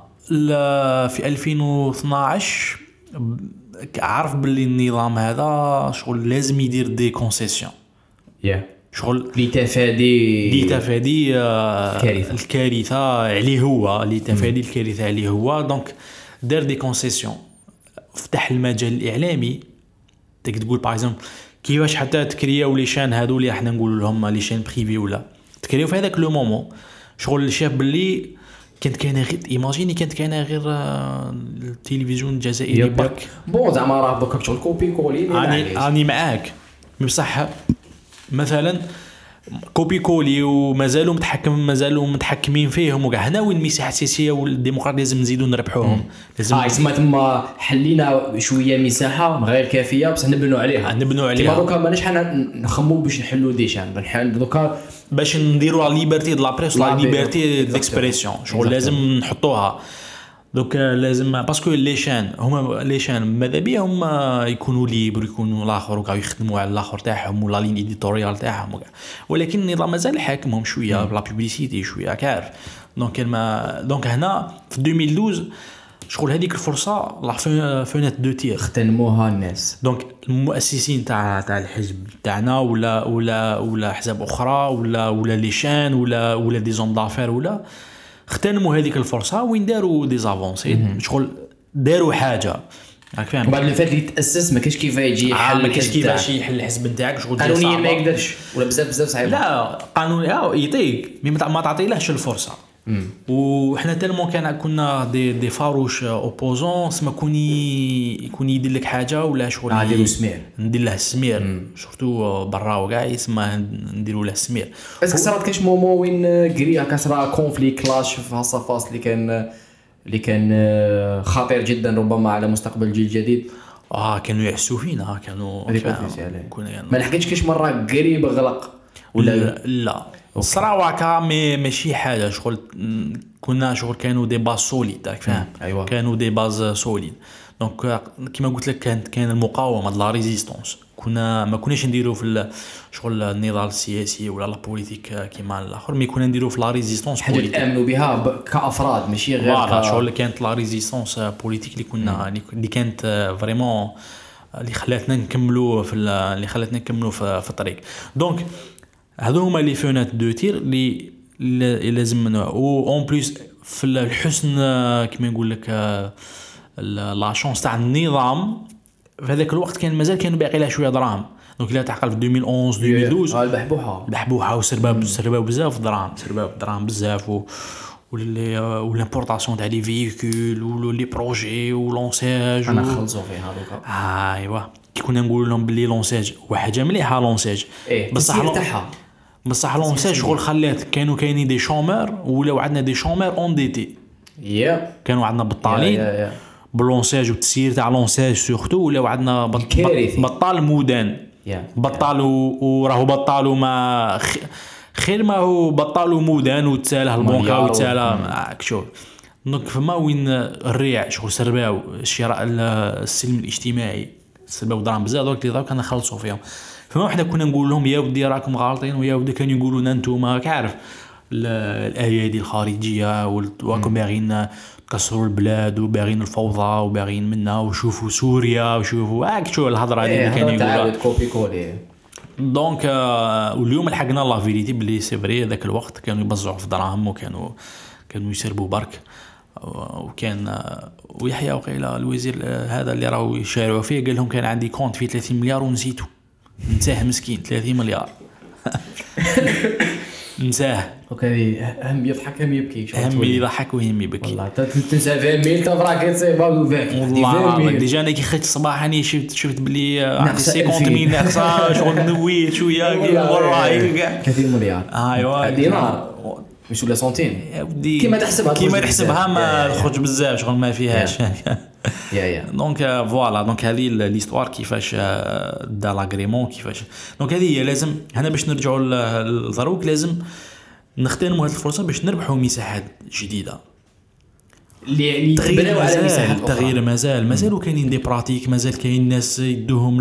في ألفين واثناش عرف باللي النظام هذا شغل لازم يدير دي كونسيسيون yeah. شغل لتفادي لتفادي الكارثه الكارثه عليه هو لتفادي الكارثه عليه هو. دونك دار دي كونسيسيون فتح المجال الاعلامي. تقدر تقول باغ اكزومبل كيفاش حتى تكرياو لي شان هادو اللي احنا نقولوا لهم لي شان بريفي ولا تكرياو في هذاك لو مومون شغل شاف باللي كانت كاينه غير ايماجيني كانت كاينه غير التلفزيون الجزائري برك بون زعما راه دوكا شغل كوبي كولي اني اني معاك بصح مثلا كوبي كولي ومازالوا متحكم مازالوا متحكمين فيهم وكاع. هنا وين المساحه السياسيه والديمقراطيه لازم نزيدوا نربحوهم. لازم اه يسمى تما حلينا شويه مساحه غير كافيه بصح نبنوا عليها نبنوا عليها. دوكا ماناش حنا نخمو باش نحلوا دي شان بنحل دوكا باش نديروا لا ليبرتي دو لا بريس لا ليبرتي ديكسبريسيون شغل لازم نحطوها. دوك لازم باسكو لي شان هما لي شان ماذا بيهم يكونوا ليبر يكونوا الاخر وكاع يخدموا على الاخر تاعهم ولا لين اديتوريال تاعهم وكاع. ولكن النظام مازال حاكمهم شويه بلا بوبليسيتي شويه كعرف. دونك ما دونك هنا في ألفين واثناش شغل هذيك الفرصه لا فونت دو تير اغتنموها الناس. دونك المؤسسين تاع تاع الحزب تاعنا ولا ولا ولا احزاب اخرى ولا ولا لي شان ولا ولا دي زون دافير ولا اغتنموا هذيك الفرصه وين داروا دي زافونسي شغل داروا حاجه راك فاهم. بعد اللي فات اللي تاسس ما كاينش كيف يجي حل ما كاينش كيفاش يحل الحزب نتاعك شغل قانونيا ما يقدرش ولا بزاف بزاف صعيب. لا قانوني اه يعطيك ما تعطيلهش الفرصه. وحنا تالمون كان كنا دي دي فاروش اوبوزون سما كوني يكون يدير لك حاجه ولا شغل نديرو سمير ندير له السمير سورتو برا وكاع يسمى نديرو له السمير. بس صارت كاش مومون وين غريا كسرا كونفلي كلاش في هالصفاص اللي كان اللي كان خطير جدا ربما على مستقبل الجيل الجديد. اه كانوا يحسوا فينا كانوا كنا ما لحقتش كاش مره قريب غلق ولا لا الصراحه مي ماشي حاجه شغل كنا شغل كانوا دي باز سوليد راك فاهم. أيوة. كانوا دي باز سوليد دونك كيما قلت لك كانت كان المقاومه لا ريزيستانس. كنا ما كناش نديروا في شغل النضال السياسي ولا لا بوليتيك كيما الاخر مي كنا نديروا في لا ريزيستانس حاجه تامنوا بها كافراد ماشي غير ك... شغل كانت لا ريزيستانس بوليتيك اللي كنا اللي كانت فريمون اللي خلاتنا نكملوا في اللي خلاتنا نكملوا في, في الطريق. دونك هذو هما لي فونات دو تير اللي لازم او اون بليس في الحسن كيما نقول لك لا شانس تاع النظام في هذاك الوقت كان مازال كانوا باقي له شويه دراهم. دونك لا تعقل في ألفين وأحد عشر ألفين واثناش البحبوحه البحبوحه وسرباب سرباب بزاف دراهم سرباب دراهم بزاف و ولي والامبورطاسيون تاع لي فييكول ولي بروجي ولونساج انا خلصوا فيها دوكا. ايوا كي كنا نقول لهم بلي لونساج وحاجه مليحه لونساج إيه بصح تاعها بصح لونساج شغل خلات كانوا كاينين دي شومر ولاو عندنا دي شومر اون دي تي يا كانوا عندنا بطالين باللونساج والتسيير تاع لونساج سورتو ولاو عندنا بطال مودان بطال وراه بطال وما خير ما هو بطال ومودان وتساله البنكه وتساله شوف. دونك فما وين الريع شغل سرباو الشراء السلم الاجتماعي سرباو دراهم بزاف دوك اللي كنا نخلصوا فيهم. فما حنا كنا نقول لهم يا ودي راكم غالطين ويا ودي كانوا يقولوا لنا انتم كعرف الايادي الخارجيه وراكم باغيين تكسروا البلاد وباغيين الفوضى وباغيين منا وشوفوا سوريا وشوفوا هاك شو الهضره هذه اللي كانوا يقولوا كوبي كولي. دونك آه واليوم لحقنا لا فيريتي بلي سي فري ذاك الوقت كانوا يبزعوا في دراهم وكانوا كانوا يسربوا برك. وكان آه ويحيى وقيله الوزير آه هذا اللي راهو يشارعوا فيه قال لهم كان عندي كونت فيه ثلاثين مليار ونسيته نساه مسكين ثلاثين مليار نساه. اوكي هم يضحك هم يبكي هم يضحك وهم يبكي والله تنسى فين ميل تفرق تصيبها وفاك والله ديجا انا كي خرجت الصباح اني شفت شفت بلي عندي خمسين مليون ناقصه شغل نويت شويه والله كثير مليار ايوا دينار مش ولا سنتين كيما تحسبها كيما تحسبها ما الخرج بزاف شغل ما فيهاش يا يا دونك فوالا دونك هذه ليستوار كيفاش دا لاغريمون كيفاش دونك هذه هي لازم هنا باش نرجعوا للضروك لازم نغتنموا هذه الفرصه باش نربحوا مساحات جديده اللي يتبنوا على مساحات التغيير مازال مازالوا كاينين دي براتيك مازال كاين ناس يدوهم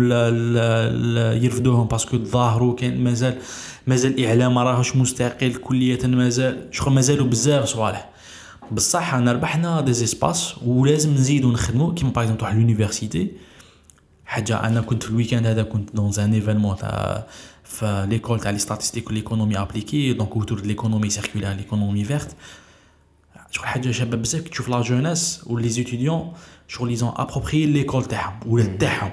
يرفدوهم باسكو ظاهروا كاين مازال مازال الاعلام ما راهوش مستقل كليا مازال شغل مازالوا بزاف صوالح بصح انا ربحنا دي زيسباس ولازم نزيدوا نخدموا كيما باغ اكزومبل واحد لونيفرسيتي حاجه انا كنت في الويكاند هذا كنت دون ان ايفينمون تاع في ليكول تاع لي ستاتستيك وليكونومي ابليكي دونك اوتور دو ليكونومي سيركولار ليكونومي فيرت شغل حاجه شابه بزاف كي تشوف لا جوناس ولي زيتيديون شغل ليزون ابروبري ليكول تاعهم ولا تاعهم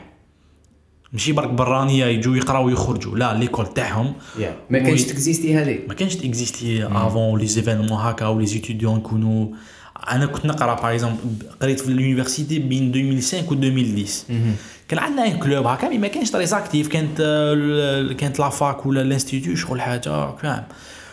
ماشي برك برانيه يجوا يقراو ويخرجوا لا ليكول تاعهم ما كانش تكزيستي هذه ما كانش تكزيستي افون لي زيفينمون هكا ولي زيتيديون يكونوا انا كنت نقرا باغ اكزومبل قريت في اليونيفرسيتي بين ألفين وخمسة و ألفين وعشرة كان عندنا ان كلوب هكا مي ما كانش تري اكتيف كانت كانت لا فاك ولا الانستيتيو شغل حاجه فاهم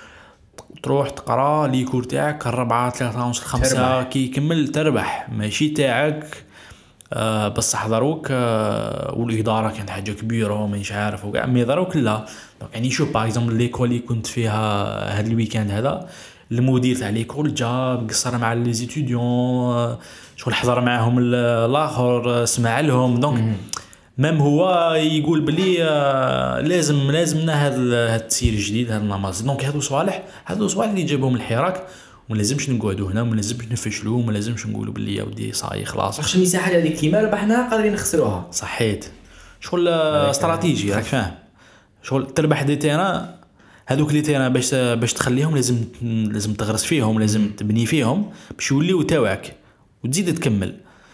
تروح تقرا لي كور تاعك الربعة ثلاثة ونص خمسة كي يكمل تربح ماشي تاعك آه بصح ضروك آه والإدارة كانت حاجة كبيرة ومانيش عارف وكاع مي ضروك لا يعني شوف باغ اكزومبل ليكول اللي كنت فيها هاد الويكاند هذا المدير تاع ليكول جا قصر مع لي زيتيديون آه شغل حضر معاهم الاخر سمع لهم دونك مام هو يقول بلي آه لازم لازمنا هذا هذا التسيير الجديد هذا النمط دونك هذو صوالح هذو صوالح اللي جابهم الحراك وما لازمش نقعدوا هنا وما لازمش نفشلوا وما لازمش نقولوا بلي يا ودي صاي خلاص واش المساحه هذيك كيما ربحناها قادرين نخسروها صحيت شغل استراتيجي راك فاهم شغل تربح دي تيران هذوك لي تيران باش باش تخليهم لازم لازم تغرس فيهم لازم تبني فيهم باش يوليو تاعك وتزيد تكمل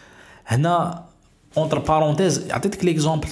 هنا اونتر بارونتيز عطيتك ليكزامبل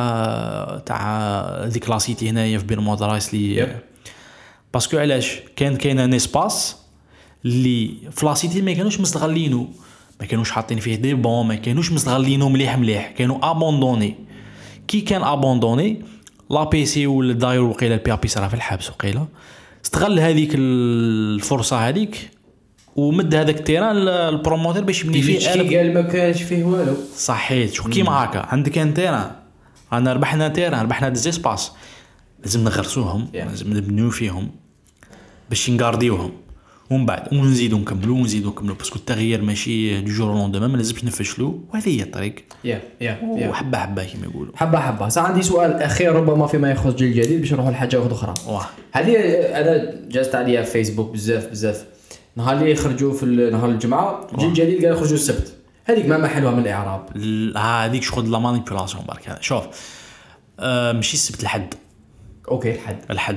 تاع تاع ديك لاسيتي هنايا في بير مودرايس لي باسكو علاش كان كاين ان اسباس اللي في لاسيتي ما كانوش مستغلينو ما كانوش حاطين فيه دي بون ما كانوش مستغلينو مليح مليح كانوا ابوندوني كي كان ابوندوني لا بي سي ولا داير وقيله البي بي صرا في الحبس وقيله استغل هذيك الفرصه هذيك ومد هذاك التيران البروموتور باش يبني فيه قال قال ما كانش فيه والو صحيت شو كيما هكا عندك ان تيران انا ربحنا تيران ربحنا دي زيسباس لازم نغرسوهم yeah. لازم نبنيو فيهم باش نغارديوهم ومن بعد ونزيدو نكملو ونزيدو نكملو باسكو التغيير ماشي دو جور لوندوما ما لازمش نفشلو وهذه هي الطريق يا يا وحبه حبه كيما يقولوا حبه حبه صح عندي سؤال اخير ربما فيما يخص جيل جديد باش نروحوا لحاجه واحده اخرى هذه انا جازت عليها في فيسبوك بزاف بزاف نهار اللي يخرجوا في نهار الجمعه جيل جديد قال يخرجوا السبت هذيك ما محلوها من الاعراب هذيك شغل لا مانيبيولاسيون برك هذا شوف أه ماشي السبت الحد اوكي الحد الحد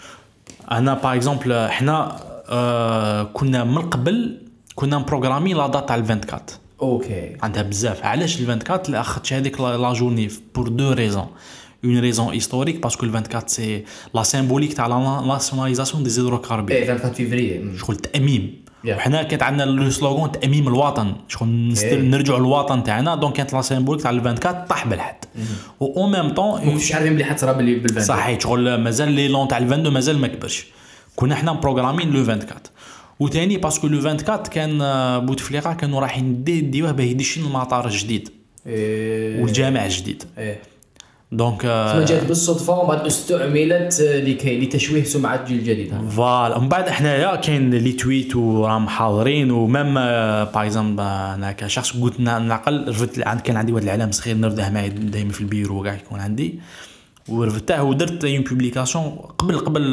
انا باغ اكزومبل احنا أه كنا من قبل كنا مبروغرامي لا دات تاع أربعة وعشرين اوكي عندها بزاف علاش أربعة وعشرين اللي اخذت هذيك لا جورني بور دو ريزون une raison historique parce que le vingt-quatre c'est la symbolique تاع la nationalisation des hydrocarbures ايه vingt-quatre février شغل تأميم وحنا كانت عندنا لو سلوغان تأميم الوطن شغل نرجعوا للوطن تاعنا دونك كانت لا سيمبوليك تاع أربعة وعشرين طاح بالحد و او ميم طون مش عارفين بلي حتصرا بال vingt-deux صحيح شغل مازال لي لون تاع اثنين وعشرين مازال ما كبرش كنا حنا بروغرامين لو أربعة وعشرين وثاني باسكو لو أربعة وعشرين كان بوتفليقه كانوا رايحين ديوه باه يدشين المطار الجديد إيه والجامع الجديد ايه دونك ما جات بالصدفه وبعد استعملت لكي لتشويه سمعه الجيل الجديد فوالا ومن بعد حنايا كاين لي تويت وراهم حاضرين ومام باغ اكزومبل انا كشخص قلت نعقل رفدت كان عندي واحد العلام صغير نرفده معايا دائما في البيرو وكاع يكون عندي ورفدته ودرت اون بوبليكاسيون قبل قبل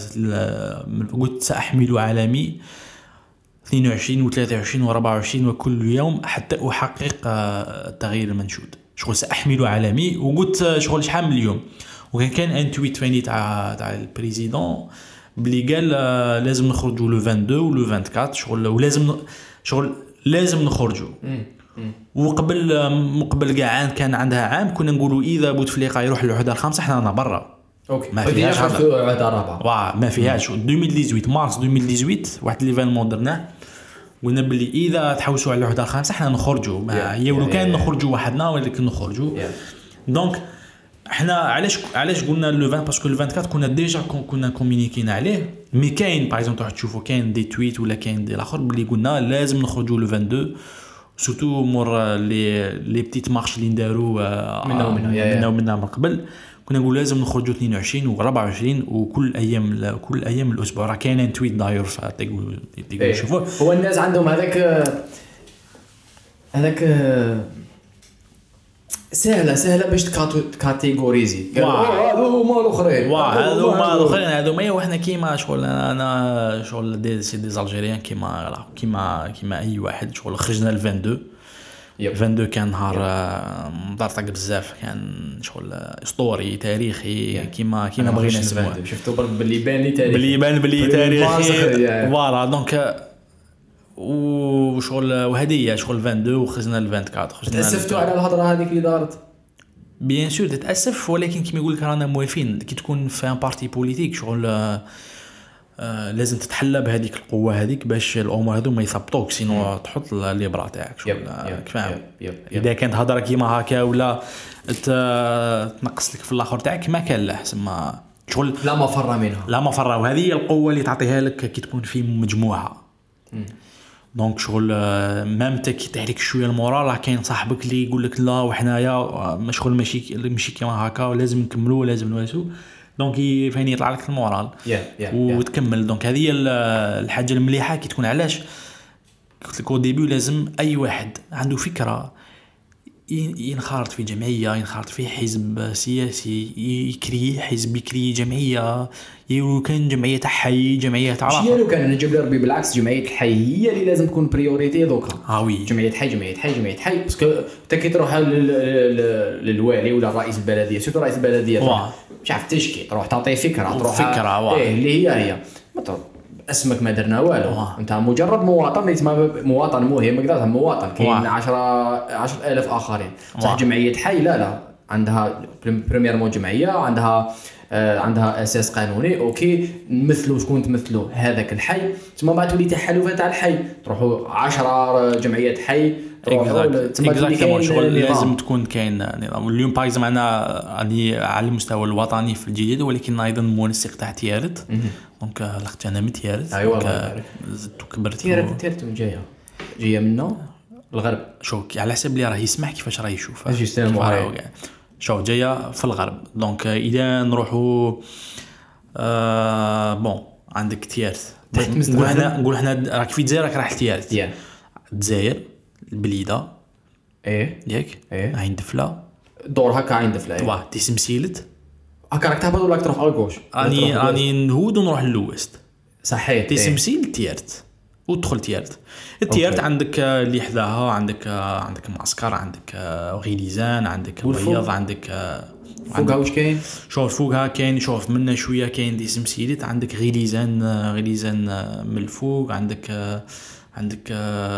قلت ساحمل عالمي اثنين وعشرين وثلاثة وعشرين وأربعة وعشرين وكل يوم حتى احقق التغيير المنشود شغل سأحمل عالمي وقلت شغل شحال من اليوم وكان كان ان تويت فاني تاع تاع البريزيدون بلي قال لازم نخرجوا لو اثنين وعشرين ولو أربعة وعشرين شغل ولازم شغل لازم نخرجوا وقبل مقبل كاع كان عندها عام كنا نقولوا اذا بوتفليقه يروح للعهده الخامسه حنا انا برا اوكي ما فيهاش العهده الرابعه واه ما فيهاش ألفين وثمانية عشر مارس ألفين وثمانية عشر واحد ليفينمون درناه قلنا بلي اذا تحوسوا على الوحده الخامسه حنا نخرجوا هي ولو كان نخرجوا وحدنا ولكن نخرجوا دونك احنا علاش علاش قلنا لو عشرين باسكو لو أربعة وعشرين كنا ديجا كنا كومونيكينا عليه مي كاين باغ اكزومبل تروح تشوفوا كاين دي تويت ولا كاين دي الاخر بلي قلنا لازم نخرجوا لو اثنين وعشرين سورتو مور لي لي بتيت مارش اللي نداروا منا ومنا منا ومنا من قبل كنا نقول لازم نخرجوا اثنين وعشرين وأربعة وعشرين وكل ايام كل ايام الاسبوع راه كاين تويت داير فتقول تقول شوفوا هو الناس عندهم هذاك هذاك سهله سهله باش تكاتيغوريزي هذو هما الاخرين هذو هما الاخرين هذو ما وحنا كيما شغل انا شغل دي سي دي الجيريان كيما كيما كيما اي واحد شغل خرجنا ل اثنين وعشرين اثنين وعشرين كان نهار مضرطق بزاف كان شغل اسطوري تاريخي كيما كيما بغينا نسموه شفتوا برك باللي بان لي تاريخي باللي بان باللي تاريخي فوالا دونك وشغل وهديه شغل اثنين وعشرين وخرجنا ل أربعة وعشرين خرجنا تاسفتوا على الهضره هذيك اللي دارت بيان سور تتاسف ولكن كيما يقول لك رانا موافين كي تكون في ان بارتي بوليتيك شغل آه آه لازم تتحلى بهذيك القوه هذيك باش الامور هذو ما يثبطوك سينو تحط الليبرا تاعك شغل كفاهم اذا كانت هضره كيما هكا ولا تنقص لك في الاخر تاعك ما كان له سما شغل لا مفر منها لا مفر وهذه هي القوه اللي تعطيها لك كي تكون في مجموعه دونك شغل مام تك تحرك شويه المورال راه كاين صاحبك اللي يقول لك لا وحنايا مشغول ماشي ماشي كيما هكا ولازم نكملوا لازم نواسو دونك فين يطلع لك المورال yeah, yeah, وتكمل دونك هذه هي الحاجه المليحه كي تكون علاش قلت لك او ديبي لازم اي واحد عنده فكره ينخرط في جمعيه ينخرط في حزب سياسي يكري حزب يكري جمعيه يو كان جمعيه تاع حي جمعيه تاع راه لو كان نجيب لي ربي بالعكس جمعيه الحي هي اللي لازم تكون بريوريتي دوكا اه وي جمعيه حي جمعيه حي جمعيه حي باسكو انت كي تروح للوالي ولا رئيس البلديه سيرتو رئيس البلديه مش عارف تشكي تروح تعطيه فكره تروح فكره ايه اللي هي هي ما تروح اسمك ما درنا والو انت مجرد مواطن اسمه مواطن مهم كذا مواطن كاين عشرة عشرة آلاف اخرين صح جمعيه حي لا لا عندها بريمير مو جمعيه عندها آه عندها اساس قانوني اوكي نمثلوا شكون تمثلوا هذاك الحي ثم بعد تولي تحالفات تاع الحي تروحوا عشرة جمعيات حي اكزاكتومون شغل لازم تكون كاين نظام اليوم باغ اكزومبل انا راني على المستوى الوطني في الجديد ولكن ايضا منسق تاع تيارت دونك لاخت انا من تيارت ايوا زدت وكبرت تيارت تيارت جايه جايه منه الغرب شوف على حسب اللي راه يسمح كيفاش راه يشوف جوستومون شوف جايه في الغرب دونك اذا نروحوا آه بون عندك تيارت نقول هنا نقول هنا راك في الجزائر راك راح تيارت الجزائر البليده ايه ياك ايه عين دفله دور هكا عين دفله ايه واه تسمسيلت هكا راك تهبط ولا تروح على الكوش راني راني نهود ونروح للويست صحيح تسمسيل تيارت وتدخل تيارت التيارت أوكي. عندك اللي حداها عندك عندك معسكر عندك غيليزان عندك بياض عندك فوقها واش كاين شوف فوقها كاين شوف منا شويه كاين دي سمسيلت عندك غيليزان غيليزان من الفوق عندك عندك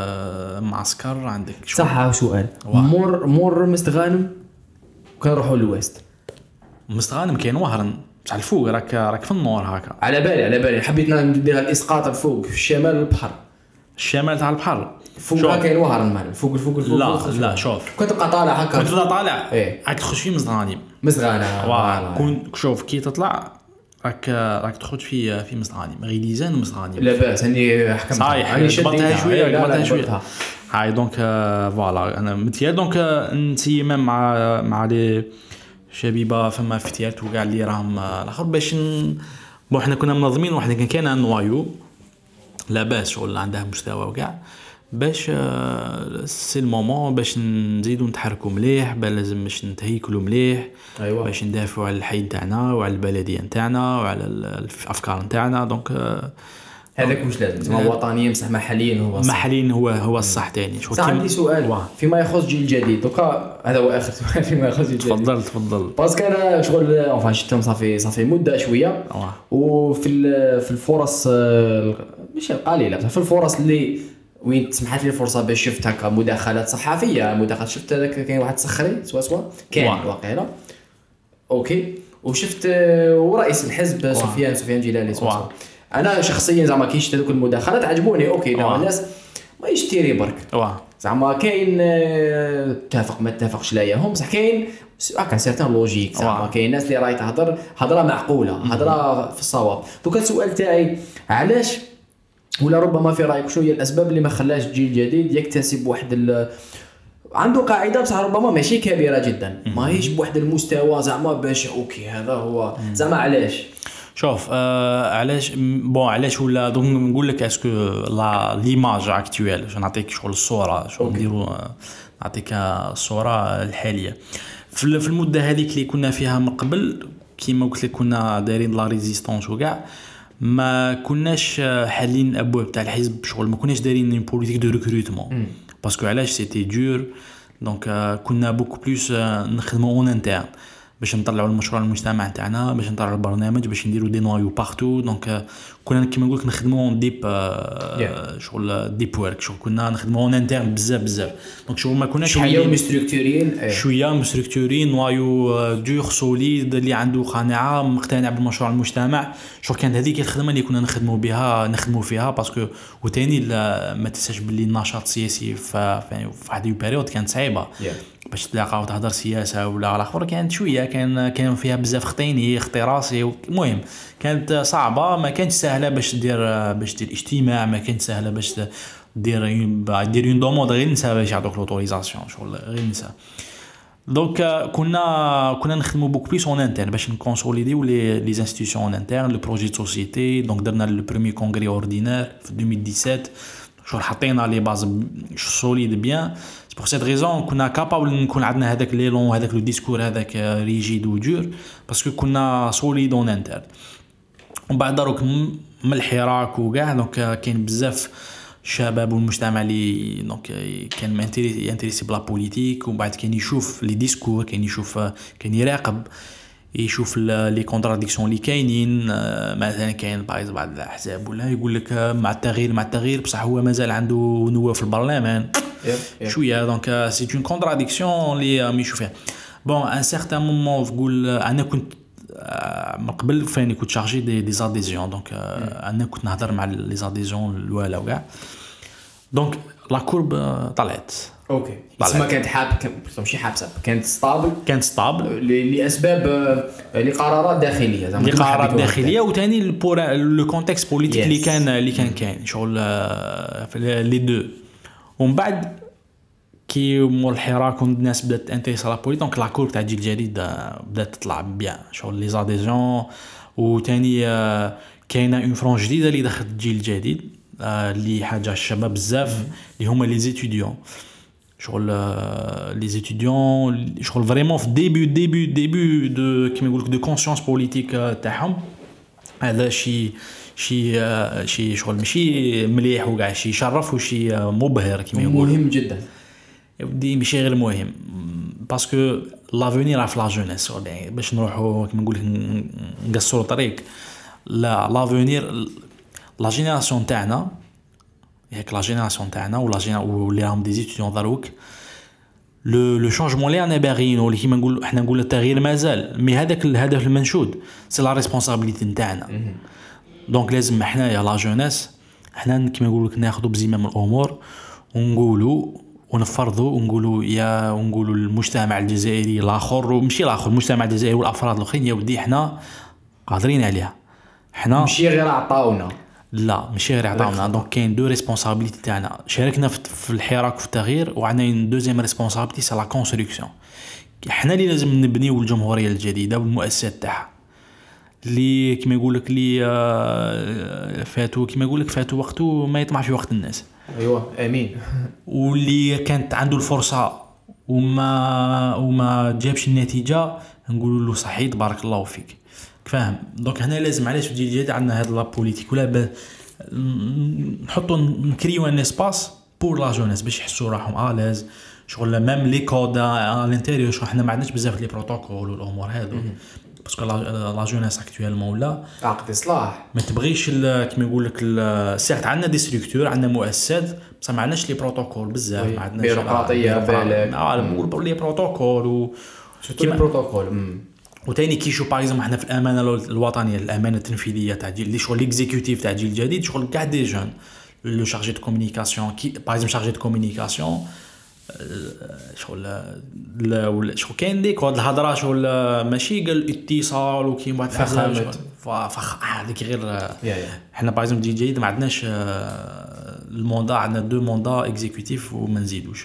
معسكر عندك صح سؤال مور مور مستغانم كنروحوا للويست مستغانم كاين وهرن بصح الفوق راك راك في النور هكا على بالي على بالي حبيت ندير الاسقاط الفوق في الشمال البحر الشمال تاع البحر فوق كاين وهرن مال فوق الفوق الفوق لا لا شوف كنت تبقى طالع هكا كنت طالع ايه راك تخش في مزغانم مزغانه كون شوف كي تطلع راك راك تخرج في في مزغانم غيليزان ومزغانم لاباس هاني حكمت صحيح قبلتها شويه قبلتها شويه هاي دونك فوالا انا متيا دونك نسيما مع مع لي شبيبه فما فتيات وكاع اللي راهم الاخر باش بون حنا كنا منظمين وحنا كان كاين نوايو لاباس شغل عندها مستوى وكاع باش سي المومون باش نزيدو نتحركوا مليح لازم باش نتهيكلوا مليح أيوة. باش ندافعوا على الحي نتاعنا وعلى البلديه نتاعنا وعلى الافكار نتاعنا دونك هذاك واش لازم هو وطنيا بصح محليا هو محليا هو هو الصح ثاني شو عندي سؤال فيما يخص جيل جديد دوكا هذا هو اخر سؤال فيما يخص جيل جديد تفضل تفضل باسكو انا شغل اونفا شفتهم صافي صافي مده شويه وفي في الفرص ماشي قليله في الفرص اللي وين تسمحت لي الفرصه باش شفت هكا مداخلات صحفيه مداخلات شفت هذاك كاين واحد سخري سوا سوا كان واقيلا اوكي وشفت ورئيس الحزب سفيان سفيان جلالي سوا سوا انا شخصيا زعما كي شفت هذوك المداخلات عجبوني اوكي نوع الناس ما يشتري برك زعما كاين اتفق ما اتفقش لا ياهم بصح كاين هكا سيرتان لوجيك زعما كاين ناس اللي راهي تهضر هضره معقوله هضره في الصواب. دوكا السؤال تاعي علاش ولا ربما في رايك شو هي الاسباب اللي ما خلاش الجيل الجديد يكتسب واحد ال... عنده قاعده بصح ربما ماشي كبيره جدا ماهيش بواحد المستوى زعما باش اوكي هذا هو زعما علاش؟ شوف آه علاش بون علاش ولا دونك نقول لك اسكو لا ليماج اكطويل باش نعطيك شغل الصوره شو نديروا نعطيك الصوره الحاليه في في المده هذيك اللي كنا فيها من قبل كيما قلت لك كنا دايرين لا ريزيستانس وكاع ما كناش حالين الابواب تاع الحزب شغل ما كناش دايرين اون بوليتيك دو ريكروتمون باسكو علاش سيتي دور دونك كنا بوكو بلوس نخدموا اون انترن باش نطلعوا المشروع المجتمع تاعنا باش نطلعوا البرنامج باش نديروا دي نوايو بارتو دونك كنا كيما نقول لك نخدموا ديب yeah. شغل ديب ورك شغل كنا نخدموا اون انترن بزاف بزاف دونك شغل ما كناش شويه مستركتورين شويه مستركتورين نوايو دور سوليد اللي عنده قناعه مقتنع بالمشروع المجتمع شغل كانت هذيك الخدمه اللي كنا نخدموا بها نخدموا فيها باسكو وثاني ما تنساش باللي النشاط السياسي في واحد البيريود كانت صعيبه yeah. باش تلاقاو تهضر سياسه ولا على اخر كانت شويه كان كان فيها بزاف خطيني اختراصي المهم كانت صعبه ما كانتش سهله باش دير باش دير اجتماع ما كانت سهله باش دير دير اون دوموند غير نسا باش يعطوك لوتوريزاسيون شغل غير نسا دونك كنا كنا نخدموا بوك بليس اون انترن باش نكونسوليديو لي لي انستيتيوشن اون انترن لو بروجي دو سوسيتي دونك درنا لو بريمير كونغري اوردينير في ألفين وسبعطاش شغل حطينا لي باز سوليد بيان بور سيت ريزون كنا كابابل نكون عندنا هذاك لي لون هذاك لو ديسكور هذاك ريجيد و دور باسكو كنا سوليد اون انترن ومن بعد دروك من الحراك وكاع دونك كاين بزاف شباب والمجتمع اللي دونك كان انتريسي بلا بوليتيك ومن بعد كان يشوف لي ديسكور كان يشوف كان يراقب يشوف لي كونتراديكسيون اللي كاينين مثلا كاين بايز بعض الاحزاب ولا يقول لك مع التغيير مع التغيير بصح هو مازال عنده نواب في البرلمان شويه دونك سي اون كونتراديكسيون اللي مي يشوفها بون ان سيغتان مومون تقول انا كنت من قبل فاني كنت شارجي دي دي زاديزيون دونك انا كنت نهضر مع لي زاديزيون الاولى وكاع دونك لا كورب طلعت اوكي اسمها كانت حاب ماشي حابسه كانت ستابل كانت ستابل لاسباب لقرارات داخليه زعما لقرارات داخليه وثاني لو كونتكست بوليتيك اللي كان اللي كان كاين شغل لي دو ومن بعد كي مول الحراك والناس بدات انتريسا لا بوليتيك دونك لا كور تاع الجيل الجديد بدات تطلع بيان شغل لي زاديزيون وثاني كاينه اون فرون جديده اللي دخلت الجيل الجديد اللي حاجه الشباب بزاف اللي هما لي زيتيديون شغل لي زيتيديون شغل فريمون في ديبي ديبي ديبي دو كيما يقولك دو كونسيونس بوليتيك تاعهم هذا شي شي شي شغل ماشي مليح وكاع شي يشرف وشي مبهر كيما يقولوا مهم جدا ودي ماشي غير مهم باسكو لافونير راه في لا جونيس باش نروحوا كيما نقول نقصروا طريق لا لافونير لا جينيراسيون تاعنا ياك لا جينيراسيون تاعنا ولا جينا واللي راهم دي زيتيديون دروك لو لو شونجمون اللي انا باغيين واللي كيما نقول احنا نقول التغيير مازال مي هذاك الهدف المنشود سي لا ريسبونسابيلتي نتاعنا دونك لازم حنايا لا جونيس حنا كيما نقول لك ناخذوا بزمام الامور ونقولوا ونفرضوا ونقولوا يا ونقولوا المجتمع الجزائري الاخر ومشي الاخر المجتمع الجزائري والافراد الاخرين يا ودي حنا قادرين عليها حنا ماشي غير عطاونا لا ماشي غير عطاونا دونك كاين دو ريسبونسابيلتي تاعنا شاركنا في الحراك في التغيير وعندنا دوزيام ريسبونسابيلتي سي لا كونستركسيون حنا اللي لازم نبنيو الجمهوريه الجديده والمؤسسات تاعها اللي كيما يقول لك اللي فاتوا كيما يقول لك فاتوا وقته ما يطمع في وقت الناس ايوه امين واللي كانت عنده الفرصه وما وما جابش النتيجه نقولوا له صحيح بارك الله فيك فاهم دونك هنا لازم علاش في الجيل عندنا هاد لا بوليتيك ولا نحطوا نكريو ان اسباس بور لا جونيس باش يحسوا راحهم الاز شغل ميم لي كود على الانتيريور شغل حنا ما عندناش بزاف لي بروتوكول والامور هادو باسكو لا جونيس اكطويلمون ولا عقد اصلاح ما تبغيش كيما يقول لك سيرت عندنا دي ستركتور عندنا مؤسسات بصح ما عندناش لي بروتوكول بزاف ما عندناش بيروقراطيه بالك اه نقول لي بروتوكول و كيما بروتوكول وثاني كي شو باغ احنا في الامانه الوطنيه الامانه التنفيذيه تاع اللي شغل ليكزيكوتيف تاع الجيل الجديد شغل كاع دي جون لو شارجي دو كومونيكاسيون كي باغ شارجي دو كومونيكاسيون شغل لا ولا شغل كاين ديك هاد الهضره شغل ماشي قال اتصال وكاين واحد فخامه فخ هذيك غير حنا باغ اكزومبل دي جي ما عندناش الموندا عندنا دو موندا اكزيكوتيف وما نزيدوش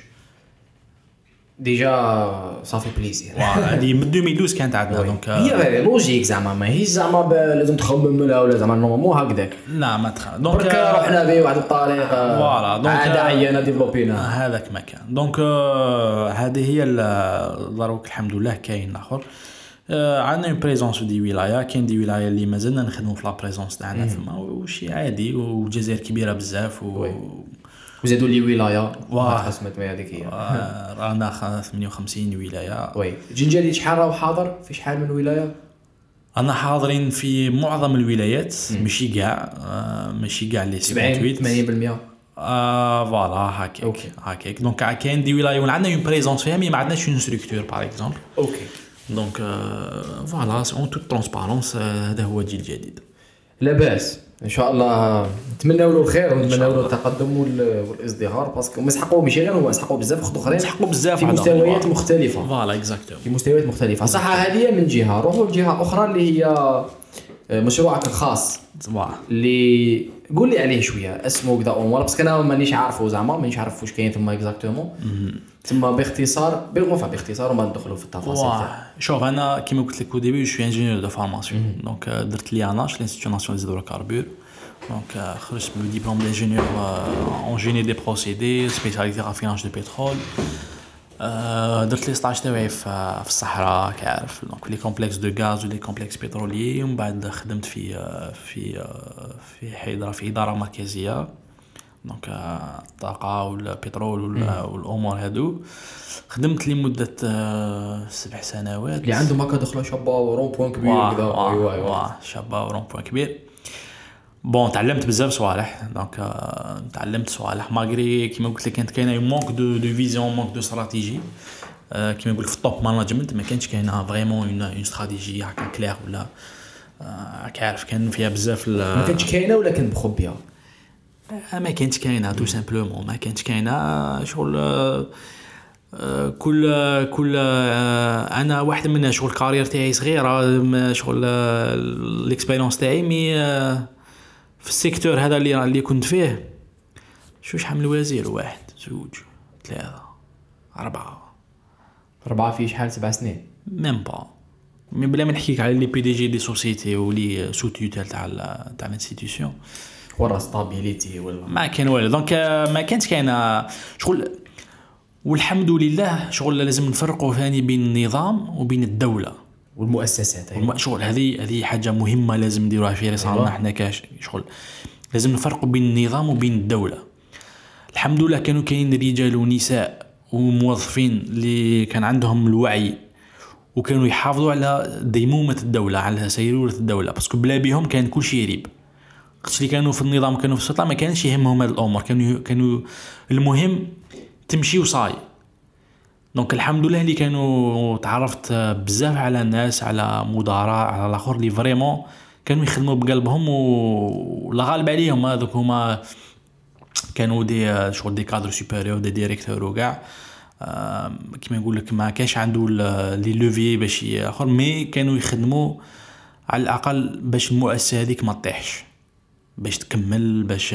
ديجا صافي بليزير هذه من ألفين واثناشر كانت عندنا دونك هي لوجيك زعما ما هي زعما لازم تخمم لها ولا زعما نورمالمون هكذاك لا ما تخ دونك رحنا به واحد الطريقه فوالا دونك عاد عينا ديفلوبينا هذاك مكان دونك هذه هي دروك الحمد لله كاين اخر عندنا اون بريزونس في دي ولايه كاين دي ولايه اللي مازلنا نخدموا في لا بريزونس تاعنا فما وشي عادي والجزائر كبيره بزاف و وزادوا لي ولايه خصمت ما هذيك هي رانا ثمانية وخمسين ولايه وي جنجالي شحال راه حاضر في شحال من ولايه انا حاضرين في معظم الولايات ماشي كاع ماشي كاع لي سبعين ثمانين بالمية اه فوالا هكاك هكاك دونك كاين دي ولايه وعندنا اون بريزونس فيها مي ما عندناش اون ستركتور باغ اكزومبل اوكي دونك فوالا اون توت ترونسبارونس هذا هو الجيل الجديد لاباس ان شاء الله نتمناو له الخير ونتمناو له التقدم والازدهار باسكو مسحقوا ماشي غير هو مسحقوا بزاف خد اخرين مسحقوا بزاف في مستويات مختلفه فوالا اكزاكتومون في مستويات مختلفه صح هذه من جهه روحوا لجهه اخرى اللي هي مشروعك الخاص اللي قول لي عليه شويه اسمه كذا اون ولا باسكو انا مانيش عارفه زعما مانيش عارف واش كاين ثم اكزاكتومون ثم باختصار بالمفا باختصار وما ندخلوا في التفاصيل شوف انا كيما قلت لك او ديبي جو انجينيور دو فورماسيون دونك درت لي اناش لانستيتيو ناسيونال دي هيدروكاربور دونك خرجت بالدبلوم دانجينيور اون جيني دي بروسيدي سبيسياليتي رافيناج دو بترول درت لي ستاج تاعي في الصحراء كعارف دونك لي كومبلكس دو غاز ولي كومبلكس بتروليي ومن بعد خدمت في في في حيدره في اداره مركزيه دونك الطاقه والبترول والامور هادو خدمت لمده سبع سنوات اللي عنده ماكا دخله شابه ورون بوين كبير كذا ايوا ايوا شابه ورون بوين كبير بون تعلمت بزاف صوالح دونك تعلمت صوالح ماغري كيما قلت لك كانت كاينه مونك دو دو فيزيون مونك دو استراتيجي كيما نقول في التوب مانجمنت ما كانش كاينه فريمون اون اون استراتيجي هكا كلير ولا كعارف كان فيها بزاف ما كانش كاينه ولا كان مخبيه ما كانتش كاينه تو سامبلومون ما كانتش كاينه شغل كل كل انا واحد من شغل الكارير تاعي صغيره شغل الاكسبيريونس تاعي مي في السيكتور هذا اللي اللي كنت فيه شو شحال من وزير واحد زوج ثلاثه اربعه اربعه في شحال سبع سنين ميم با مي بلا ما نحكيك على لي بي دي جي دي سوسيتي ولي سو توتال تاع تاع الانستيتيوشن ورا ستابيليتي ولا ما كان والو دونك ما كانت كاينه شغل والحمد لله شغل لازم نفرقوا ثاني بين النظام وبين الدوله والمؤسسات أيوة. شغل هذه هذه حاجه مهمه لازم نديروها في رسالتنا أيوة. احنا كاش شغل لازم نفرقوا بين النظام وبين الدوله الحمد لله كانوا كاين رجال ونساء وموظفين اللي كان عندهم الوعي وكانوا يحافظوا على ديمومه الدوله على سيروره الدوله باسكو بلا بهم كان كل شيء يريب وقت اللي كانوا في النظام كانوا في السلطه ما كانش يهمهم هذه الامور كانوا كانوا المهم تمشي وصاي دونك الحمد لله اللي كانوا تعرفت بزاف على الناس على مدراء على الاخر اللي فريمون كانوا يخدموا بقلبهم ولا غالب عليهم هذوك هما كانوا دي شغل دي كادر سوبيريور دي ديريكتور وكاع كيما نقول لك ما كانش عنده لي لوفي باش اخر مي كانوا يخدموا على الاقل باش المؤسسه هذيك ما تطيحش باش تكمل باش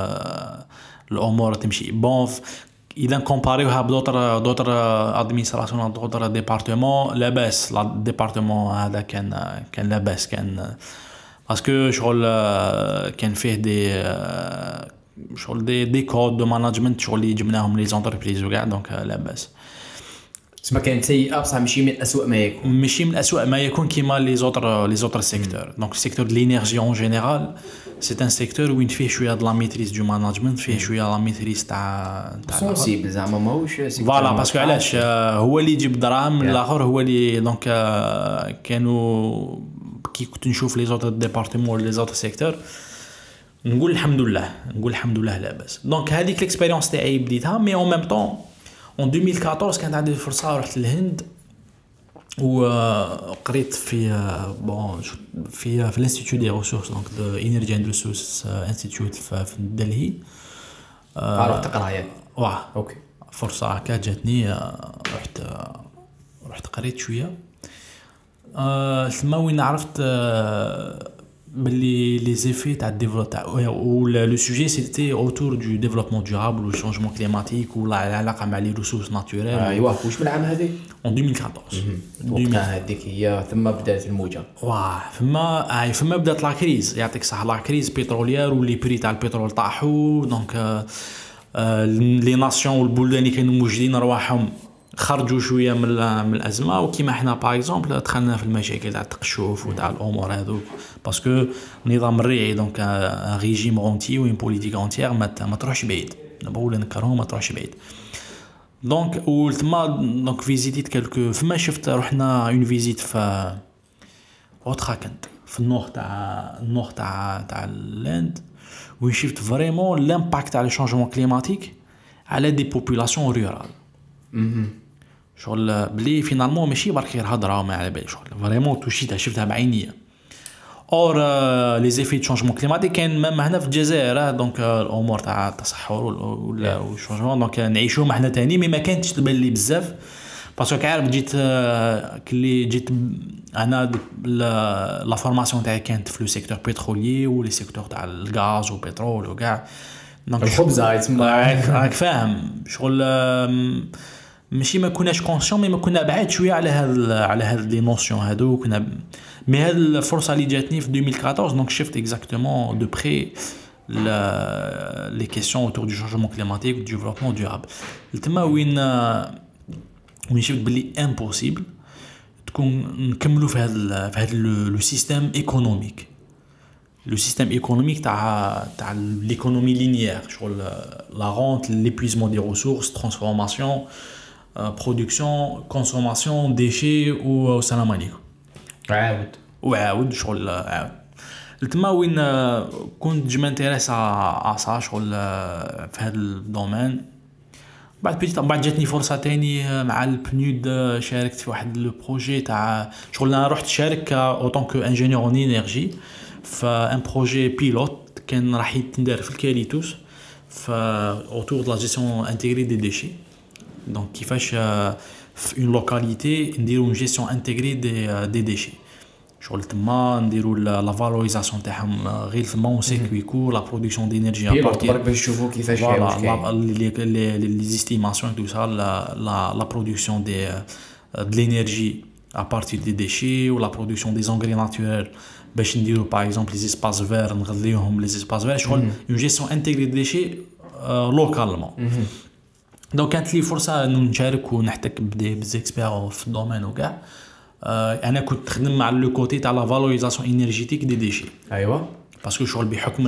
الامور تمشي بون اذا كومباريوها بدوتر دوتر ادمينستراسيون دوتر ديبارتمون لاباس لا ديبارتمون هذا كان كان لاباس كان باسكو شغل كان فيه دي شغل دي دي كود دو مانجمنت شغل اللي جبناهم لي زونتربريز وكاع دونك لاباس سما كانت سيئه بصح ماشي من اسوء ما يكون ماشي من اسوء ما يكون كيما لي زوتر لي زوتر سيكتور دونك السيكتور دو لينيرجي اون جينيرال سي ان سيكتور وين فيه شويه د لا ميتريز دو مانجمنت فيه شويه لا ميتريز تاع تاع سونسيبل زعما ماهوش فوالا باسكو علاش هو اللي يجيب دراهم الاخر هو اللي دونك كانوا كي كنت نشوف لي زوتر ديبارتمون لي زوتر سيكتور نقول الحمد لله نقول الحمد لله لاباس دونك هذيك الاكسبيريونس تاعي بديتها مي اون ميم طون en ألفين وأربعطاش كانت عندي فرصه رحت للهند وقريت في بون في في الانستيتيو دي ريسورس دونك دو انرجي اند ريسورس انستيتيوت في دلهي عرفت تقرا يعني واه اوكي فرصه هكا جاتني، رحت رحت قريت شويه أه ثم وين عرفت أه باللي لي زيفي تاع الديفلوب تاع او لو سوجي سيتي اوتور دو ديفلوبمون دورابل والشونجمون كليماتيك ولا العلاقه مع لي ريسورس ناتوريل. ايوا واش من العام هذه اون ألفين وأربعطاش وقتها هذيك هي ثم بدات الموجه. واه فما اي فما بدات لا كريز، يعطيك صح، لا كريز بتروليير واللي بري تاع البترول طاحوا. دونك آه آه لي ناسيون والبلدان اللي كانوا موجودين رواحهم خرجوا شويه من من الازمه، وكيما حنا باغ اكزومبل دخلنا في المشاكل تاع التقشف وتاع الامور هذو باسكو نظام الريعي دونك ان ريجيم اونتي وين بوليتيك اونتيير ما ما تروحش بعيد، نقول نكرههم ما تروحش بعيد. دونك ولتما دونك فيزيتيت كالكو فما شفت رحنا اون فيزيت في اوتراكنت في النور تاع النور تاع تاع اللاند، وين شفت فريمون لامباكت تاع لي شونجمون كليماتيك على دي بوبولاسيون رورال. شغل بلي فينالمون ماشي برك غير هضره وما على بالي، شغل فريمون توشيتها شفتها بعينيا. اور لي زيفي دو شونجمون كليماتيك كاين ميم هنا في الجزائر، دونك الامور تاع التصحر ولا والشونجمون دونك نعيشوهم حنا تاني، مي ما كانتش تبان لي بزاف باسكو كعارف جيت كلي جيت انا لا فورماسيون تاعي كانت في لو سيكتور بترولي ولي سيكتور تاع الغاز والبترول وكاع، دونك الخبز راك فاهم شغل ماشي ما كناش كونسيون مي ما كنا بعاد شويه على هاد على هاد لي نوسيون هادو كنا. مي هاد الفرصه اللي جاتني في ألفين وأربعطاش دونك شفت اكزاكتومون دو بري لي كيسيون اوتور دو شونجمون كليماتيك و دو ديفلوبمون دورابل. تما وين وين شفت بلي امبوسيبل تكون نكملوا في هاد في هاد لو سيستيم ايكونوميك لو سيستيم ايكونوميك تاع تاع ليكونومي لينيير، شغل لا رونت ليبويزمون دي ريسورس ترانسفورماسيون برودكسيون كونسوماسيون ديشي والسلام عليكم عاود وعاود شغل عاود. تما وين كنت جو مانتيريس ا سا شغل في هذا الدومين. بعد بيتي بعد جاتني فرصه تاني مع البنود، شاركت في واحد لو بروجي تاع شغل انا رحت شارك او طونك انجينيور اون انرجي في ان بروجي بيلوت كان راح يتندار في الكاليتوس في اوتور دو لا جيستيون انتيغري دي ديشي. دونك كيفاش في اون لوكاليتي نديرو اون جيستيون انتيغري دي دي ديشي، شغل تما نديرو لا فالوريزاسيون تاعهم غير تما اون سيركويكو لا برودكسيون دينيرجي ا بارتير باش نشوفوا كيفاش فوالا لي لي زيستيماسيون تو سا لا لا برودكسيون دي de l'énergie à partir des déchets ou la production des engrais naturels باش نديرو باغ اكزومبل لي زيسباس فير نغذيوهم لي زيسباس فير، شغل اون جيستيون انتيغري دي ديشي لوكالمون. دونك كانت لي فرصه نشارك ونحتك بزيكسبير في الدومين وكاع. انا كنت نخدم مع لو كوتي تاع لا فالوريزاسيون انرجيتيك دي ديشي. ايوا باسكو شغل بحكم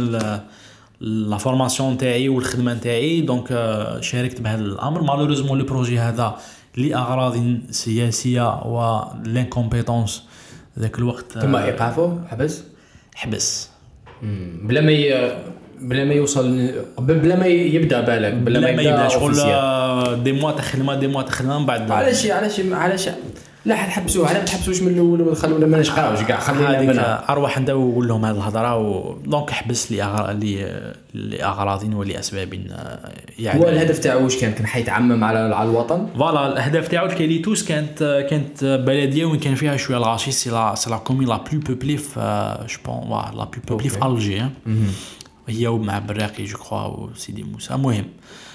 لا فورماسيون تاعي والخدمه تاعي دونك شاركت بهذا الامر. مالوريزمون لو بروجي هذا لاغراض سياسيه و لانكومبيتونس ذاك الوقت ثم ايقافه حبس حبس بلا ما ي... بلا ما يوصل بلا ما يبدا بالك بلا ما يبدا شغل دي موا تخدم دي موا تخدم بعد علاش علاش علاش لا حنحبسوه على ما نحبسوش من الاول ونخلونا ما نشقاوش كاع خلينا منها ارواح نداو ونقول لهم هذه الهضره و... دونك حبس لي أغر... لي لاغراض ولاسباب يعني. هو الهدف تاعو واش كان كان حيتعمم على على الوطن فوالا الهدف تاعو الكاليتوس كانت كانت بلديه وين كان فيها شويه الغاشي سي لا سي لا كومين لا بلو بوبلي في جو بون لا بلو بوبلي في الجي هي مع براقي جو كرو وسيدي موسى. المهم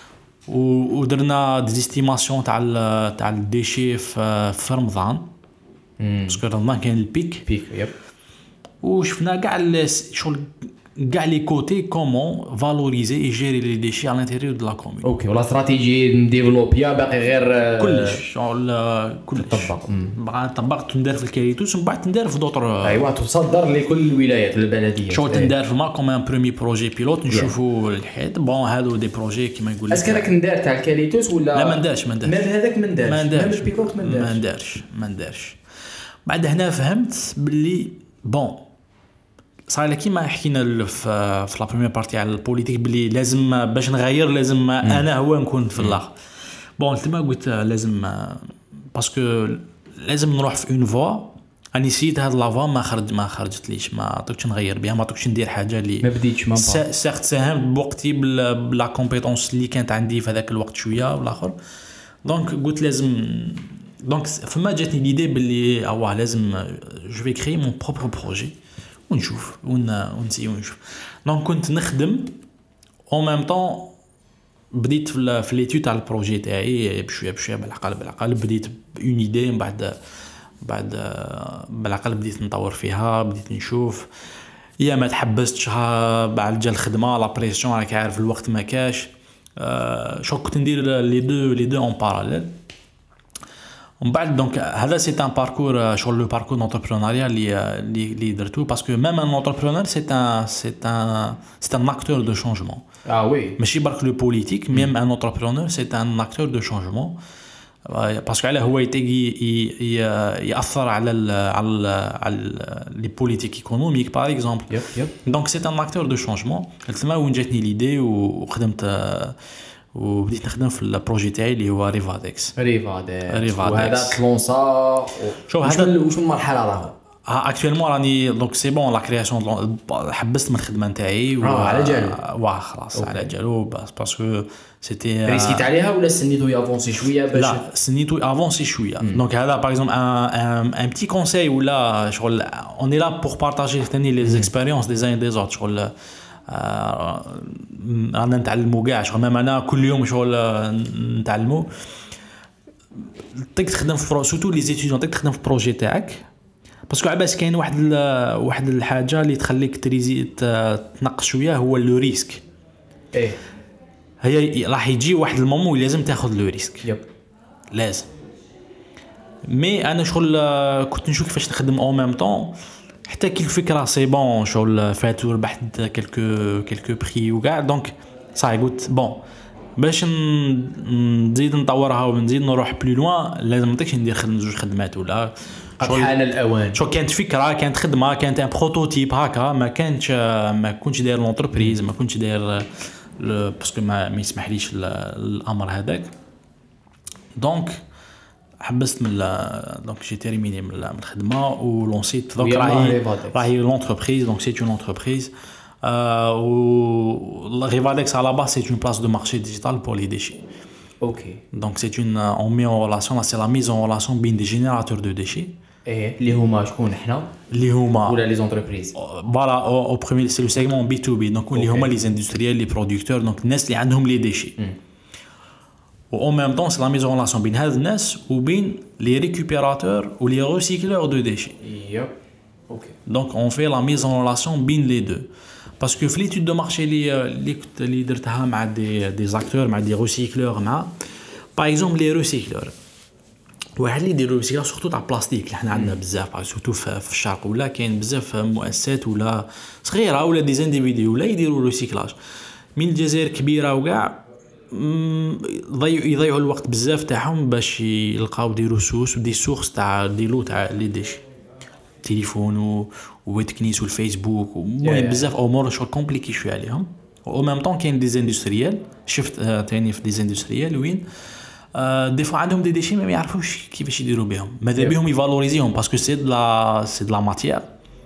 ودرنا ديستيماسيون تاع تاع الديشي في في رمضان باسكو رمضان كان البيك بيك يب وشفنا كاع شغل كاع لي كوتي كومون فالوريزي اي جيري لي ديشي على الانتيريور دو لا كومون. اوكي ولا استراتيجي نديفلوبيا باقي غير كلش شغل كلش طبق بقى طبق تندار في الكاليتوس ومن بعد تندار في دوطر ايوا تصدر لكل الولايات البلديه شغل تندار في ما كوم ان بريمي بروجي بيلوت نشوفوا الحياه بون هادو دي بروجي كيما يقول لك. اسكو راك ندار تاع الكاليتوس ولا لا ما ندارش ما ندارش مام هذاك ما ندارش ما ندارش البيلوت ما ندارش ما ندارش ما ندارش. بعد هنا فهمت باللي بون صار لك كيما حكينا في في لا بريمير بارتي على البوليتيك بلي لازم باش نغير لازم م. انا هو نكون في الاخر. بون تما قلت لازم باسكو لازم نروح في اون فوا انا نسيت هاد لافا ما خرج ما خرجت ليش ما عطيتش نغير بها ما عطيتش ندير حاجه اللي ما بديتش ما با سيغت ساهمت بوقتي بلا كومبيتونس اللي كانت عندي في هذاك الوقت شويه والاخر دونك قلت لازم دونك فما جاتني ليدي باللي اواه لازم جو في كري مون بروبر بروجي ونشوف ونسي ونشوف دونك كنت نخدم او ميم طون بديت في في ليتود تاع البروجي تاعي بشويه بشويه بالعقل بالعقل بديت اون ايدي من بعد بعد بالعقل بديت نطور فيها بديت نشوف يا ما تحبستش بعد جا الخدمه لا بريسيون راك عارف الوقت ما كاش أه شو كنت ندير لي دو لي دو اون باراليل ومن بعد دونك هذا سي ان باركور شغل لو باركور دونتربرونيا اللي اللي درتو باسكو ميم ان اونتربرونور سي ان سي ان سي ان اكتور دو شونجمون اه وي ماشي برك لو بوليتيك ميم ان اونتربرونور سي ان اكتور دو شونجمون باسكو على هو يتجي ياثر على ال على ال على لي بوليتيك ايكونوميك باغ اكزومبل دونك سي ان اكتور دو شونجمون تما وين جاتني ليدي وخدمت وبديت نخدم في البروجي تاعي اللي هو ريفادكس ريفادكس وهذا تلونسا شوف هذا واش المرحله راهو اكطوالمون راني دونك سي بون لا كرياسيون حبست من الخدمه نتاعي على جالو واه خلاص على جالو باسكو سيتي ريسيت عليها ولا سنيتو يافونسي شويه باش لا سنيتو افونسي شويه دونك هذا باغ اكزومبل ان ان بتي كونساي ولا شغل اون اي لا بور بارطاجي ثاني لي زيكسبيريونس دي زين دي زوت شغل رانا نتعلموا كاع شغل ميم انا كل يوم شغل نتعلموا تقدر تخدم في سورتو لي زيتيديون تقدر تخدم في بروجي تاعك باسكو عباس كاين واحد واحد الحاجه اللي تخليك تريزي تنقص شويه هو لو ريسك ايه هي راح يجي واحد المومون لازم تاخذ لو ريسك يب لازم مي انا شغل كنت نشوف كيفاش نخدم او ميم طون حتى كي الفكره سي بون شغل فات وربحت كلكو كلكو بري وكاع دونك صاي قلت بون باش نزيد نطورها ونزيد نروح بلو لوان لازم ما نطيقش ندير خدمه زوج خدمات ولا حان الاوان شو كانت فكره كانت خدمه كانت ان بروتوتيب هكا ما كانش ما كنتش داير لونتربريز ما كنتش داير باسكو ما ما يسمحليش الامر هذاك دونك حبست من دونك جي تيرميني من الخدمه ولونسيت دونك راهي راهي لونتربريز دونك سي اون انتربريز و ريفادكس على باس سي اون بلاس دو مارشي ديجيتال بور لي ديشي اوكي دونك سي اون اون مي اون ريلاسيون سي لا ميز اون ريلاسيون بين دي جينيراتور دو ديشي ايه اللي هما شكون حنا اللي هما ولا لي زونتربريز فوالا او بروميير سي لو سيغمون بي تو بي دونك اللي هما لي اندستريال لي برودكتور دونك الناس اللي عندهم لي ديشي و en même temps c'est la mise en relation بين هاد الناس وبين les récupérateurs ou les recycleurs de déchets. Yep. OK. Donc on fait la mise en relation بين les deux. Parce que في l'étude de marché اللي اللي كنت اللي درتها مع des des acteurs مع des recycleurs مع par exemple les recycleurs. واحد اللي يديروا ريسيكلاج سورتو تاع بلاستيك اللي حنا عندنا بزاف سورتو في الشرق ولا كاين بزاف مؤسسات ولا صغيره ولا دي زانديفيدي ولا يديروا ريسيكلاج من الجزائر كبيره وكاع ضيعوا يضيعوا الوقت بزاف تاعهم باش يلقاو دي ريسورس ودي سورس تاع دي لو تاع لي ديش تليفون وتكنيس والفيسبوك المهم بزاف امور شغل كومبليكي شويه عليهم او ميم طون كاين دي زاندستريال شفت ثاني في دي زاندستريال وين دي فوا عندهم دي ديشي ما يعرفوش كيفاش يديروا بهم ماذا بهم يفالوريزيهم باسكو سي د لا سي د لا ماتيير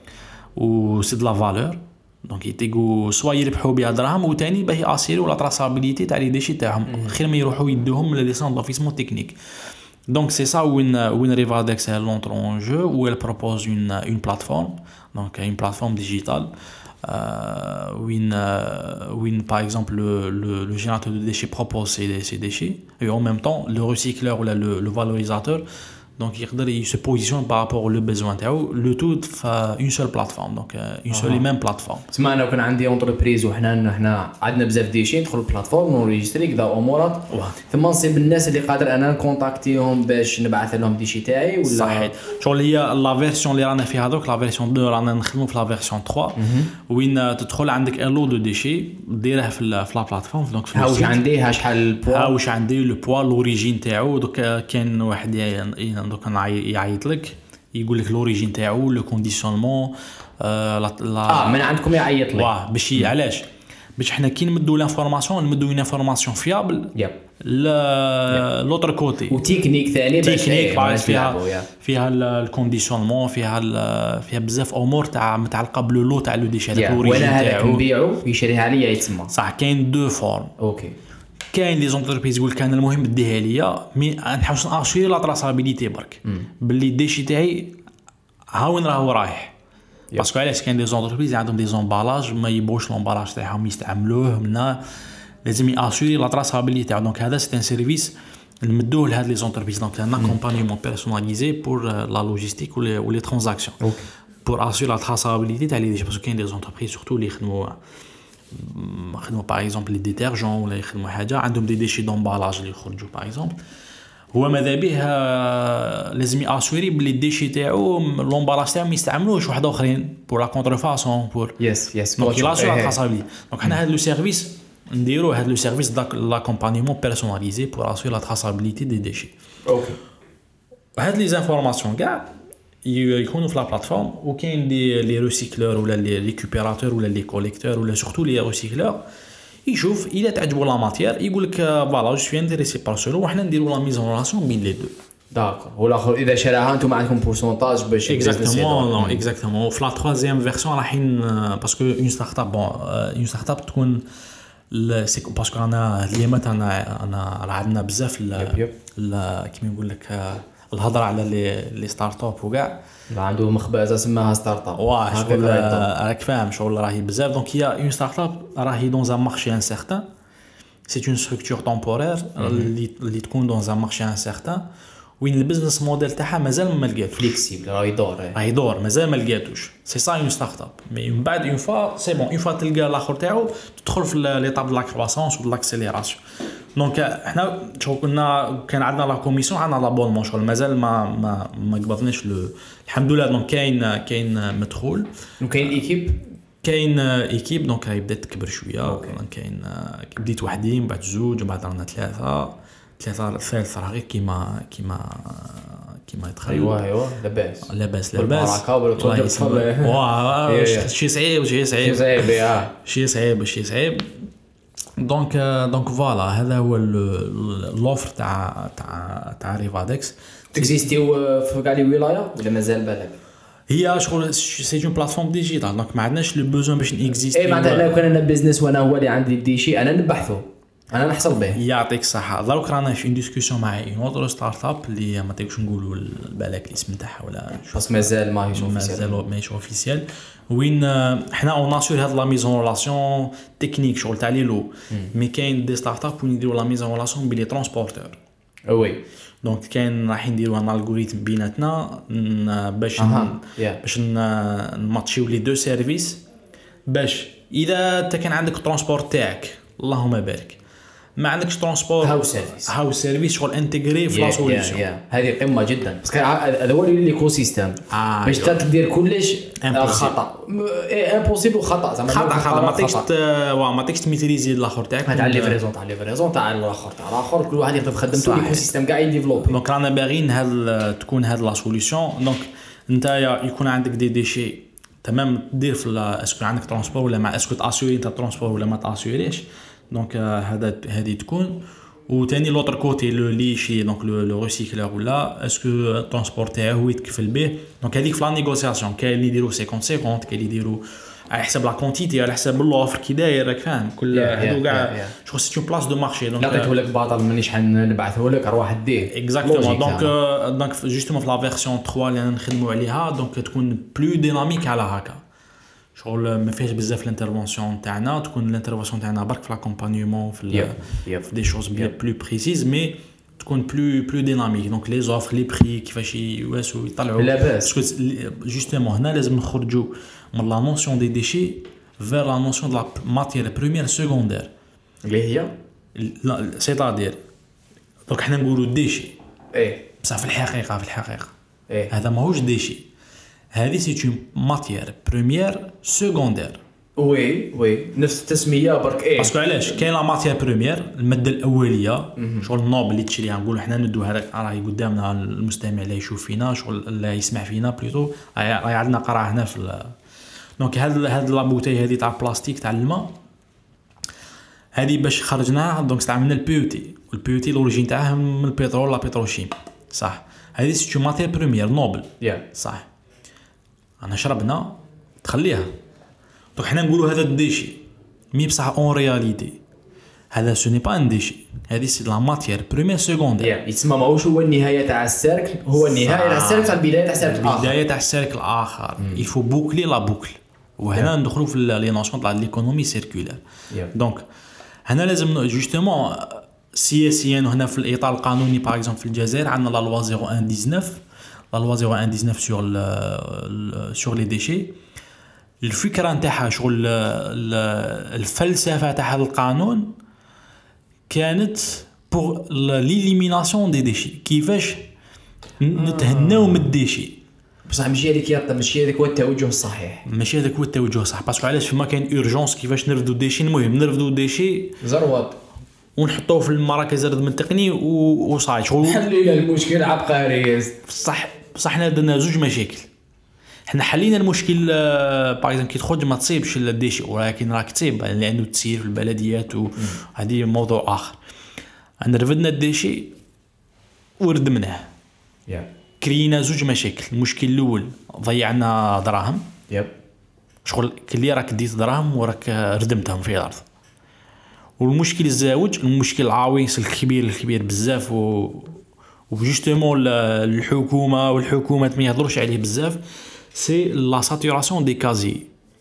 و سي د لا فالور دونك يتيقوا سوا يربحوا بها دراهم وثاني باش ياسيروا لا تراسابيليتي تاع لي ديشي تاعهم خير ما يروحوا يدوهم لي سون دافيسمون تكنيك دونك سي سا وين وين ريفادكس لونتر اون جو و elle propose une une plateforme donc une plateforme digitale euh, وين وين par exemple le le, le générateur de déchets propose ces, ces déchets et en même temps le recycleur ou le, le valorisateur donc يقدر il se positionne par rapport au besoin تاعو le tout في une seule plateforme donc une seule et même plateforme. تسمع انا كان عندي اونتربريز وحنا حنا عندنا بزاف ديشي ندخل البلاتفورم ونريجستري كذا امورات ثم نصيب الناس اللي قادر انا نكونتاكتيهم باش نبعث لهم ديشي تاعي ولا صحيح شغل هي لا فيرسيون اللي رانا فيها دوك لا فيرسيون اثنين رانا نخدموا في لا فيرسيون ثلاثة وين تدخل عندك ان لو دو ديشي ديره في لا بلاتفورم دونك ها واش عندي ها شحال البوا ها واش عندي لو بوا لوريجين تاعو دوك كاين واحد دوك يعيط لك يقول لك لوريجين تاعو لو كونديسيونمون اه لا اه من عندكم يعيط لك واه باش علاش باش حنا كي نمدوا لانفورماسيون نمدوا اون انفورماسيون فيابل يب لوتر كوتي وتكنيك ثاني باش تكنيك بعد فيها فيها فيها الكونديسيونمون فيها فيها بزاف امور تاع متعلقه بلو تاع لو ديشي هذاك وانا هذاك نبيعو يشريها ليا يتسمى صح. كاين دو فورم اوكي كاين لي زونتربريز يقول كان المهم ديها ليا مي نحوس ناشيري لا تراسابيليتي برك باللي الديشي تاعي ها وين راهو رايح باسكو علاش كاين دي زونتربريز عندهم دي زومبالاج ما يبوش لومبالاج تاعهم يستعملوه منا لازم ياشيري لا تراسابيليتي تاعو. دونك هذا سي ان سيرفيس نمدوه لهاد لي زونتربريز دونك ان اكومبانيمون بيرسوناليزي بور لا لوجيستيك و لي ترانزاكسيون بور اشيري لا تراسابيليتي تاع لي ديشي باسكو كاين دي زونتربريز سورتو اللي يخدموا يخدموا باغ اكزومبل لي ديتيرجون ولا يخدموا حاجه عندهم دي ديشي دومبالاج اللي يخرجوا باغ اكزومبل هو ماذا به لازم ياسوري بلي الديشي تاعو لومبالاج تاعو ما يستعملوش واحد اخرين بور لا كونترفاسون بور يس يس دونك لا سو تراسابيليتي. دونك حنا هذا لو سيرفيس نديرو هذا لو سيرفيس داك لاكومبانيمون بيرسوناليزي بور اسوري لا تراسابيليتي دي ديشي. اوكي هاد لي زانفورماسيون كاع يكونوا في لا بلاتفورم وكاين لي لي ريسيكلور ولا لي ريكوبيراتور ولا لي كوليكتور ولا سورتو لي ريسيكلور يشوف الا تعجبوا لا ماتير يقول لك فوالا جو سوي انتريسي بار سولو وحنا نديروا لا ميزون ريلاسيون بين لي دو داكور. والاخر اذا شراها انتم عندكم بورسونتاج باش اكزاكتومون اكزاكتومون في لا تروازيام فيرسيون رايحين باسكو اون ستارت اب بون اون ستارت اب تكون سي باسكو انا اليامات انا انا راه عندنا بزاف كيما نقول لك الهضره على لي لي ستارت اب وكاع عنده مخبزه سماها ستارت اب واه شغل راك فاهم شغل راهي بزاف. دونك هي اون ستارت اب راهي دون ان مارشي انسيرتان سي اون ستركتور تمبورير اللي اللي تكون دون ان مارشي انسيرتان وين البزنس موديل تاعها مازال ما لقاتوش فليكسيبل راه يدور راه يدور مازال ما لقاتوش سي سا اون ستارت اب مي من بعد اون فوا سي بون اون فوا تلقى الاخر تاعو تدخل في ليطاب دو لا كرواسونس و دو لاكسيليراسيون. دونك احنا شغل كنا كان عندنا لا كوميسيون عندنا لابونمون شغل مازال ما ما ما قبضناش الحمد لله. دونك كاين كاين مدخول وكاين ايكيب كاين ايكيب دونك هاي بدات تكبر شويه. كاين بديت وحدي من بعد زوج ومن بعد رانا ثلاثه ثلاثه الثالث راه غير كيما كيما كيما يتخيل. ايوا ايوا لاباس لاباس لاباس واه شي صعيب شي صعيب شي صعيب شي صعيب دونك دونك فوالا هذا هو لوفر تاع تاع تاع ريفادكس. تكزيستيو في كاع لي ولايه ولا مازال بالك؟ هي شغل سي اون بلاتفورم ديجيتال دونك ما عندناش لو بوزون باش نيكزيستي. اي معناتها لو كان انا بيزنس وانا هو اللي عندي دي شيء انا نبحثه انا نحصل به. يعطيك الصحه. دروك رانا في ديسكوسيون مع اون اوتر ستارت اب اللي ما تقدرش نقولوا بالك الاسم تاعها ولا بس مازال ما هيش اوفيسيال مازال ماهيش اوفيسيال وين حنا اون اسور هاد لا ميزون ريلاسيون تكنيك شغل تاع لي لو مي كاين دي ستارت اب وين يديروا لا ميزون ريلاسيون بين لي ترونسبورتور. وي دونك كاين راح نديروا ان الغوريثم بيناتنا باش أه. باش نماتشيو لي دو سيرفيس باش اذا انت كان عندك ترونسبورت تاعك اللهم بارك ما عندكش ترونسبورت هاو سيرفيس هاو سيرفيس شغل انتغري في لا سوليوشن. هذه قمه جدا باسكو هذا هو الايكو سيستيم باش تدير كلش خطا امبوسيبل خطا زعما خطا خطا ما تقدرش ما تقدرش تميتريزي الاخر تاعك تاع ليفريزون تاع ليفريزون تاع الاخر تاع الاخر كل واحد يخدم خدمته الايكو سيستيم كاع يديفلوب. دونك رانا باغيين هاد تكون هاد لا سوليوشن. دونك نتايا يكون عندك دي ديشي تمام دير في اسكو عندك ترونسبور ولا ما اسكو تاسيوري انت ترونسبور ولا ما تاسيوريش. دونك هذا هذه تكون وثاني لوتر كوتي لو ليشي دونك لو ريسيكلور ولا اسكو ترونسبور تاعو هو يتكفل به. دونك هذيك في لا نيغوسياسيون كاين اللي يديروا خمسين خمسين كاين اللي يديروا على حسب لا كونتيتي على حسب اللوفر كي داير راك فاهم كل هادو كاع شغل سي اون بلاص دو مارشي. دونك نعطيته لك باطل مانيش حنبعثه لك روح ديه اكزاكتومون. دونك دونك جوستومون في لا فيرسيون ثلاثة اللي نخدموا عليها دونك تكون بلو ديناميك على هكا شغل ما فيهاش بزاف الانترفونسيون تاعنا تكون الانترفونسيون تاعنا برك في لاكومبانيومون في في دي شوز بيان بلو بريسيز مي تكون بلو بلو ديناميك. دونك لي زوفر لي بري كيفاش يواسوا يطلعوا باسكو جوستومون هنا لازم نخرجوا من لا نوسيون دي ديشي فير لا نوسيون دو لا ماتير بريمير سكوندير اللي هي سيتادير. دونك حنا نقولوا ديشي ايه بصح في الحقيقه في الحقيقه ايه هذا ماهوش ديشي هذه سي اون ماتير بريمير سكوندير. وي وي نفس التسميه برك ايه باسكو علاش كاين لا ماتير بريمير الماده الاوليه شغل النوب اللي تشريها نقولوا حنا ندو هذاك راهي قدامنا المستمع اللي يشوف فينا شغل اللي يسمع فينا بليتو راهي عندنا قرا هنا في دونك هاد هاد لا بوتاي هذه تاع بلاستيك تاع الماء هذه باش خرجناها دونك استعملنا البي او تي، والبي او تي الاوريجين تاعها من البترول لا بتروشيم صح. هذه سيتو ماتير بريمير نوبل yeah. صح. انا شربنا تخليها دونك حنا نقولوا هذا الديشي مي بصح اون رياليتي هذا سوني با ان ديشي، هذه سي لا ماتير بريمير سكوندير. yeah. يتسمى ماهوش هو النهايه تاع السيركل، هو النهايه تاع السيركل تاع البدايه تاع السيركل الاخر، البدايه تاع السيركل الاخر. يفو بوكلي لا بوكل. وهنا ندخلوا في لي نوسيون تاع ليكونومي سيركولير. دونك هنا لازم جوستومون سياسيا وهنا في الاطار القانوني باغ اكزومبل في الجزائر عندنا لا لوا صفر واحد تسعطاش لا لوا صفر واحد تسعطاش سور سور لي ديشي. الفكره نتاعها شغل الفلسفه تاع هذا القانون كانت بور ليليميناسيون دي ديشي، كيفاش نتهناو من الديشي. بصح ماشي هذيك يا ماشي هذاك هو التوجه الصحيح، ماشي هذاك هو التوجه الصح. باسكو علاش فما كاين اورجونس كيفاش نرفدوا الديشي. المهم نرفدوا الديشي زروط ونحطوه في المراكز الردم التقني وصاي شغل حلينا المشكل عبقري. صح بصح حنا درنا زوج مشاكل. حنا حلينا المشكل باغ اكزومبل كي تخرج ما تصيبش الديشي، ولكن راك تصيب لانه تسير في البلديات وهذه موضوع اخر. انا رفدنا الديشي وردمناه yeah. كرينا زوج مشاكل. المشكل الاول ضيعنا دراهم يب yep. شغل كلي راك ديت دراهم وراك ردمتهم في الارض. والمشكل الزاوج المشكل العويص الكبير الكبير بزاف و وجوستومون الحكومه والحكومات ما يهضروش عليه بزاف سي لا ساتوراسيون دي كازي.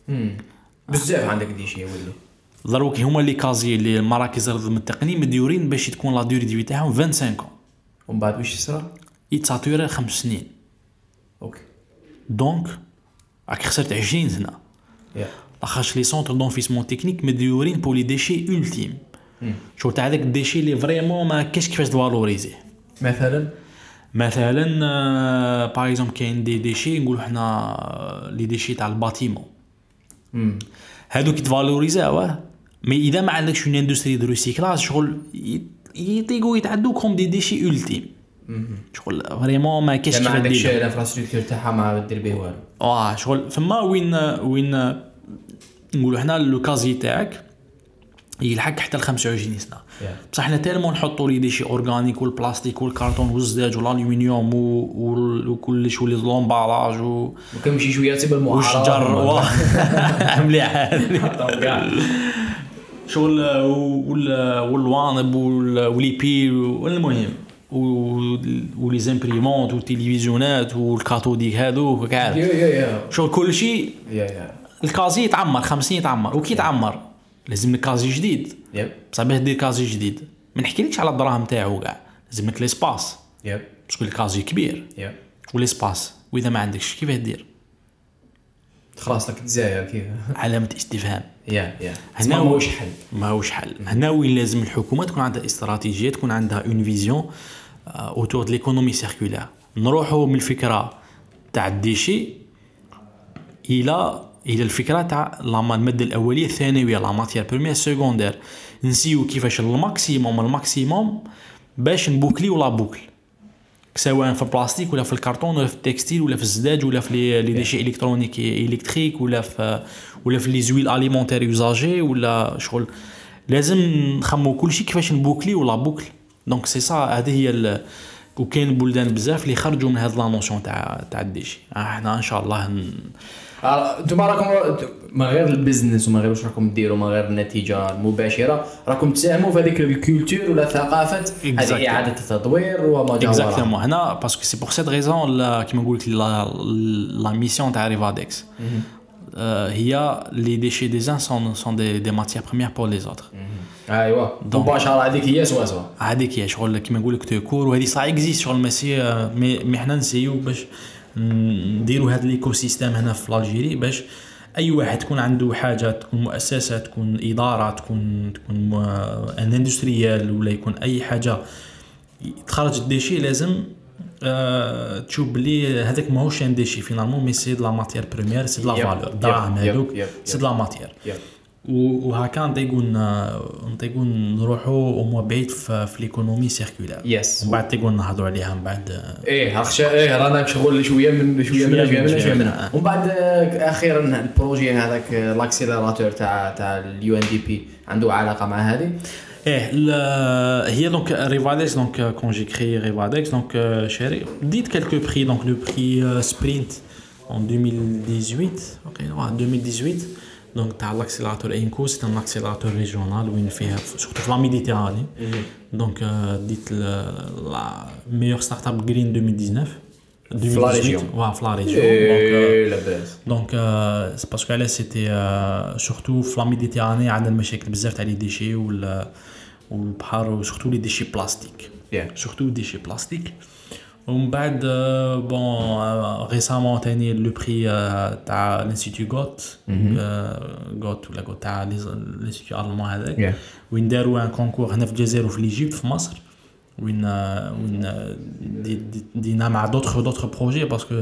بزاف عندك ديشي يولي ضروك هما لي كازي اللي المراكز الردم التقني مديورين باش تكون لا دوري دي في تاعهم خمسة وعشرين عام ومن بعد واش يصرى يتساتوري خمس سنين. اوكي دونك راك خسرت عشرين سنه. yeah. لاخاطش لي سونتر دونفيسمون تكنيك مديورين بور لي ديشي اولتيم. شو تاع داك الديشي اللي فريمون ما كاش كيفاش تفالوريزيه. مثلا مثلا باغ اكزومبل كاين دي ديشي نقولوا حنا لي ديشي تاع الباتيمون هادو كي تفالوريزاوه مي اذا ما عندكش اون اندستري دو ريسيكلاج شغل يطيقوا يتعدوا كوم دي ديشي اولتيم. شغل فريمون ما كاش كيفاش دير. ما عندكش الانفراستركتور تاعها ما دير به والو. اه شغل فما وين وين نقولوا حنا لو كازي تاعك يلحق حتى ل خمسة وعشرين سنه. بصح حنا تالمون نحطوا لي ديشي اورغانيك والبلاستيك والكارطون والزجاج والالومنيوم وكل شو لي لومبالاج و وكنمشي شويه تبع المعارضه مليح شغل والوانب والليبي والمهم ولي زامبريمونت والتلفزيونات والكاثوديك هادو كاع شغل كل شيء. الكازي يتعمر خمسين يتعمر وكي يتعمر لازم لك كازي جديد. يب صعب دير كازي جديد. ما نحكيلكش على الدراهم تاعو كاع لازم لك ليسباس. يب باسكو الكازي كبير. يب وليسباس واذا ما عندكش كيف دير خلاص لك تزاير كيف علامه استفهام. يا يا هنا ماهوش حل ماهوش حل. هنا وين لازم الحكومه تكون عندها استراتيجيه تكون عندها اون فيزيون اوتور دو ليكونومي سيركولير. نروحوا من الفكره تاع الديشي الى الى الفكره تاع لا الماده الاوليه الثانويه لا ماتير بريمير سكوندير. نسيو كيفاش الماكسيموم الماكسيموم باش نبوكلي ولا بوكل سواء في البلاستيك ولا في الكرتون ولا في التكستيل ولا في الزجاج ولا في لي ديشي الكترونيك الكتريك ولا في ولا في لي زويل اليمونتير يوزاجي ولا شغل. لازم نخمو كل شيء كيفاش نبوكلي ولا بوكل. دونك سي سا هذه هي. وكاين بلدان بزاف اللي خرجوا من هذا لا نوسيون تاع تاع الديشي. احنا ان شاء الله ن... انتم راكم ما غير البيزنس وما غير واش راكم ديروا ما غير النتيجه المباشره راكم تساهموا في هذيك الكولتور ولا ثقافه هذه اعاده التطوير وما جاوا اكزاكتومون. هنا باسكو سي بور سيت ريزون كيما نقول لك لا ميسيون تاع ريفادكس هي لي ديشي دي زان سون سون دي دي ماتيير بريمير بور لي زوتر. ايوا مباشره هذيك هي سوا سوا هذيك هي شغل كيما نقول لك تكور وهذه صا اكزيست شغل ماشي مي حنا نسيو باش نديروا هذا الايكو سيستيم هنا في الجيري باش اي واحد تكون عنده حاجه تكون مؤسسه تكون اداره تكون تكون ان اندستريال ولا يكون اي حاجه تخرج الديشي لازم أه تشوف بلي هذاك ماهوش ان ديشي فينالمون مي سي د لا ماتيير بريمير سي د لا فالور دراهم هذوك سي د لا ماتيير. وهكا نطيقون نطيقون نروحوا او موا بعيد في, في ليكونومي سيركولير. يس. ومن بعد تيقون نهضروا عليها من بعد. ايه هاخشى ايه رانا شغل شويه من شويه من شويه من شويه منها. ومن بعد اخيرا البروجي هذاك لاكسيليراتور تاع تاع اليو ان دي بي عنده علاقه مع هذه. ايه هي دونك ريفادكس دونك كون جي كريي ريفادكس دونك شاري ديت كالكو بري دونك لو بري سبرينت en deux mille dix-huit ok ouais deux mille dix-huit donc t'as l'accélérateur INCO c'est un accélérateur régional où il fait surtout la Méditerranée mm-hmm. donc euh, dites le, la meilleure startup green deux mille dix-neuf deux mille dix-huit ouais la région donc euh, la base donc euh, c'est parce que là c'était euh, surtout la Méditerranée عندنا مشاكل بزاف تاع لي ديشي وال والبحر وسورتو لي ديشي بلاستيك سورتو ديشي بلاستيك. ومن بعد بون ريسامون تاني لو بري تاع الانستيتو غوت غوت ولا غوت تاع الانستيتو المان هذاك وين داروا ان كونكور هنا في الجزائر وفي ليجيبت في مصر وين وين دينا مع دوطخ دوطخ بروجي باسكو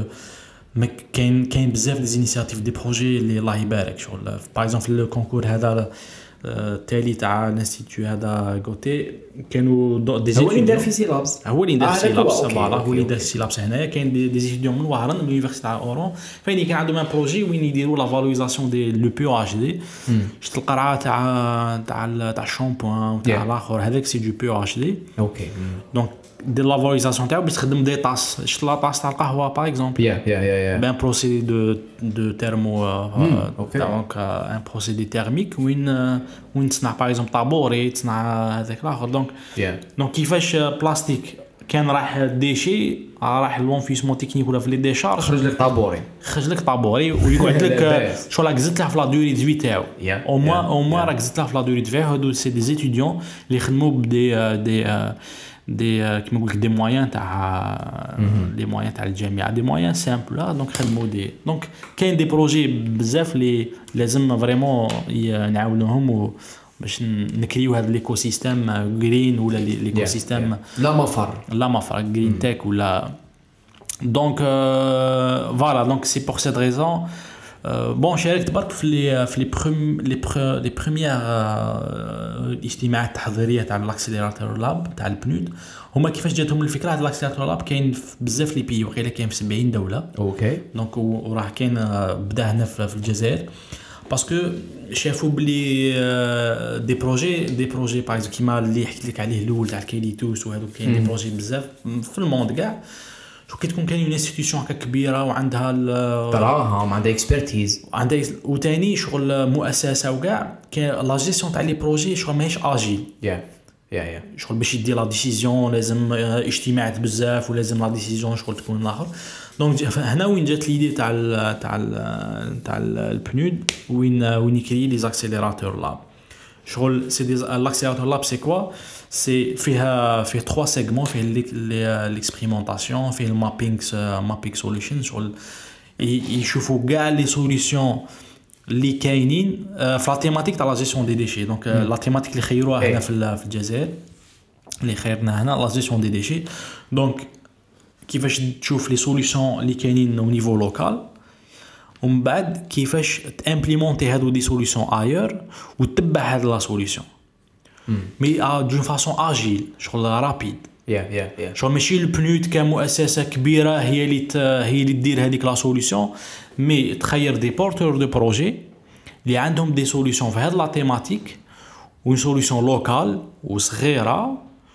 كاين كاين بزاف دي انيشياتيف دي بروجي اللي الله يبارك شغل باغ اكزومبل في الكونكور هذا التالي تاع الانستيتو هذا غوتي كانوا دي هو اللي دار في سيلابس هو اللي دار سيلابس فوالا هو اللي دار سيلابس هنايا كاين دي ستوديون من وهران من لونيفرسيتي تاع اورون فين كان عندهم ان بروجي وين يديروا لا فالوريزاسيون دي لو بي او اتش دي شفت القرعه تاع تاع تاع الشامبوان تاع الاخر هذاك سي دو بي او اتش دي اوكي دونك دير لا فالوريزاسيون تاعو باش تخدم دي طاس شفت لا طاس تاع القهوه باغ اكزومبل يا يا يا بان بروسيدي دو دو تيرمو دونك ان بروسيدي تيرميك وين وين تصنع باغ اكزومبل طابوري تصنع هذاك الاخر دونك دونك كيفاش بلاستيك كان راح ديشي راح لونفيسمون تكنيك ولا في لي ديشارج خرج لك طابوري خرج لك طابوري ويقعد لك شو راك زدت له في لا دوري دو في تاعو او موا او موا راك زدت له في لا دوري دو في هادو سي دي ستوديون اللي يخدموا بدي دي دي كيما نقول لك دي مويان تاع لي مويان تاع الجامعه دي مويان سامبل دونك خدموا دي دونك كاين دي بروجي بزاف اللي لازم فريمون نعاونوهم باش نكريو هذا ليكو سيستيم جرين ولا ليكو سيستيم لا مفر لا مفر جرين تك ولا دونك فوالا دونك سي بور سيت ريزون بون شاركت برك في لي في لي بروم لي لي بريميير اجتماعات التحضيريه تاع الاكسيليراتور لاب تاع البنود هما كيفاش جاتهم الفكره هذا الاكسيليراتور لاب كاين بزاف لي بي وقيله كاين في سبعين دوله اوكي دونك وراه كاين بدا هنا في الجزائر باسكو شافوا بلي دي بروجي دي بروجي باغ كيما اللي حكيت لك عليه الاول تاع الكيليتوس وهذو كاين دي بروجي بزاف في الموند كاع شو كي تكون كاين اون انستيتيوشن هكا كبيره وعندها دراهم عندها اكسبرتيز عندها وثاني شغل مؤسسه وكاع كاين لا جيستيون تاع لي بروجي شغل ماهيش اجيل يا يا يا شغل باش يدير لا ديسيزيون لازم اجتماعات بزاف ولازم لا ديسيزيون شغل تكون الاخر دونك هنا وين جات ليدي تاع ال تاع ال تاع البنود وين وين يكري لي زاكسيليراتور لاب شغل سي دي لاكسيليراتور لاب سي كوا سي فيها فيه ثلاثة سيغمون فيه ليكسبيريمونطاسيون فيه المابينغ مابينغ سوليوشن شغل يشوفوا كاع لي سوليوشن اللي كاينين في لا تيماتيك تاع لا جيستيون دي ديشي دونك لا تيماتيك اللي خيروها هنا في الجزائر اللي خيرنا هنا لا جيستيون دي ديشي دونك كيفاش تشوف لي سوليوشن اللي كاينين او نيفو لوكال ومن بعد كيفاش تامبليمونتي هادو دي سوليوشن ايور وتتبع هاد لا سوليوشن مي دون فاسون اجيل شغل رابيد يا يا يا شغل ماشي البنود كمؤسسه كبيره هي اللي هي اللي دير هذيك لا سوليوشن مي تخير دي بورتور دو بروجي اللي عندهم دي سوليوشن في هاد لا تيماتيك و سوليوشن لوكال وصغيره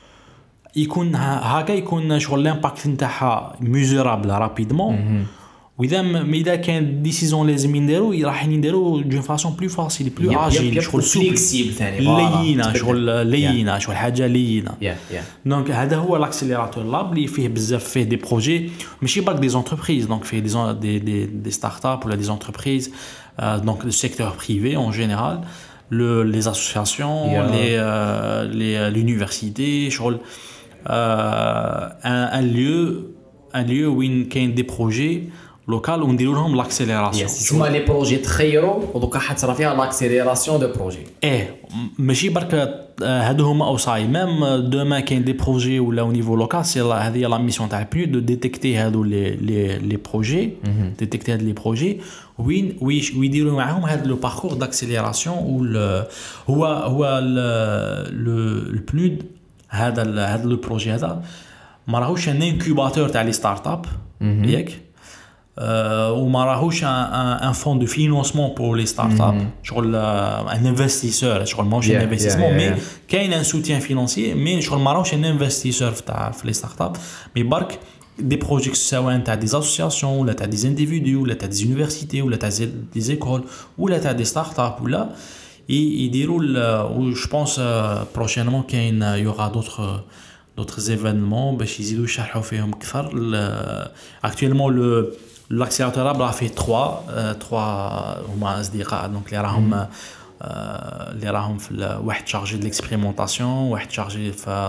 يكون هكا يكون شغل لامباكت نتاعها ميزورابل رابيدمون واذا اذا كان ديسيزون لازم نديرو راح نديرو دون فاسون بلو فاسيل بلو اجيل شغل فليكسيبل ثاني لينه شغل لينه شغل حاجه لينه يا يا دونك هذا هو الاكسيليراتور لاب اللي فيه بزاف فيه دي بروجي ماشي باك دي زونتربريز دونك فيه دي دي دي, دي ستارت اب ولا دي زونتربريز دونك لو سيكتور بريفي en général le les associations yeah. les euh, les l'université شغل euh, un, un lieu un lieu où il y a des projets لوكال ونديروا لهم لاكسيليراسيون. تسمى لي بروجي تخيروا ودوكا حتصرا فيها لاكسيليراسيون دو بروجي. ايه ماشي برك هادو هما اوصاي ميم دوما كاين دي بروجي ولا او نيفو لوكال سي هذه لا ميسيون تاع البنود دو ديتيكتي هادو لي لي لي بروجي ديتيكتي هاد لي بروجي وين ويديروا معاهم هاد لو باركور داكسيليراسيون و هو هو البنود هذا هذا لو بروجي هذا ما راهوش ان انكوباتور تاع لي ستارت اب ياك وما راهوش ان فون دو فينانسمون بور لي ستارت اب شغل ان انفستيسور شغل ماهوش ان انفستيسمون مي كاين ان سوتيان فينانسيي مي شغل ما راهوش ان انفستيسور تاع في لي ستارت اب مي برك دي بروجي سواء تاع دي اسوسياسيون ولا تاع دي انديفيدو ولا تاع دي يونيفرسيتي ولا تاع دي زيكول ولا تاع دي ستارت اب ولا يديروا و جو بونس بروشينمون كاين يوغا دوطخ d'autres événements باش يزيدوا يشرحوا فيهم اكثر. actuellement le l'accélérateur a fait trois trois هما اصدقاء دونك اللي راهم اللي راهم في واحد شارجي دو ليكسبيريمونطاسيون واحد شارجي في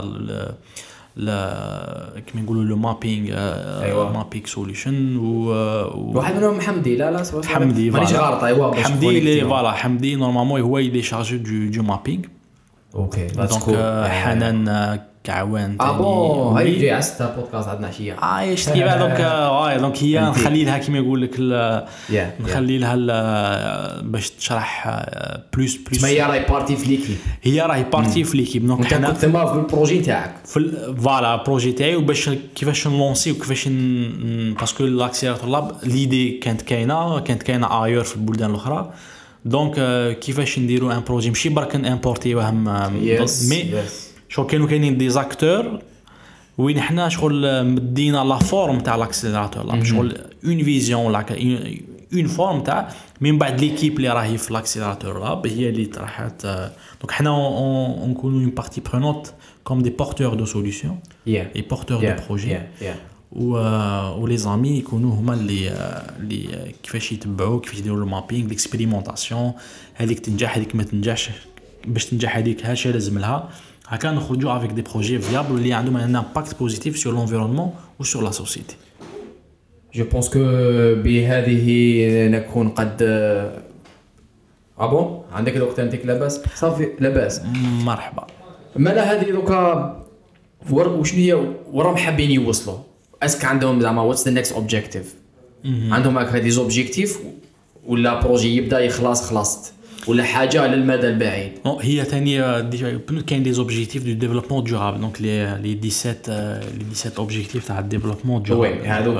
لا كيما نقولوا لو مابينغ مابينغ سوليوشن و واحد منهم حمدي لا لا حمدي مانيش غلط ايوا حمدي اللي فوالا حمدي نورمالمون هو اللي شارجي دو دو مابينغ اوكي دونك حنان كعوان اه بون هاي جاي عستا بودكاست عندنا عشيه اه شتي بعد دونك واي دونك هي نخلي لها كيما يقول لك نخلي لها باش تشرح بلوس بلوس ما هي راهي بارتي في ليكيب هي راهي بارتي في ليكيب دونك حنا كنت تما في البروجي تاعك في فوالا البروجي تاعي وباش كيفاش نلونسي وكيفاش باسكو لاكسيليراتور لاب ليدي كانت كاينه كانت كاينه ايور في البلدان الاخرى دونك كيفاش نديروا ان بروجي ماشي برك امبورتيوهم مي شو كانوا كاينين دي زاكتور وين حنا شغل مدينا لا فورم تاع لاكسيليراتور لا شغل اون فيزيون لا اون فورم تاع من بعد ليكيب اللي راهي في لاكسيليراتور لاب هي اللي طرحت دونك حنا نكونوا اون بارتي برونوت كوم دي بورتور دو سوليوشن اي بورتور دو بروجي و ولي زامي يكونوا هما اللي اللي كيفاش يتبعوا كيفاش يديروا المابينغ ليكسبيريمونطاسيون هذيك تنجح هذيك ما تنجحش باش تنجح هذيك هاش لازم لها هكا نخرجوا avec des projets viables اللي عندهم un impact positif sur l'environnement ou sur la société. Je pense que بهذه نكون قد اه بون عندك الوقت انتك لاباس صافي لاباس مرحبا مالا هذه دوكا وشنو هي وراهم حابين يوصلوا اسك عندهم زعما واتس ذا نيكست اوبجيكتيف عندهم هكا دي زوبجيكتيف ولا بروجي يبدا يخلص خلصت ولا حاجه للمدى البعيد هي ثاني كاين دي زوبجيكتيف دو ديفلوبمون دورابل دونك لي لي سبعطاش لي سبعطاش اوبجيكتيف تاع الديفلوبمون دورابل هذوك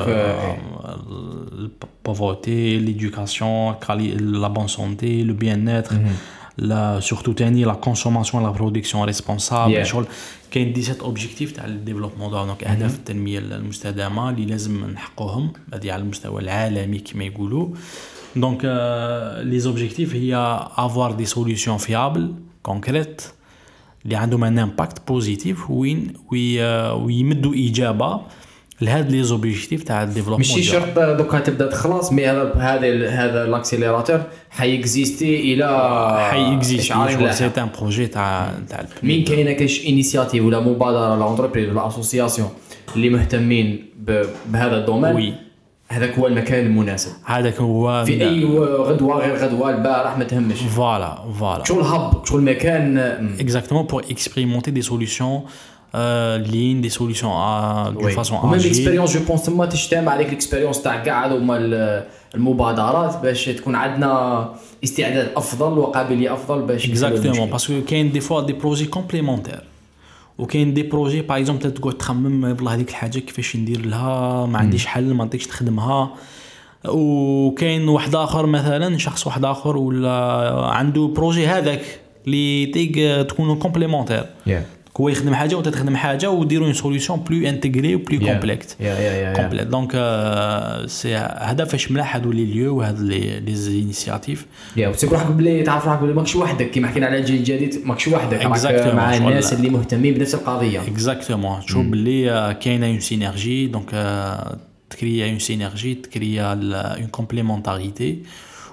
البوفرتي ليدوكاسيون لا بون سونتي لو بيان اتر لا سورتو ثاني لا كونسوماسيون لا برودكسيون ريسبونسابل شغل كاين سبعطاش اوبجيكتيف تاع الديفلوبمون دونك اهداف التنميه المستدامه اللي لازم نحققهم هذه على المستوى العالمي كما يقولوا. Donc, euh, les objectifs, il y a avoir des solutions fiables, concrètes, qui ont un impact positif, وين ويمدوا إجابة لهاد les objectifs تاع الديفلوبمون. ماشي شرط دوكا تبدا تخلص مي هذا هذا هذا لاكسيليراتور حيكزيستي الى حيكزيستي سي ان بروجي تاع تاع مين كاينه كاش انيشياتيف ولا مبادره ولا انتربريز ولا اسوسياسيون اللي مهتمين بهذا الدومين وي هذاك هو المكان المناسب هذاك هو في اي غدوه غير غدوه البارح ما تهمش فوالا فوالا شغل هب شغل مكان اكزاكتومون بور اكسبيريمونتي دي سوليوشن لين دي سوليوشن دو فاصون وميم اكسبيريونس جو بونس تما تجتمع عليك الاكسبيريونس تاع كاع هذوما المبادرات باش تكون عندنا استعداد افضل وقابليه افضل باش اكزاكتومون باسكو كاين دي فوا دي بروجي كومبليمونتير وكاين دي بروجي باغ اكزومبل تقعد تخمم والله هذيك الحاجه كيفاش ندير لها ما عنديش حل ما نطيقش نخدمها وكاين واحد اخر مثلا شخص واحد اخر ولا عنده بروجي هذاك اللي تيق تكونوا كومبليمونتير هو يخدم حاجه وانت تخدم حاجه وديروا اون سوليوشن بلو انتغري وبلو كومبلكت كومبليت دونك سي هذا فاش ملاح هذو لي ليو وهاد لي لي انيشياتيف يا وتسيب روحك بلي تعرف روحك بلي ماكش وحدك كيما حكينا على الجيل الجديد ماكش وحدك مع الناس اللي مهتمين بنفس القضيه اكزاكتومون تشوف بلي كاينه اون سينيرجي دونك تكريا اون سينيرجي تكريا اون كومبليمونتاريتي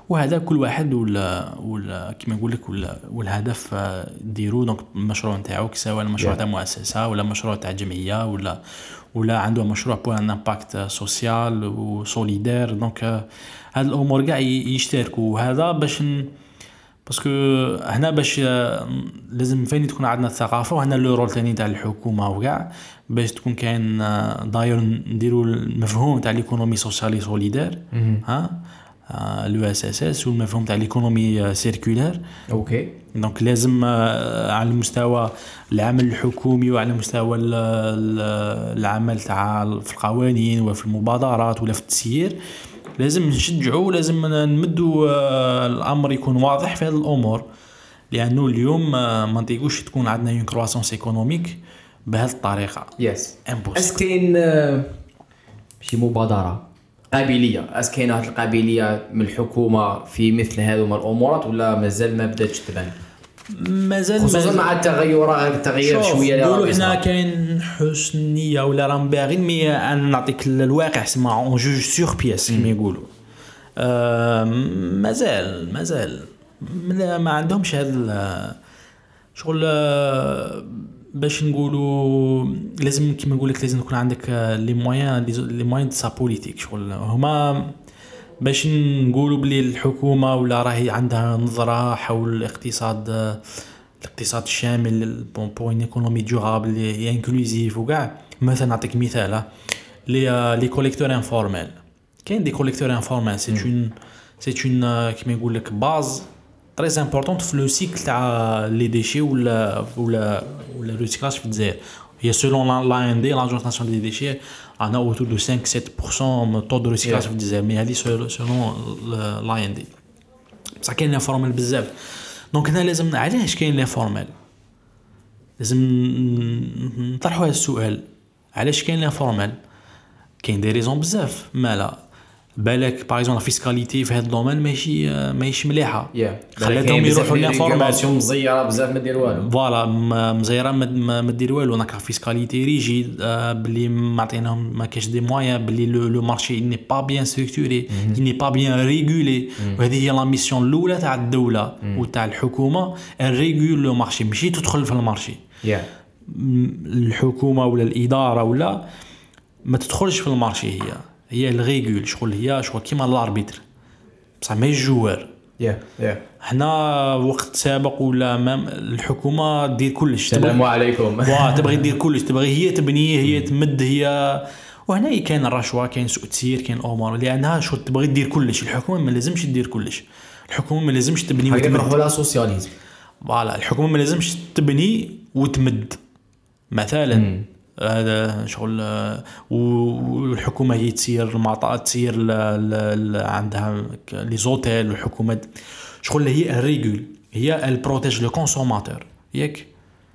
وهذا كل واحد ولا ولا كما نقول لك ولا والهدف ديرو. دونك المشروع نتاعو سواء المشروع تاع مؤسسه ولا مشروع تاع جمعيه ولا ولا عنده مشروع بو ان امباكت سوسيال وسوليدير. دونك هاد الامور كاع يشتركوا. وهذا باش باسكو هنا باش لازم فين تكون عندنا الثقافه. وهنا لو رول ثاني تاع الحكومه وكاع باش تكون كاين داير نديروا المفهوم تاع ليكونومي سوسيالي سوليدير ها لو اس اس اس والمفهوم تاع ليكونومي سيركولير. اوكي دونك لازم على المستوى العمل الحكومي وعلى مستوى العمل تاع في القوانين وفي المبادرات ولا في التسيير لازم نشجعوا. لازم نمدوا الامر يكون واضح في هذه الامور. لانه اليوم ما نطيقوش تكون عندنا اون كرواسونس ايكونوميك بهذه الطريقه. يس امبوسيبل. اسكين شي مبادره قابليه اسكين هذه القابليه من الحكومه في مثل هذو من الامورات ولا مازال ما بداتش تبان؟ مازال خصوصا مع التغيرات التغيير شويه اللي نقولوا حنا كاين حسن نيه ولا راهم باغيين. مي انا نعطيك الواقع سما اون جوج سور بياس كما يقولوا. آه مازال مازال ما عندهمش هذا شغل. باش نقولوا لازم كما نقول لك لازم يكون عندك لي مويان لي مويان دو سا بوليتيك. شغل هما باش نقولوا بلي الحكومه ولا راهي عندها نظره حول الاقتصاد الاقتصاد الشامل بون ان ايكونومي دورابل اي انكلوزيف وكاع. مثلا نعطيك مثال لي لي كوليكتور انفورمال. كاين دي كوليكتور انفورمال سي اون سي اون كما يقول لك باز تري امبورطونت في لو سيكل تاع لي ديشي ولا ولا ولا ريسيكلاج في الجزائر. هي سولون لا ان دي لاجونس ناسيونال دي ديشي انا اوتور دو خمسة سبعة بالمية طو دو ريسيكلاج في الجزائر. مي هذه سولون لا ان دي بصح كاين لي فورمال بزاف. دونك هنا لازم علاش كاين لي فورمال لازم نطرحوا هذا السؤال. علاش كاين لي فورمال؟ كاين دي ريزون بزاف. مالا بالك باغ اكزومبل فيسكاليتي في هذا الدومين ماشي ماشي مليحه. خلاتهم يروحوا لي فورماسيون مزيره بزاف ما دير والو. فوالا مزيره ما دير والو. ناك فيسكاليتي ريجيد بلي ما عطيناهم ما كاش دي مويان بلي لو مارشي ني با بيان ستركتوري ني با بيان ريغولي. وهذه هي لا ميسيون الاولى تاع الدوله وتاع الحكومه الريغول لو مارشي ماشي تدخل في المارشي. الحكومه ولا الاداره ولا ما تدخلش في المارشي. هي هي الريغول. شغل هي شغل كيما الاربيتر بصح ما الجوار. يا يا حنا وقت سابق ولا مام الحكومه دير كلش. السلام عليكم. وا تبغي دير كلش. تبغي هي تبني هي تمد هي. وهنا كاين الرشوه كاين سوء تسيير كاين امور لانها شو تبغي دير كلش. الحكومه ما لازمش دير كلش. الحكومه ما لازمش تبني وتمد. نروحوا لا سوسياليزم. فوالا الحكومه ما لازمش تبني وتمد مثلا. هذا شغل. والحكومه هي تسير المعطاء تسير عندها لي زوتيل. والحكومه شغل هي الريغول هي البروتيج لو كونسوماتور. ياك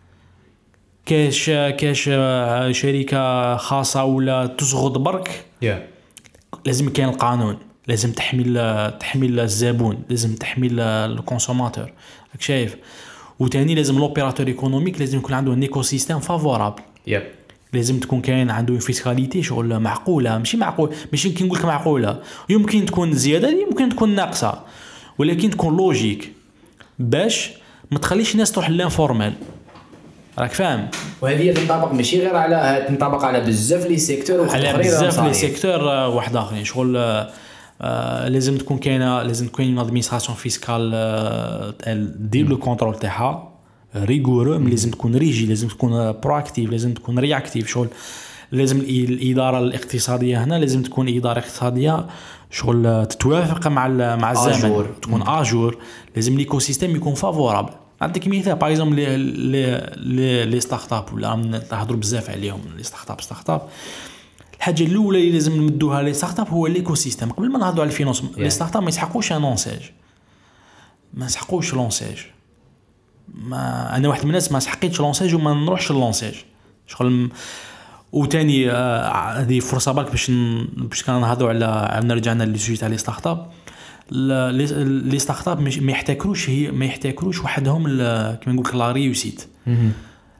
كاش كاش شركه خاصه ولا تزغد برك yeah. لازم كاين القانون. لازم تحمي تحمي الزبون. لازم تحمي الكونسوماتور. راك شايف. وثاني لازم لوبيراتور ايكونوميك لازم يكون عنده ان ايكو سيستيم فافورابل. يب لازم تكون كاين عنده فيسكاليتي شغل معقوله. ماشي معقول ماشي كي نقول لك معقوله يمكن تكون زياده يمكن تكون ناقصه ولكن تكون لوجيك باش ما تخليش الناس تروح للانفورمال. راك فاهم. وهذه تنطبق ماشي غير على تنطبق على بزاف لي سيكتور على بزاف لي سيكتور واحد اخرين. شغل آه لازم تكون كاينه لازم تكون une administration fiscale دير لو كونترول تاعها ريغورو. لازم تكون ريجي. لازم تكون برواكتيف. لازم تكون رياكتيف. شغل لازم الاداره الاقتصاديه هنا لازم تكون اداره اقتصاديه شغل تتوافق مع مع الزمن. تكون اجور. لازم ليكو سيستيم يكون فافورابل. نعطيك مثال باغ اكزومبل لي لي لي ستارت اب ولا نهضروا بزاف عليهم لي ستارت اب ستارت اب. الحاجه الاولى اللي لازم نمدوها لي ستارت اب هو ليكو سيستيم. قبل ما نهضروا على الفينانس yeah. لي ستارت اب ما يسحقوش انونساج. ما يسحقوش لونساج. ما انا واحد من الناس ما سحقيتش لونساج وما نروحش لونساج. شغل وثاني هذه آه فرصه برك باش باش كنهضروا على عندنا رجعنا لي سوجي تاع لي ستارت اب. لي ستارت اب ما يحتكروش هي ما يحتكروش وحدهم كما نقول لك لا ريوسيت.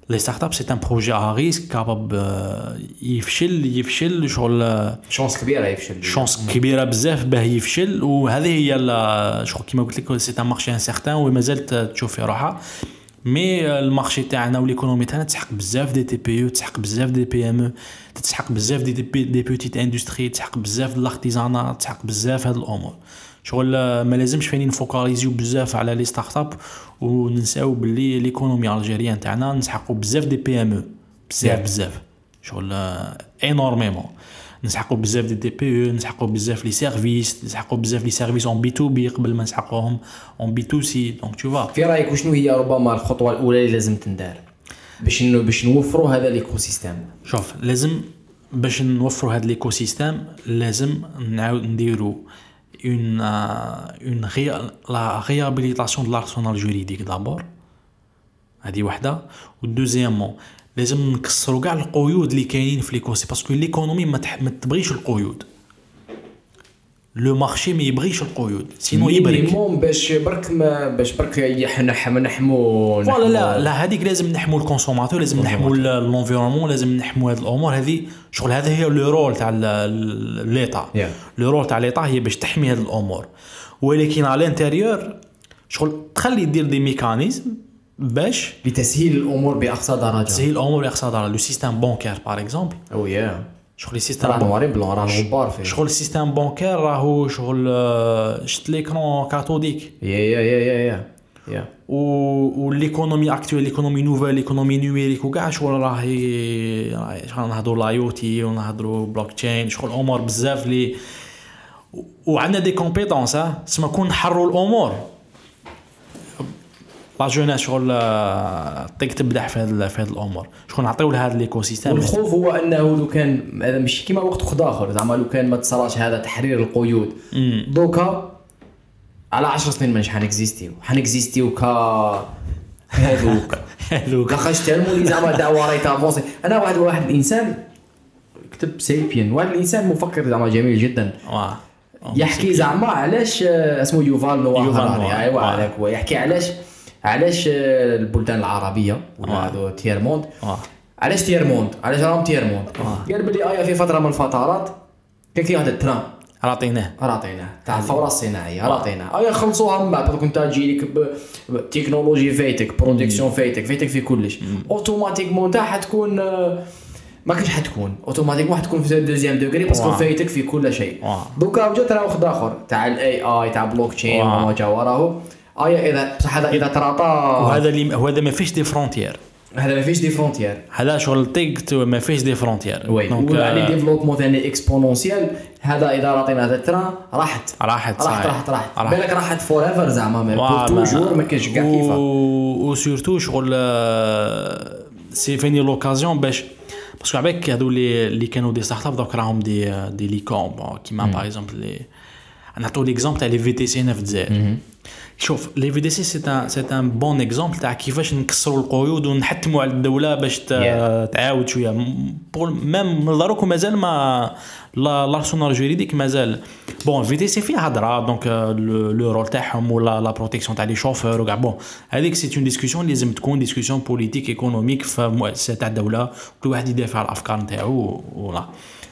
لي ستارت اب سي ان بروجي ا ريسك كاباب يفشل يفشل شغل شانس كبيره يفشل شانس كبيره بزاف باه يفشل. وهذه هي شغل كيما قلت لك سي ان مارشي انسيغتان ومازالت تشوف في روحها. مي المارشي تاعنا والايكونومي تاعنا تسحق بزاف دي تي بي يو تسحق بزاف دي بي ام او تسحق بزاف دي دي, دي بوتيت اندستري تسحق بزاف د الارتيزانات تسحق بزاف هاد الامور. شغل ما لازمش فين نفوكاليزيو بزاف على لي ستارت اب وننساو باللي ليكونومي الجيريان تاعنا نسحقوا بزاف دي بي ام او بزاف بزاف شغل انورميمون نسحقوا بزاف دي دي بي او نسحقوا بزاف لي سيرفيس نسحقوا بزاف لي سيرفيس اون بي تو بي قبل ما نسحقوهم اون بي تو سي. دونك تو فا في رايك وشنو هي ربما الخطوه الاولى اللي لازم تندار باش انه باش نوفروا هذا الايكو سيستيم؟ شوف لازم باش نوفروا هذا الايكو سيستيم لازم نعاود نديروا une euh, une ré, la réhabilitation de l'arsenal juridique d'abord هذه واحده. ودوزيامون لازم نكسروا كاع القيود اللي كاينين في ليكوسي باسكو ليكونومي ما, تح... ما تبغيش القيود. لو مارشي ما يبغيش القيود سينو يبرك مينيموم باش برك ما باش برك يحنا نحمو لا لا لا هذيك لازم نحمو الكونسوماتور لازم نحمو الانفيرونمون لازم نحمو هذه الامور هذه شغل. هذا هي لو رول تاع ليطا لو رول تاع ليطا هي باش تحمي هذه الامور. ولكن على الانتيريور شغل تخلي دير دي ميكانيزم باش لتسهيل الامور باقصى درجه تسهيل الامور باقصى درجه. لو سيستيم بانكير باغ اكزومبل او يا شغل السيستم نواري بلون راه غبار فيه شغل السيستم بانكير راهو شغل شت ليكرون كاتوديك يا يا يا يا يا و والايكونومي اكطوال الايكونومي نوفيل الايكونومي نيميريك وكاع شغل راهي شغل نهضروا لايوتي ونهضروا بلوك تشين شغل امور بزاف لي وعندنا دي كومبيتونس ها تسمى كون نحروا الامور لا جوناس شغل طيق تبدع في هذه في هذه الامور شغل نعطيو لهذا الايكو سيستم. والخوف هو انه لو كان هذا ماشي كيما وقت خد اخر زعما لو كان ما تصراش هذا تحرير القيود دوكا على عشر سنين مانيش حنكزيستيو حنكزيستيو ك هذوك هذوك لاخاطش تالمو لي زعما دعوه راهي تافونسي. انا واحد واحد الانسان كتب سيبيان واحد الانسان مفكر زعما جميل جدا واه يحكي زعما علاش اسمه يوفال نواه هراري ايوا عليك هو يحكي علاش علاش البلدان العربيه ولا هذو تيرموند علاش تيرموند علاش راهم تيرموند قال بلي ايا في فتره من الفترات كان كاين هذا التران عطيناه عطيناه تاع الثوره الصناعيه عطيناه ايا خلصوها من بعد كنت تجي لك بتكنولوجي فايتك برودكسيون فايتك فايتك في كلش اوتوماتيكمون تاع حتكون ما كاش حتكون اوتوماتيكمون حتكون في دوزيام دوغري باسكو فايتك في كل شيء. دوكا جات راه واحد اخر تاع الاي اي تاع بلوك تشين وما جا وراه ايا اذا بصح هذا اذا تراطا وهذا اللي هذا ما فيش دي فرونتيير هذا ما فيش دي فرونتيير هذا شغل طيق ما فيش دي فرونتيير دونك يعني ديفلوبمون ثاني اكسبونونسيال. هذا اذا عطينا هذا التران راحت راحت راحت راحت راحت بالك راحت فور ايفر زعما ما توجور ما كاينش كاع كيفاه و سورتو شغل سي فيني لوكازيون باش باسكو عباك هذو اللي اللي كانوا دي ستارت اب دوك راهم دي دي ليكوم كيما باغ اكزومبل لي نعطيو ليكزومبل تاع لي في تي سي هنا في الجزائر. شوف لي في دي سي سي ان سي ان بون اكزومبل تاع كيفاش نكسروا القيود ونحتموا على الدوله باش تعاود شويه ميم من داروك مازال ما لارسونال جوريديك مازال بون في تي سي فيها هضره دونك لو رول تاعهم ولا لا بروتيكسيون تاع لي شوفور وكاع بون هذيك سي اون ديسكوسيون لازم تكون ديسكوسيون بوليتيك ايكونوميك في مؤسسه تاع الدوله كل واحد يدافع على الافكار نتاعو ولا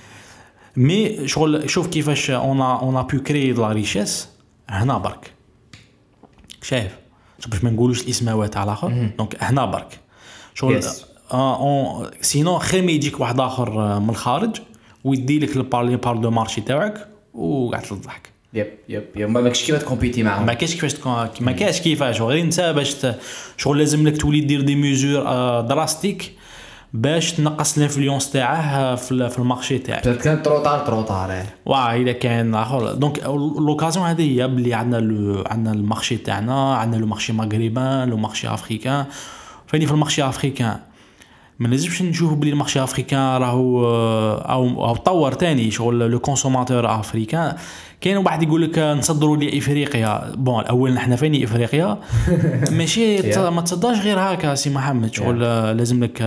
مي شغل شوف كيفاش اون اون ا بو كريي لا ريشيس هنا برك شايف باش ما نقولوش الاسماوات على الاخر دونك هنا برك شغل اه سينو خير ما يجيك واحد اخر من الخارج ويدي لك البارلي بار دو مارشي تاعك وقاعد تضحك يب يب يب ما كاينش كيفاش تكومبيتي معاهم ما كاينش كيفاش ما كاينش كيفاش غير انت باش شغل لازم لك تولي دير دي ميزور دراستيك باش تنقص الانفلونس تاعه في في المارشي تاعك كان تروطار تروطار واه الا كان اخر دونك لوكازيون هذه هي بلي عندنا عندنا المارشي تاعنا عندنا لو مارشي مغربان لو مارشي افريكان فاني في المارشي افريكان ما لازمش نشوفوا بلي المارشي افريكان راهو او او طور تاني شغل لو كونسوماتور افريكان كاين واحد يقول لك نصدروا لي افريقيا بون الاول نحن فين افريقيا ماشي ما تصدرش غير هكا سي محمد شغل لازم لك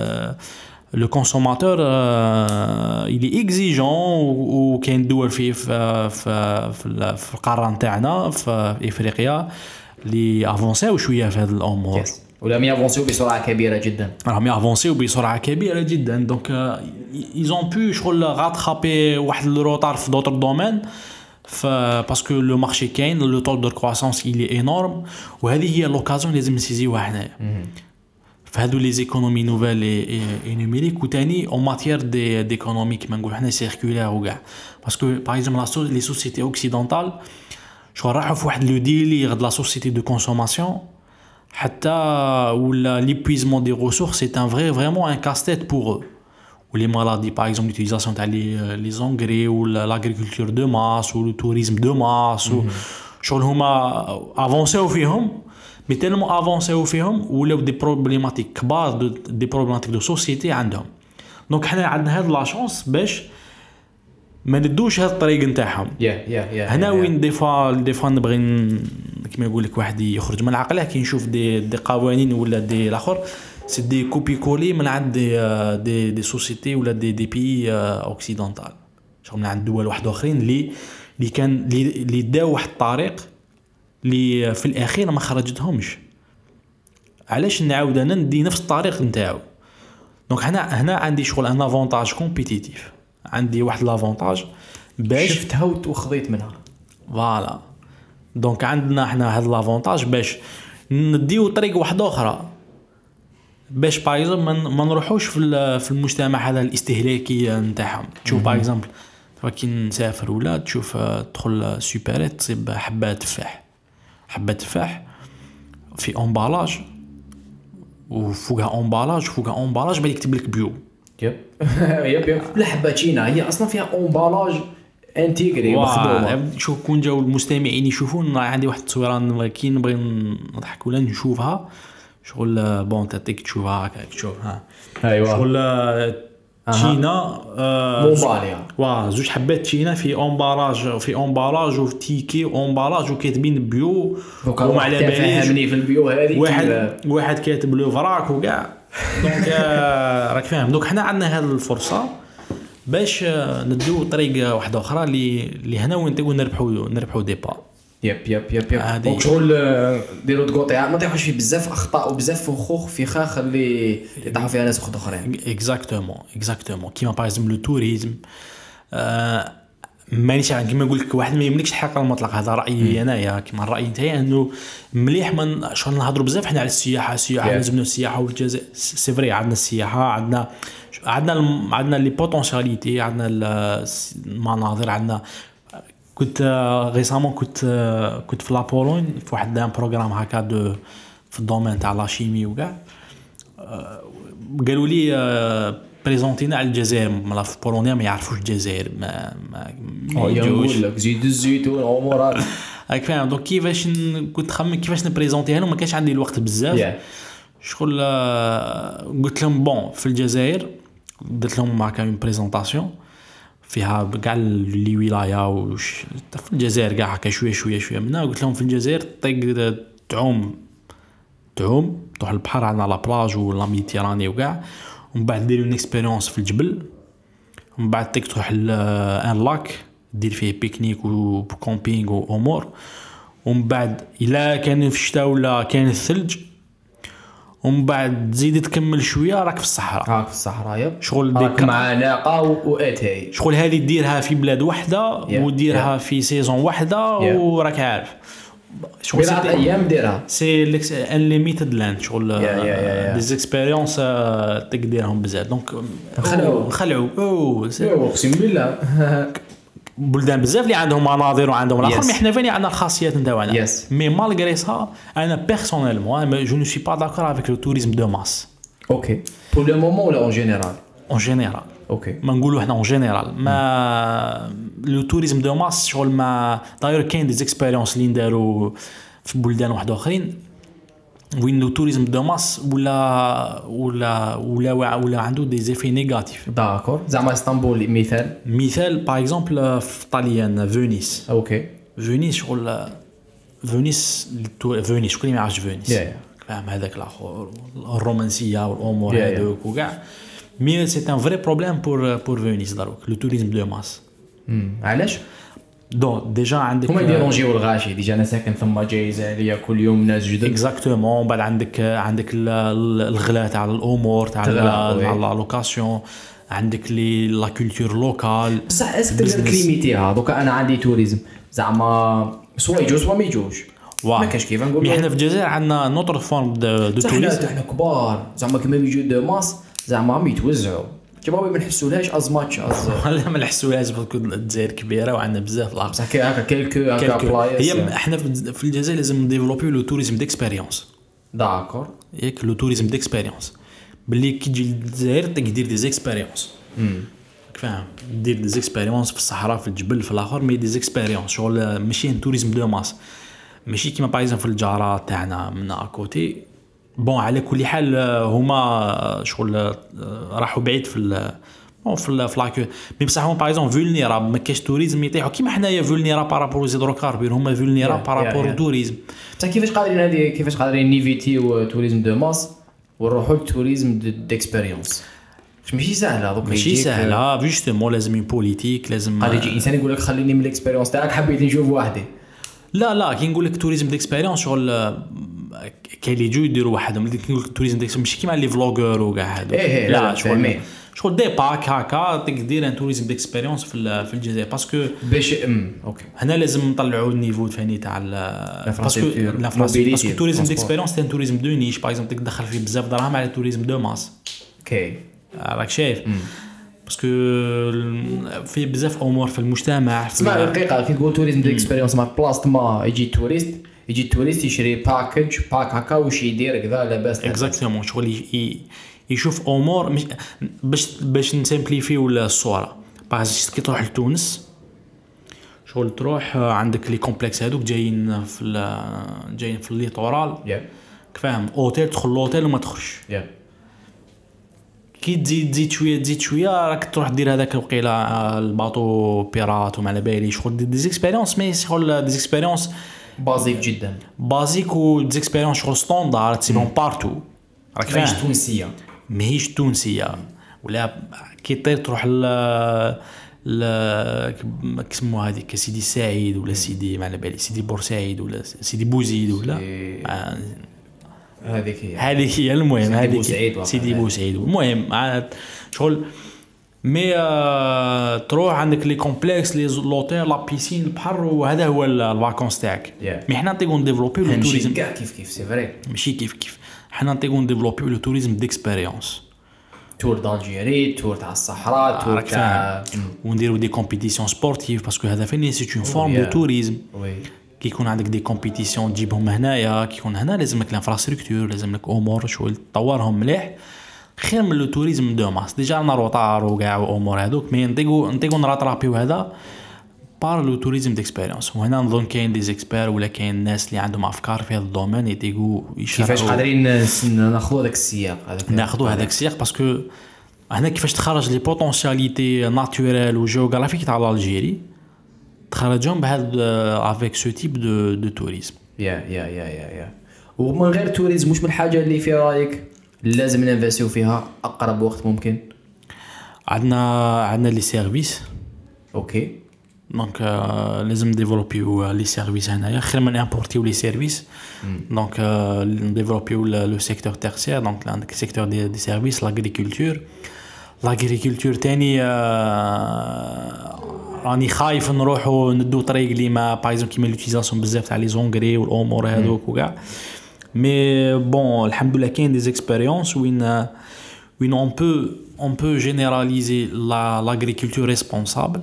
لو كونسوماتور اللي اكزيجون وكاين دول في في في في القاره نتاعنا في افريقيا اللي افونساو شويه في هذه الامور ولا يافونسيو بسرعه كبيره جدا راهم يافونسيو بسرعه كبيره جدا دونك ايزون بو شغل غاتخابي واحد الروتار في دوطر دومين ف باسكو لو مارشي كاين لو طول دو كرواسونس il est énorme وهذه هي لوكازيون لازم نسيزيوها حنايا فهادو لي زيكونومي نوفيل اي نوميريك وثاني اون ماتيير دي ديكونومي كيما نقولوا حنا سيركولير وكاع باسكو باغ اكزومبل لي سوسيتي اوكسيدونتال شو راحوا في واحد لو ديلي غد لا سوسيتي دو كونسوماسيون حتى ولا ليبويزمون دي ريسورس سي ان فري فريمون ان كاستيت بور eux ou les maladies par exemple l'utilisation تاع les engrais ou l'agriculture de masse ou le tourisme de masse ou شغل هما افونسيو فيهم مي تالمون افونسيو فيهم ولاو دي بروبليماتيك كبار دي بروبليماتيك دو سوسيتي عندهم دونك حنا عندنا هاد لا شانس باش ما ندوش هاد الطريق نتاعهم هنا وين دي فوا دي فوا نبغي كيما يقول لك واحد يخرج من عقله كي نشوف دي دي قوانين ولا دي الاخر سي دي كوبي كولي من عند دي دي, دي سوسيتي ولا دي دي بي اوكسيدونتال شغل من عند دول واحد اخرين اللي اللي كان اللي داو واحد الطريق اللي في الاخير ما خرجتهمش علاش نعاود انا ندي نفس الطريق نتاعو دونك هنا هنا عندي شغل ان افونتاج كومبيتيتيف عندي واحد لافونتاج باش شفتها وخذيت منها فوالا دونك عندنا احنا هذا لافونتاج باش نديو طريق واحده اخرى باش باغ اكزومبل ما نروحوش في في المجتمع هذا الاستهلاكي نتاعهم تشوف باغ اكزومبل كي نسافر ولا تشوف تدخل سوبرات تصيب حبه تفاح حبه تفاح في امبالاج وفوقها امبالاج فوقها امبالاج بغا يكتب لك بيو يب يب يب الحبه تشينا هي اصلا فيها امبالاج انتيغري مخدومه شوف كون جاو المستمعين يشوفون عندي واحد التصويره كي نبغي نضحك ولا نشوفها شغل بون تاتيك تشوفها هكاك تشوف ها ايوا شغل تشينا موباليا وا زوج حبات تشينا في امبالاج في امبالاج وفي تيكي امبالاج وكاتبين بيو وما على باليش في البيو هذه واحد واحد كاتب لو فراك وكاع دونك راك فاهم دونك حنا عندنا هذه الفرصه باش ندو طريق واحده اخرى اللي اللي هنا وين تقول نربحوا نربحوا دي با يب يب يب يب وشغل ديروا تقطيع ما طيحوش فيه بزاف اخطاء وبزاف فخوخ فخاخ اللي يطيحوا فيها ناس اخرين اكزاكتومون اكزاكتومون كيما باغ اكزومبل لو توريزم آه مانيش كيما نقول لك واحد ما يملكش الحق المطلق هذا رايي انايا كيما الراي نتاعي انه مليح من شغل نهضروا بزاف حنا على السياحه السياحه yeah. لازم السياحه والجزائر سي فري عندنا السياحه عندنا عندنا عندنا لي بوتونسياليتي عندنا المناظر عندنا كنت ريسامون كنت كنت في لابولون في واحد ان بروغرام هكا دو في الدومين تاع لا شيمي وكاع قالوا لي بريزونتينا على الجزائر ملا في بولونيا ما يعرفوش الجزائر ما ما يجوش لك زيد الزيتون امورات هاك فاهم دونك كيفاش كنت خمم كيفاش نبريزونتيها لهم ما كانش عندي الوقت بزاف شغل قلت لهم بون في الجزائر درت لهم هكا اون بريزونطاسيون فيها كاع لي ولايه وش في الجزائر كاع هكا شويه شويه شويه منها قلت لهم في الجزائر طيق تعوم تعوم تروح البحر عندنا لا بلاج ولا ميديتيراني وكاع ومن بعد دير اون اكسبيريونس في الجبل ومن بعد طيق تروح ان لاك دير فيه بيكنيك وكومبينغ وامور ومن بعد الا كان في الشتاء ولا كان الثلج ومن بعد تزيد تكمل شويه راك في الصحراء راك في الصحراء يب شغل ديك مع ناقه واتاي شغل هذه ديرها في بلاد واحده وديرها في سيزون واحده وراك عارف شغل ثلاث ايام ديرها سي ان ليميتد لاند شغل دي زيكسبيريونس تقدرهم بزاف دونك نخلعوا نخلعوا او اقسم بالله بلدان بزاف اللي عندهم مناظر وعندهم الاخر مي حنا فاني عندنا الخاصيات نتاعنا مي مالغري سا انا بيرسونيلمون جو نو سوي با داكور افيك لو توريزم دو ماس اوكي بور لو مومون ولا اون جينيرال اون جينيرال اوكي ما نقولوا حنا اون جينيرال ما لو توريزم دو ماس شغل ما داير كاين دي زيكسبيريونس اللي نداروا في بلدان واحد اخرين وين لو توريزم دو ماس ولا ولا ولا ولا عنده دي زيفي نيجاتيف داكور زعما اسطنبول مثال مثال باغ اكزومبل في طاليان فينيس اوكي فينيس شغل فينيس فينيس شكون ما يعرفش فينيس فاهم هذاك الاخر الرومانسيه والامور هذوك وكاع مي سي ان فري بروبليم بور بور فينيس دروك لو توريزم دو ماس علاش دون ديجا عندك هما يديرونجيو الغاشي ديجا انا ساكن ثم جايزه عليا كل يوم ناس جدد اكزاكتومون. بعد عندك عندك الغلاء تاع الامور تاع لا لوكاسيون، عندك لي لا كولتور لوكال. بصح اسك تقدر كليميتيها دوكا انا عندي توريزم زعما سوا يجوز سوا ما يجوش ما كاش كيف نقول. احنا في الجزائر عندنا نوتر فورم دو توريزم، احنا كبار زعما كيما يجوا دو ماس زعما هم يتوزعوا كيما ما نحسولهاش از ماتش از لا ما نحسولهاش باسكو الجزائر كبيره وعندنا بزاف لاصق بصح هكا كيلكو هكا بلايص. هي احنا في الجزائر لازم نديفلوبيو لو توريزم ديكسبيريونس. داكور ياك لو توريزم ديكسبيريونس باللي كي تجي للجزائر تقدر دي زيكسبيريونس فاهم، دير دي زيكسبيريونس في الصحراء في الجبل في الاخر، مي دي زيكسبيريونس شغل ماشي توريزم دو ماس، ماشي كيما بايزن في الجارات تاعنا من اكوتي. بون على كل حال هما شغل راحوا بعيد في بون في في لاكو مي بصح هما بايزون فولنيراب ما كاش توريزم يطيحوا كيما حنايا فولنيراب بارابور زيدروكاربير، هما فولنيراب بارابور توريزم. بصح كيفاش قادرين هذه كيفاش قادرين نيفيتيو توريزم دو ماس ونروحوا للتوريزم ديكسبيريونس؟ ماشي سهله دوك ماشي سهله جوستومون لازم بوليتيك لازم قال يجي انسان يقول لك خليني من الاكسبيريونس تاعك حبيت نشوف وحدي. لا لا كي نقول لك توريزم ديكسبيريونس شغل كاين اللي يجوا يديروا وحدهم اللي نقول لك توريزم ديكسبيريونس ماشي كيما لي فلوغور وكاع هادو. إيه لا شغل شغل دي باك هكا تقدر ان توريزم ديكسبيريونس في في الجزائر باسكو باش ام اوكي هنا لازم نطلعوا النيفو ثاني تاع باسكو باسكو توريزم ديكسبيريونس تاع توريزم دو نيش باغ اكزومبل تدخل فيه بزاف دراهم على توريزم دو ماس. اوكي راك شايف باسكو في بزاف امور في المجتمع. اسمع دقيقه كي تقول توريزم ديكسبيريونس مع بلاصه ما يجي توريست يجي توريست يشري باكج باك هكا واش يدير كذا لاباس اكزاكتومون شغل يشوف امور مش باش باش نسامبليفيو الصوره. باش كي تروح لتونس شغل تروح عندك لي كومبلكس هذوك جايين في جايين في الليطورال فاهم اوتيل تدخل لوتيل وما تخرجش كي تزيد تزيد شويه تزيد شويه راك تروح دير هذاك الوقيله الباطو بيرات وما على بالي شغل دي زيكسبيريونس مي شغل دي زيكسبيريونس بازيك جدا بازيك و دي زيكسبيريونس شغل ستاندار تسيبهم بارتو راك فاهم ماهيش تونسيه ماهيش تونسيه ولا كي طير تروح ل ل كسمو هذيك سيدي سعيد ولا سيدي ما على بالي سيدي بورسعيد ولا سيدي بوزيد ولا هذيك هي هذيك هي المهم هذيك سيدي بوسعيد المهم عاد شغل مي آه تروح عندك لي كومبلكس لي لوتيل لا بيسين البحر وهذا هو الفاكونس تاعك. مي حنا نطيقو نديفلوبيو لو توريزم كاع كيف كيف سي فري ماشي كيف كيف حنا نطيقو نديفلوبيو لو توريزم ديكسبيريونس تور دالجيري تور تاع الصحراء تور تاع ونديرو دي كومبيتيسيون سبورتيف باسكو هذا فين سي اون فورم دو توريزم. كي يكون عندك دي كومبيتيسيون تجيبهم هنايا كي يكون هنا لازم لك الانفراستركتور لازم لك امور شويه تطورهم مليح خير من لو توريزم دو ماس. ديجا لنا روطار وكاع وامور هذوك مي نطيقو نطيقو نراطرابيو هذا بار لو توريزم ديكسبيريونس. وهنا نظن كاين دي زيكسبير ولا كاين الناس اللي عندهم افكار في هذا الدومين يطيقو كيفاش قادرين ناخذوا هذاك السياق هذاك ناخذوا هذاك السياق باسكو هنا كيفاش تخرج لي بوتونسياليتي ناتوريل وجيوغرافيك تاع الجيري تخرجهم بهذا افيك سو تيب دو دو توريزم. يا يا يا يا يا ومن غير توريزم واش من حاجه اللي في رايك لازم ننفاسيو فيها اقرب وقت ممكن؟ عندنا عندنا لي سيرفيس اوكي دونك لازم ديفلوبيو لي سيرفيس هنايا خير من امبورتيو لي سيرفيس. دونك نديفلوبيو لو سيكتور تيرسيير دونك عندك سيكتور دي دي سيرفيس لاغريكولتور لاغريكولتور تاني راني خايف نروحو ندو طريق اللي ما بايزون كيما لوتيزاسيون بزاف تاع لي زونغري والامور هذوك وكاع مي بون الحمد لله كاين دي زيكسبيريونس وين وين اون بو اون بو جينيراليزي لا لاغريكولتور ريسبونسابل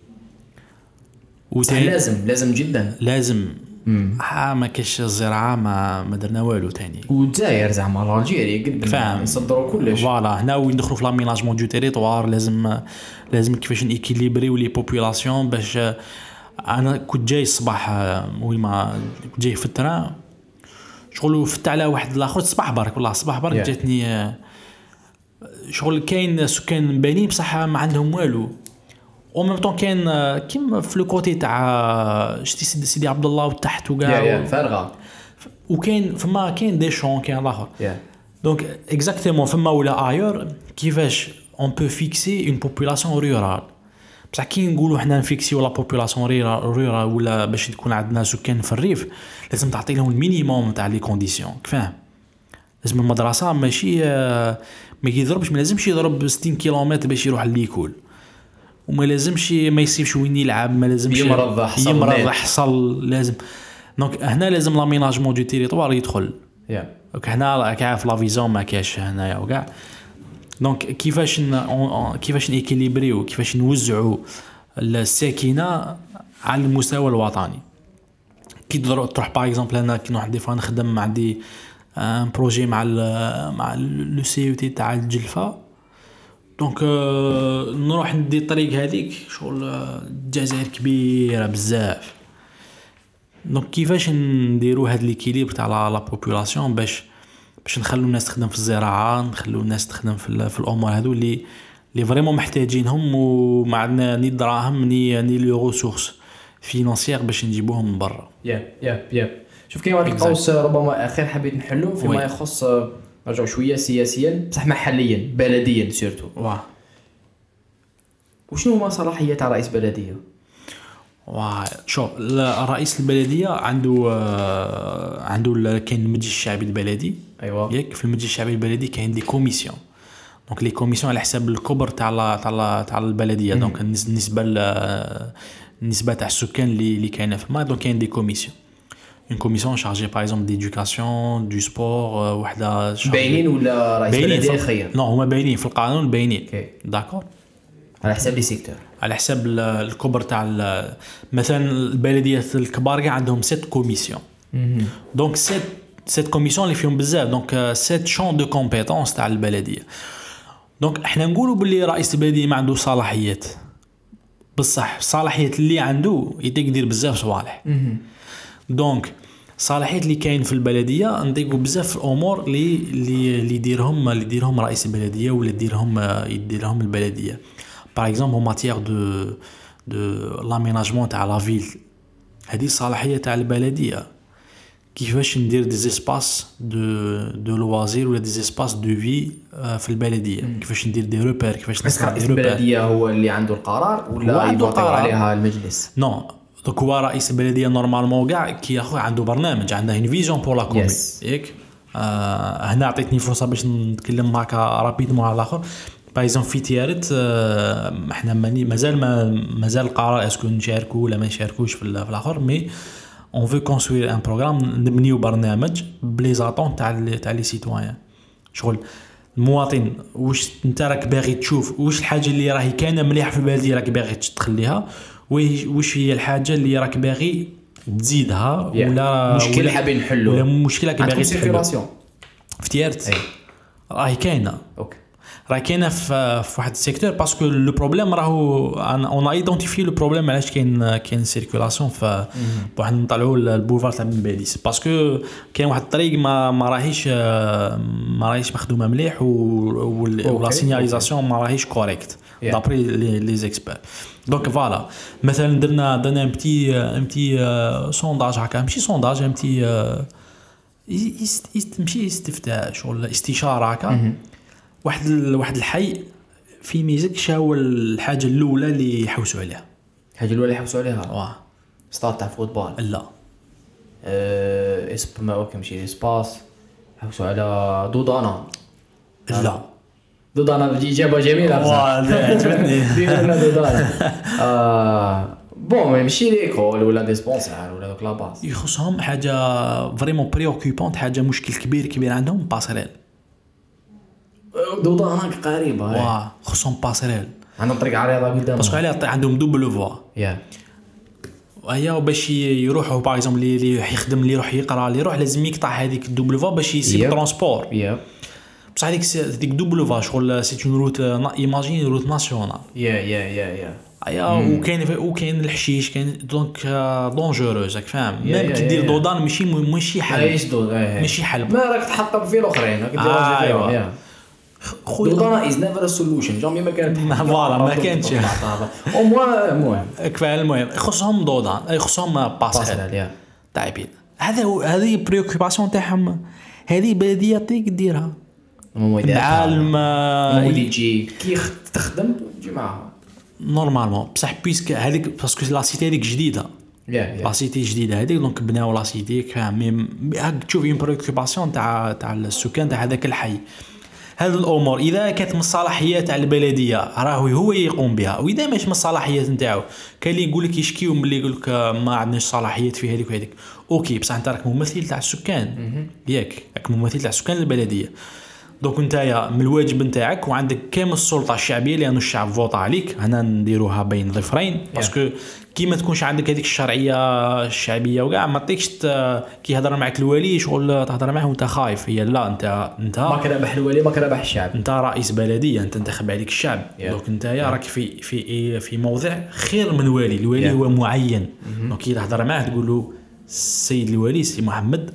لازم لازم جدا لازم ها ما كاش الزراعه ما ما درنا والو ثاني والجزائر زعما الجيري قد نصدروا كلش فوالا هنا وين ندخلوا في لاميناجمون دو تيريتوار لازم لازم كيفاش نيكيليبريو لي بوبولاسيون باش انا كنت جاي الصباح وين ما كنت جاي في التران شغل فت على واحد الاخر الصباح برك والله الصباح برك yeah. جاتني شغل كاين سكان باينين بصح ما عندهم والو او ميم طون كاين كيما في لو كوتي تاع شتي سيدي, سيدي عبد الله وتحت وكاع yeah, yeah, فارغه وكاين فما كاين دي شون كاين الاخر دونك اكزاكتومون فما ولا ايور كيفاش اون بو فيكسي اون بوبولاسيون رورال بصح كي نقولوا حنا نفيكسيو لا بوبولاسيون ريرا ولا باش تكون عندنا سكان في الريف لازم تعطي لهم المينيموم تاع لي كونديسيون فاهم. لازم المدرسه ماشي ما يضربش ما لازمش يضرب ستين كيلومتر باش يروح لليكول وما لازمش ما يسيبش وين يلعب ما لازمش يمرض حصل يمرض حصل لازم دونك هنا لازم لاميناجمون دو تيريتوار يدخل يا دونك هنا كاع في لا فيزون ما كاش هنايا وكاع دونك كيفاش ن... كيفاش نيكيليبريو كيفاش نوزعوا الساكنه على المستوى الوطني. كي تروح باغ اكزومبل انا كي نروح دي فوا نخدم عندي ان بروجي مع ال مع لو سي او تي تاع الجلفه دونك نروح ندي الطريق هذيك شغل الجزائر كبيره بزاف دونك كيفاش نديروا هاد ليكيليبر تاع لا بوبولاسيون باش باش نخلو الناس تخدم في الزراعه نخلو الناس تخدم في, في الامور هذو اللي اللي فريمون محتاجينهم وما عندنا ني دراهم ني ني لي ريسورس فينانسيير باش نجيبوهم من برا. يا يا يا شوف كاين واحد القوس ربما اخير حبيت نحلو فيما يخص نرجعوا شويه سياسيا بصح محليا بلديا سيرتو. واه وشنو هما صلاحيات تاع رئيس بلديه؟ واه شوف رئيس البلديه عنده عنده كاين المجلس الشعبي البلدي ايوا ياك في المجلس الشعبي البلدي كاين دي كوميسيون دونك لي كوميسيون على حساب الكبر تاع تاع تاع البلديه دونك النسبه النسبه تاع السكان اللي اللي كاينه في الماء دونك كاين دي كوميسيون une commission chargée par exemple d'éducation du sport وحده باينين ولا رئيس بلديه خير؟ نو هما باينين في القانون باينين داكور على حساب لي سيكتور على حساب الكبر تاع مثلا البلديات الكبار كاع عندهم ست كوميسيون دونك ست ست كوميسيون اللي فيهم بزاف دونك ست شون دو كومبيتونس تاع البلديه دونك احنا نقولوا باللي رئيس البلديه ما عنده صلاحيات بصح الصلاحيات اللي عنده يقدر بزاف صوالح دونك صلاحيات اللي كاين في البلديه نطيقوا بزاف الامور اللي اللي يديرهم اللي يديرهم رئيس البلديه ولا يديرهم يديرهم البلديه باغ اكزومبل en matière de de l'aménagement تاع لا فيل هذه صلاحيه تاع البلديه كيفاش ندير دي اسباس دو دو لوازير ولا دي اسباس دو في في البلديه كيفاش ندير دي روبير كيفاش نصنع دي روبير البلديه هو اللي عنده القرار ولا يبطل عليها المجلس نو دونك هو رئيس البلديه نورمالمون كاع كي اخو عنده برنامج عنده une فيزيون بور لا كومين ياك آه هنا عطيتني فرصه باش نتكلم معك رابيدمون على الاخر بايزون في تيارت آه احنا مازال ما مازال القرار اسكو نشاركوا ولا ما نشاركوش في الاخر مي اون فو كونستروير ان بروغرام نبنيو برنامج بلي زاتون تاع تاع لي سيتويان شغل المواطن واش انت راك باغي تشوف واش الحاجه اللي راهي كاينه مليحه في البلديه راك باغي تخليها واش هي الحاجه اللي راك باغي تزيدها ولا مشكله حابين نحلوا ولا مشكله باغي تحلوا في تيارت راهي كاينه اوكي راه كاينه في واحد السيكتور باسكو لو بروبليم راهو اون ايدونتيفي لو بروبليم علاش كاين كاين سيركولاسيون ف واحد نطلعوا البوفار تاع بن باديس باسكو كاين واحد الطريق ما ما راهيش ما راهيش مخدومه مليح ولا سينياليزاسيون ما راهيش كوريكت دابري لي زيكسبير دونك فوالا مثلا درنا درنا ان بتي ان بتي سونداج هكا ماشي سونداج ان بتي ماشي استفتاء شغل استشاره هكا واحد واحد الحي في ميزك شاو الحاجه الاولى اللي يحوسوا عليها الحاجه الاولى اللي يحوسوا عليها واه ستاد تاع فوتبول لا اه اسم ما كمشي سباس يحوسوا على دودانا لا دودانا بجي اجابه جميله بصح عجبتني دينا دودانا اه بون ماشي ليكول ولا ديسبونسار ولا دوك لا باس يخصهم حاجه فريمون بريوكوبونت حاجه مشكل كبير كبير عندهم باسريل دودانك قريبه واه خصهم باسريل عندهم طريق عريضه قدام باسكو عليها عندهم دوبل فوا يا وهي باش يروحوا باغ اكزومبل اللي يخدم اللي يروح يقرا اللي يروح لازم يقطع هذيك الدوبل فوا باش يسيب ترونسبور يا بصح هذيك هذيك دوبل فوا شغل سي اون روت ايماجين روت ناسيونال يا يا يا يا ايا وكاين وكاين الحشيش كاين دونك دونجوروز راك فاهم ميم كي دير دودان ماشي ماشي حل ماشي حل ما راك تحطم في الاخرين راك دير فيهم خويا دودانا از نيفر ا سوليوشن جامي ما كانت فوالا ما كانتش او موا المهم كفايه المهم خصهم دودان خصهم باسريل طيبين هذا هذه بريوكوباسيون تاعهم هذه بلديه تيك ديرها مع العالم اللي يجي كي تخدم تجي معاها نورمالمون بصح بيسك هذيك باسكو لا سيتي هذيك جديده لا سيتي جديده هذيك دونك بناو لا سيتي كامل تشوف اون بريوكوباسيون تاع تاع السكان تاع هذاك الحي. هذه الامور اذا كانت من الصلاحيات تاع البلديه راهو هو يقوم بها، واذا ماشي من الصلاحيات نتاعو كاين اللي يقول لك يشكيو ملي يقول لك ما عندناش صلاحيات في هذيك وهذيك. اوكي بصح انت راك ممثل تاع السكان ياك راك ممثل تاع سكان البلديه، دونك نتايا من الواجب نتاعك وعندك كامل السلطه الشعبيه لانه الشعب فوطا عليك. هنا نديروها بين ظفرين باسكو كي ما تكونش عندك هذيك الشرعيه الشعبيه وكاع ما تيكش كي يهضر معك الولي شغل تهضر معه وانت خايف. هي لا انت انت ما كربح الولي ما كربح الشعب، انت رئيس بلديه انت انتخب عليك الشعب yeah. دونك نتايا راك في في في موضع خير من الولي. الولي yeah. هو معين دونك كي تهضر معه تقول له السيد الولي سي محمد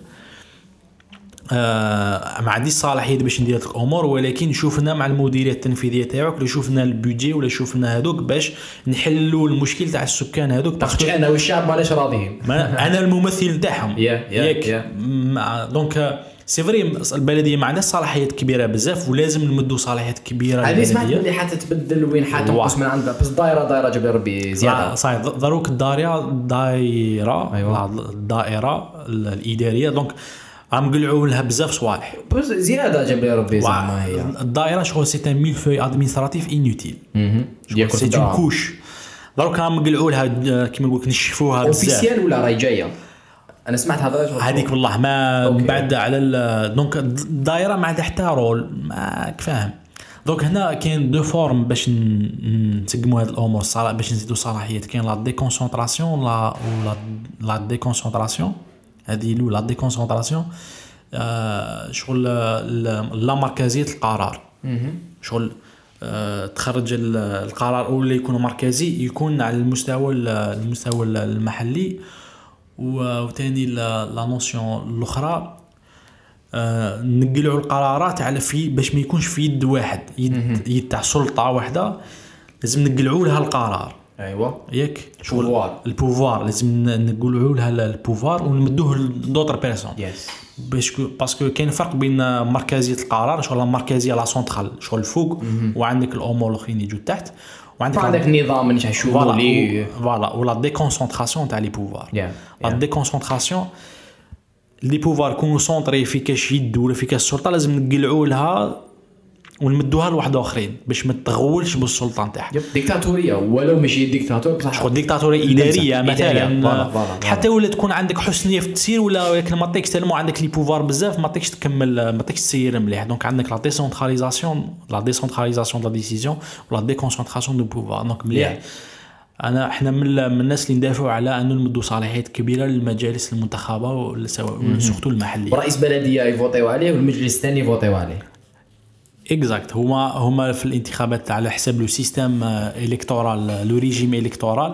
آه ما عنديش صلاحيه باش ندير لك الامور، ولكن شوفنا مع المديريه التنفيذيه تاعك ولا شوفنا البودجي ولا شوفنا هذوك باش نحلوا المشكل تاع السكان هذوك. باش انا والشعب ماناش راضيين انا الممثل نتاعهم ياك دونك سي فري البلديه ما عندهاش صلاحيات كبيره بزاف ولازم نمدوا صلاحيات كبيره. هذه سمعت اللي حتى تبدل وين حتنقص من عندها بس دايره دايره جاب ربي زياده صحيح ضروك الدائره دائره أيوة. الدائره الاداريه دونك عم قلعوا لها بزاف صوالح بس زياده جاب لي ربي زعما هي الدائره شغل سي ان ميلفوي ادمينستراتيف انوتيل سي اون كوش دروك عم قلعوا لها كيما نقول لك نشفوها بزاف اوفيسيال ولا راهي جايه. انا سمعت هذا هذيك والله ما بعد على دونك الدائره ما عندها حتى رول ما فاهم. دونك هنا كاين دو فورم باش نسقموا هذه الامور الصراحه باش نزيدوا صلاحيات. كاين لا ديكونسونطراسيون لا ولا لا ديكونسونطراسيون هذه الاولى لا ديكونسونطراسيون آه شغل لا مركزيه القرار شغل آه تخرج القرار ولا يكون مركزي يكون على المستوى المستوى المحلي. وثاني لا نوسيون الاخرى آه نقلعوا القرارات على في باش ما يكونش في يد واحد يد, يد تاع سلطه واحده لازم نقلعوا لها القرار. ايوه ياك شغل البوفوار لازم نقولوا لها البوفوار ونمدوه لدوطر بيرسون يس باش باسكو كاين فرق بين مركزيه القرار شغل المركزيه لا سونترال شغل الفوق وعندك الامور الاخرين يجوا تحت وعندك عندك النظام اللي تشوفوا لي فوالا ولا ديكونسونطراسيون تاع لي بوفوار. لا ديكونسونطراسيون لي بوفوار كونوا سونطري في كاش يد ولا في كاش السلطه لازم نقلعوا لها ونمدوها لواحد اخرين باش ما تغولش بالسلطه نتاعها. ديكتاتوريه ولو ماشي ديكتاتور بصح شغل ديكتاتوريه اداريه مثلا حتى ولا تكون عندك حسن نيه في التسيير ولا ولكن ما تيكش تلمو عندك لي بوفوار بزاف ما تيكش تكمل ما تيكش تسير مليح. دونك عندك لا ديسونتراليزاسيون لا ديسونتراليزاسيون دو لا ديسيزيون ولا ديكونسونطراسيون دو بوفوار. دونك مليح انا احنا من, من الناس اللي ندافعوا على انه نمدوا صلاحيات كبيره للمجالس المنتخبه وسواء سورتو المحليه. رئيس بلديه يفوتيو عليه والمجلس الثاني يفوتيو عليه اكزاكت. هما هما في الانتخابات على حساب لو سيستيم الكتورال لو ريجيم الكتورال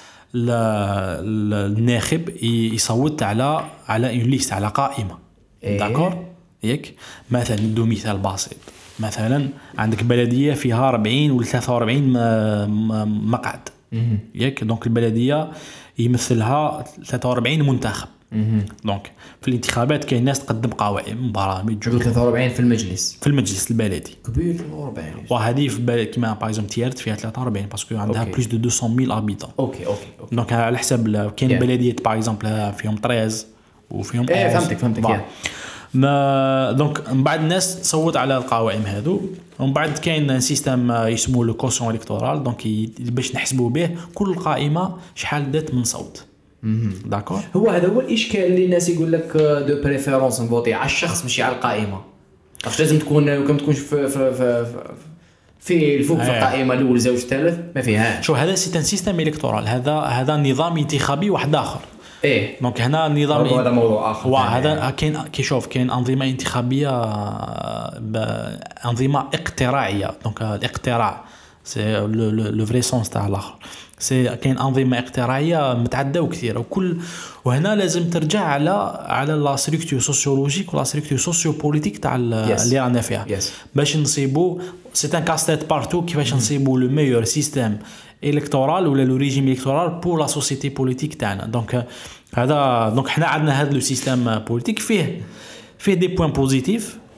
الناخب يصوت على على اون ليست على قائمه داكور ياك. مثلا ندو مثال بسيط مثلا عندك بلديه فيها أربعين ولا ثلاثة وأربعين مقعد ياك دونك البلديه يمثلها ثلاثة وأربعين منتخب. دونك في الانتخابات كاين ناس تقدم قوائم برامج ثلاثة وأربعين في المجلس في المجلس البلدي كبير ثلاثة وأربعين وهذه في كيما باغ اكزومبل تيارت فيها ثلاثة وأربعين باسكو عندها بلوس دو مئتين ألف ابيتون. اوكي اوكي دونك على حساب كاين yeah. بلديات باغ اكزومبل فيهم ثلاثة وفيهم ايه فهمتك فهمتك ما دونك من بعد الناس تصوت على القوائم هذو ومن بعد كاين سيستم يسموه لو كوسيون الكتورال دونك باش نحسبوا به كل قائمه شحال دات من صوت. داكور هو هذا هو الاشكال اللي الناس يقول لك دو بريفيرونس نفوتي على الشخص ماشي على القائمه. واش لازم تكون كم تكونش في في في, في الفوق في القائمه الاولى زوج ثالث ما فيها. شو هذا سيستم سيستم الكتورال هذا هذا نظام انتخابي واحد اخر. ايه دونك هنا نظام هذا موضوع اخر. وهذا كاين كيشوف كاين انظمه انتخابيه انظمه اقتراعيه. دونك الاقتراع سي لو فري سونس تاع الاخر سي كاين انظمه اقتراعيه متعدده وكثيره وكل وهنا لازم ترجع على على لا ستركتور سوسيولوجيك ولا ستركتور سوسيو بوليتيك تاع اللي رانا فيها yes. باش نصيبوا سي ان كاستيت بارتو كيفاش نصيبوا لو ميور سيستيم الكتورال ولا لو ريجيم الكتورال بور لا سوسيتي بوليتيك تاعنا. دونك هذا دونك حنا عندنا هذا لو سيستيم بوليتيك فيه فيه دي بوين بوزيتيف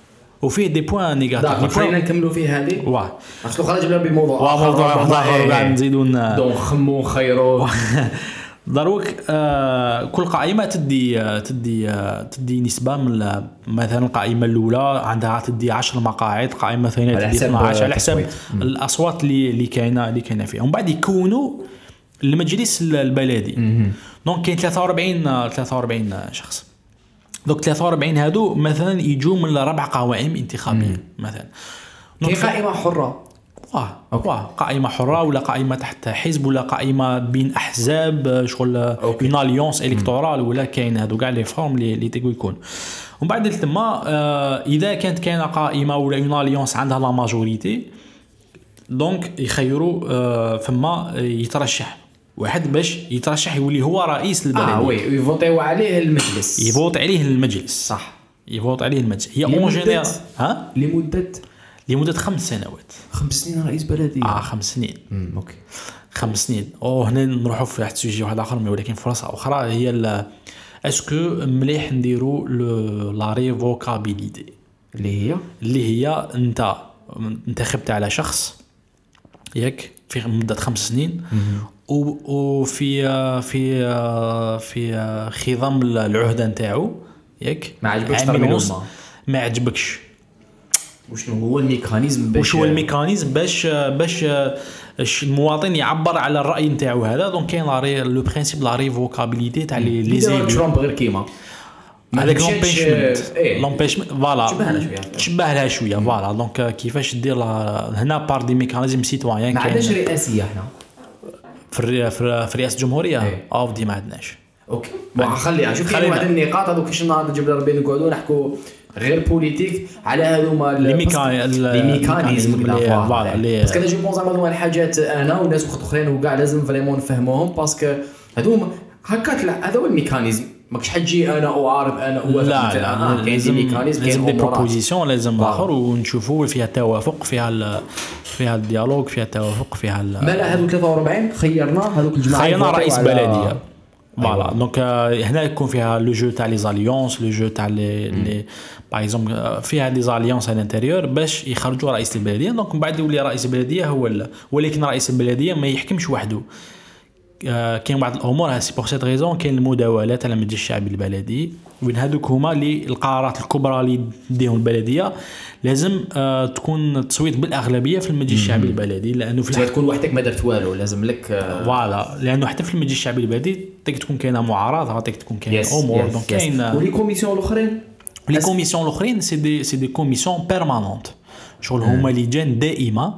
وفيه دي بوين نيجاتيف. خلينا نكملوا فيه هذه واه اصل خرج بلا بموضوع واه موضوع اخر بعد نزيدوا دون خمو خيرو. دروك آه كل قائمه تدي آه تدي آه تدي نسبه من مثلا القائمه الاولى عندها تدي عشر مقاعد، قائمه ثانيه تدي اثنا عشر على حسب الاصوات اللي اللي كاينه اللي كاينه فيها. ومن بعد يكونوا المجلس البلدي. دونك كاين ثلاثة وأربعين ثلاثة وأربعين شخص. دونك ثلاثة وأربعين هادو مثلا يجوا من ربع قوائم انتخابيه مثلا. كاين قائمه حره واه واه قائمه حره ولا قائمه تحت حزب ولا قائمه بين احزاب شغل اون اليونس الكتورال ولا كاين هادو كاع لي فورم اللي اللي تقول يكون. ومن بعد تما آه اذا كانت كاينه قائمه ولا اون اليونس عندها لا ماجوريتي دونك يخيروا آه فما يترشح واحد باش يترشح يولي هو رئيس البلديه. اه وي يفوتيو عليه المجلس، يفوت عليه المجلس صح، يفوت عليه المجلس. هي اون جينيرال ها لمده لمده خمس سنوات. خمس سنين رئيس بلديه. اه خمس سنين. امم اوكي خمس سنين. او هنا نروحوا في واحد السوجي واحد اخر، ولكن فرصه اخرى هي اسكو مليح نديروا لا ريفوكابيليتي اللي هي اللي هي انت انتخبت على شخص ياك في مده خمس سنين وفي في في خضم العهده نتاعو ياك ما عجبكش ترميلو ما عجبكش وشنو هو الميكانيزم باش وش هو الميكانيزم باش باش المواطن يعبر على الراي نتاعو هذا. دونك كاين لو برينسيپ لا ريفوكابيليتي تاع لي لي زيلو ترامب غير كيما هذاك لومبيشمنت لومبيشمنت فوالا تشبه لها شويه تشبه لها شويه فوالا. دونك كيفاش دير هنا بار دي ميكانيزم سيتويان. ما عندناش رئاسيه هنا في في رئاسه الجمهوريه او دي ما عندناش. اوكي خليها شوف كاين واحد النقاط هذوك كاش نهار نجيب ربي نقعدوا نحكوا غير بوليتيك على هذوما لي ميكانيزم فوالا باسكو انا جو بونس زعما هذوما الحاجات انا والناس اخرين وكاع لازم فريمون نفهموهم باسكو هذوما هكاك. لا هذا هو الميكانيزم، ماكش حتجي انا واعرف انا هو لا لا كاين دي ميكانيزم كاين دي بروبوزيسيون لازم اخر ونشوفوا فيها توافق فيها فيها الديالوج فيها التوافق فيها ما لا هذو ثلاثة وأربعين خيرنا هذوك الجماعه خيرنا رئيس بلديه فوالا. دونك هنا يكون فيها لو جو تاع لي زاليونس لو جو تاع لي لي باغ اكزومبل فيها دي زاليونس على الانتيريور باش يخرجوا رئيس البلديه. دونك من بعد يولي رئيس البلديه هو ال... ولكن رئيس البلديه ما يحكمش وحده. آه كاين بعض الامور سي بور سيت ريزون كاين المداولات على المجلس الشعبي البلدي وين هذوك هما اللي القرارات الكبرى اللي تديهم البلديه لازم آه تكون تصويت بالاغلبيه في المجلس الشعبي البلدي. لانه في تكون وحدك ما درت والو لازم لك فوالا آه لانه حتى في المجلس الشعبي البلدي تقدر تكون كاينه معارضه تقدر تكون كاين امور. دونك كاين ولي كوميسيون الاخرين لي كوميسيون الاخرين سي دي سي دي كوميسيون بيرمانونت شغل هما لجان دائمه.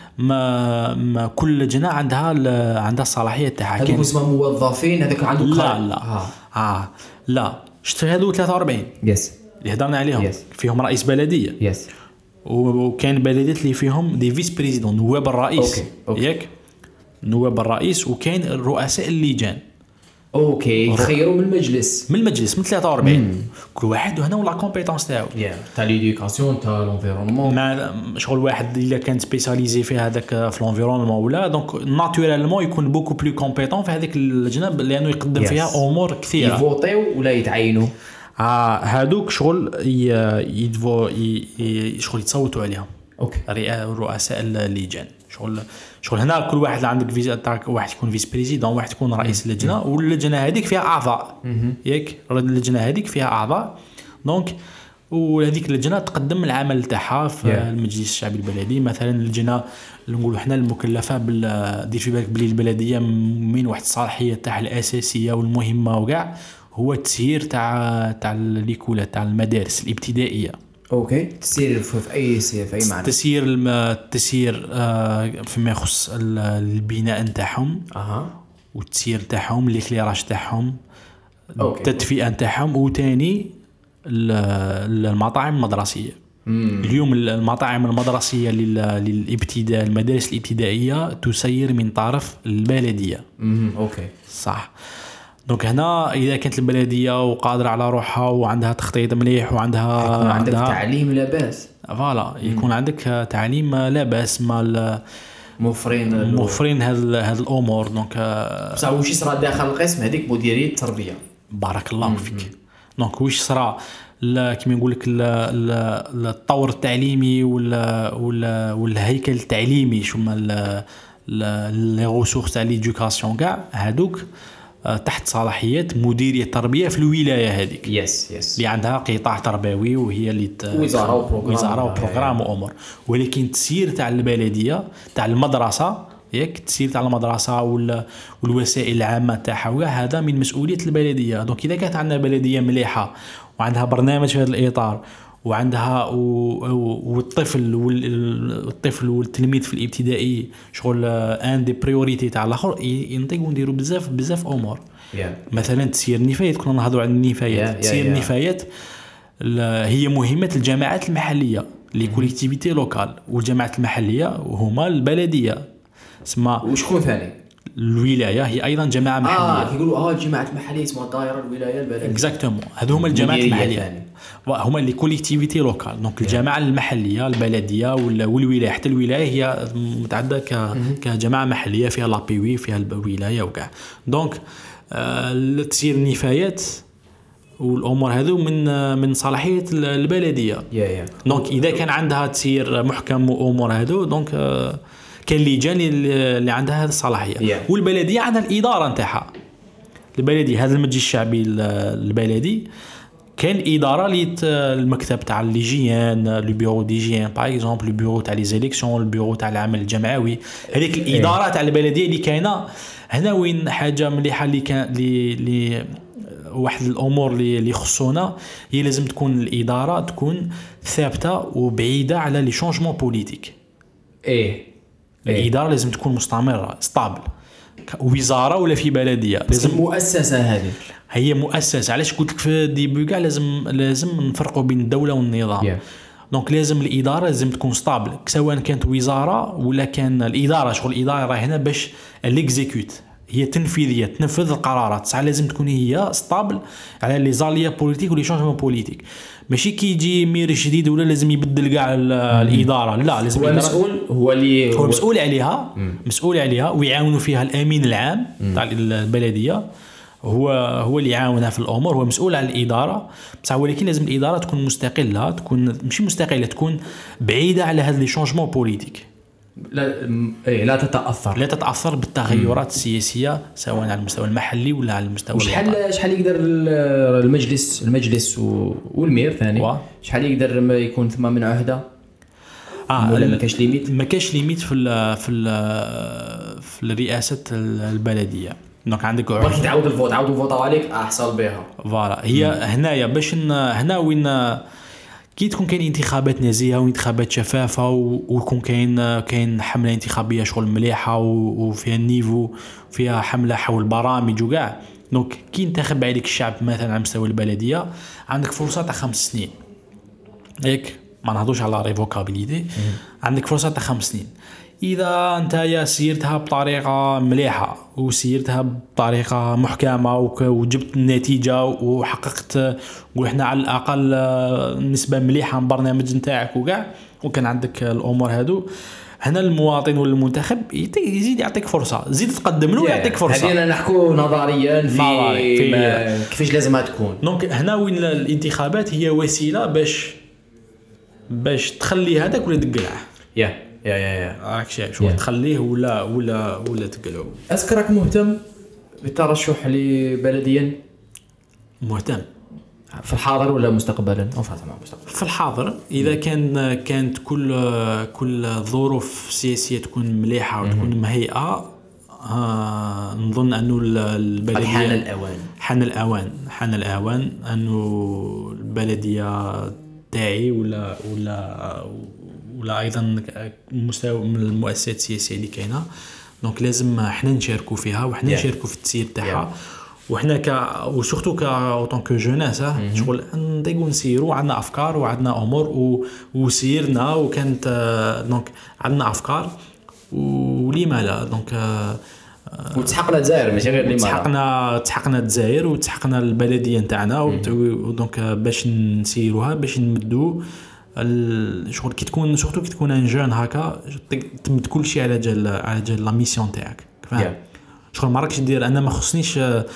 ما, ما كل لجنه عندها عندها الصلاحيه تاعها. هذوك اسمهم موظفين هذاك عنده لا لا اه, آه. لا شفت هذو ثلاثة وأربعين يس اللي هضرنا عليهم yes. فيهم رئيس بلديه يس وكان بلديات اللي فيهم دي فيس بريزيدون نواب الرئيس أوكي. أوكي. ياك نواب الرئيس وكاين رؤساء اللجان اوكي يخيروا من المجلس من المجلس من ثلاثة وأربعين mm. كل واحد وهنا ولا كومبيتونس تاعو yeah. تاع ليديوكاسيون تاع لونفيرونمون ما شغل واحد الا كان سبيسياليزي في هذاك في لونفيرونمون ولا دونك ناتورالمون يكون بوكو بلو كومبيتون في هذيك اللجنه لانه يقدم yes. فيها امور كثيره يفوتيو ولا يتعينوا. اه هادوك شغل يدفو شغل يتصوتوا عليهم اوكي رؤساء اللجان. شغل شغل هنا كل واحد عندك فيزا تاعك واحد يكون فيس بريزيدون واحد يكون رئيس اللجنه واللجنه هذيك فيها اعضاء ياك اللجنه هذيك فيها اعضاء. دونك وهذيك اللجنه تقدم العمل تاعها في yeah. المجلس الشعبي البلدي. مثلا اللجنه اللي نقولوا احنا المكلفه بال دير في بالك بلي البلديه من واحد الصلاحيه تاعها الاساسيه والمهمه وكاع هو التسيير تاع تاع ليكولا تاع المدارس الابتدائيه. اوكي تسيير في اي سير في اي معنى تسيير التسيير آه فيما يخص البناء نتاعهم اها والتسيير تاعهم ليكليراج تاعهم التدفئه نتاعهم وثاني المطاعم المدرسيه. مم. اليوم المطاعم المدرسيه للابتداء المدارس الابتدائيه تسير من طرف البلديه. امم اوكي صح. دونك هنا اذا كانت البلديه وقادره على روحها وعندها تخطيط مليح وعندها يكون عندك عندها تعليم لا باس فوالا يكون عندك تعليم لا باس مال موفرين موفرين هذه هذه الامور. دونك بصح واش يصرى داخل القسم هذيك مديريه التربيه. بارك الله فيك. دونك واش صرا كما نقول لك التطور التعليمي ولا ولا والهيكل التعليمي شو هما لي ريسورس تاع ليدوكاسيون كاع هادوك تحت صلاحيات مديريه التربيه في الولايه هذيك يس يس اللي عندها قطاع تربوي وهي اللي وزاره وبروغرام وزاره وبروغرام وامور. ولكن التسيير تاع البلديه تاع المدرسه ياك التسيير تاع المدرسه والوسائل العامه تاعها هذا من مسؤوليه البلديه. دونك اذا كانت عندنا بلديه مليحه وعندها برنامج في هذا الاطار وعندها والطفل والطفل والتلميذ في الابتدائي شغل ان دي بريوريتي تاع الاخر ينطيقوا نديروا بزاف بزاف امور. yeah. مثلا تسيير النفايات كنا نهضروا على النفايات. yeah, تسيير yeah, yeah. النفايات هي مهمه الجماعات المحليه لي كوليكتيفيتي لوكال والجماعات المحليه وهما البلديه اسمها وشكون ثاني الولايه هي ايضا جماعه محليه. اه كيقولوا اه الجماعات المحليه اسمها الدائره الولايه البلديه اكزاكتومون هذو هما الجماعات المحليه هما اللي كوليكتيفيتي لوكال. دونك الجماعه المحليه البلديه والولايه حتى الولايه هي متعدده كجماعه محليه فيها لابيوي فيها الولايه وكاع. دونك آه تسيير النفايات والامور هذو من من صلاحيه البلديه. دونك اذا كان عندها تسيير محكم وامور هذو دونك آه كان لجان اللي عندها هذه الصلاحيه. yeah. والبلديه عندها الاداره نتاعها. البلديه هذا المجلس الشعبي البلدي كان اداره لي المكتب تاع ليجيان لو بيرو ديجيان باغ اكزومبل لو بيرو تاع لي زيليكسيون البيرو تاع العمل الجمعوي هذيك الاداره تاع البلديه اللي كاينه هنا وين حاجه مليحه اللي كان لي لي واحد الامور اللي اللي خصونا هي لازم تكون الاداره تكون ثابته وبعيده على لي شونجمون بوليتيك. ايه الاداره لازم تكون مستمره ستابل وزاره ولا في بلديه لازم مؤسسه. هذه هي مؤسسه. علاش قلت لك في الديبي كاع لازم لازم نفرقوا بين الدوله والنظام. yeah. دونك لازم الاداره لازم تكون ستابل سواء كانت وزاره ولا كان الاداره شغل الاداره راه هنا باش ليكزيكوت هي تنفيذيه تنفذ القرارات صح لازم تكون هي ستابل على لي زاليا بوليتيك ولي شونجمون بوليتيك ماشي كي يجي مير جديد ولا لازم يبدل كاع الاداره لا لازم هو المسؤول هو اللي هو مسؤول عليها مم. مسؤول عليها ويعاونوا فيها الامين العام تاع البلديه هو هو اللي يعاونها في الامور هو مسؤول على الاداره بصح ولكن لازم الاداره تكون مستقله تكون ماشي مستقله تكون بعيده على هذا لي شونجمون بوليتيك لا ايه لا تتاثر لا تتاثر بالتغيرات السياسيه سواء على المستوى المحلي ولا على المستوى شحال شحال يقدر المجلس المجلس والمير ثاني شحال يقدر يكون ثم من عهده اه ولا ما كاش ليميت ما كاش ليميت في ال في ال في الرئاسه البلديه. دونك عندك باش تعاود الفوت عاودوا فوطوا عليك احصل بها فوالا هي مم. هنايا باش هنا وين كي تكون كاين انتخابات نزيهه وانتخابات شفافه ويكون كاين كاين حمله انتخابيه شغل مليحه وفيها النيفو فيها حمله حول برامج وكاع. دونك كي ينتخب عليك الشعب مثلا على مستوى البلديه عندك فرصه تاع خمس سنين ياك ما نهضوش على ريفوكابيليتي عندك فرصه تاع خمس سنين. اذا انت يا سيرتها بطريقه مليحه وسيرتها بطريقه محكمه وجبت النتيجه وحققت نقول احنا على الاقل نسبه مليحه من البرنامج نتاعك وكاع وكان عندك الامور هادو هنا المواطن ولا المنتخب يزيد يعطيك فرصه زيد تقدم له يعطيك فرصه. هذه نحكوا نظريا في, في كيفاش لازمها تكون. دونك هنا وين الانتخابات هي وسيله باش باش تخلي هذاك ولا تقلعه يا يا يا يا راك شايف شو تخليه ولا ولا ولا تقلعه. أذكرك مهتم بالترشح لبلديا مهتم في الحاضر ولا مستقبلا؟ أو فاطمة مستقبلا. في الحاضر إذا كان كانت كل كل الظروف السياسية تكون مليحة وتكون مهيئة آه نظن أنه البلدية حان الأوان حان الأوان حان الأوان أنه البلدية تاعي ولا ولا ولا ايضا مستوى من المؤسسات السياسيه اللي كاينه. دونك لازم حنا نشاركوا فيها وحنا yeah. نشاركوا في التسيير تاعها yeah. وحنا ك وسورتو ك اوتون كو جوناس شغل نديقوا نسيروا عندنا افكار وعندنا امور و... وسيرنا وكانت دونك عندنا افكار ولما لا دونك وتحقنا الجزائر ماشي غير لما تحقنا تحقنا الجزائر وتحقنا البلديه نتاعنا ودونك باش نسيروها باش نمدوا الشغل كي تكون سورتو كي تكون ان جون هكا تمد كل شيء على جال على جال لا ميسيون تاعك فاهم yeah. شغل ما راكش دير انا ما خصنيش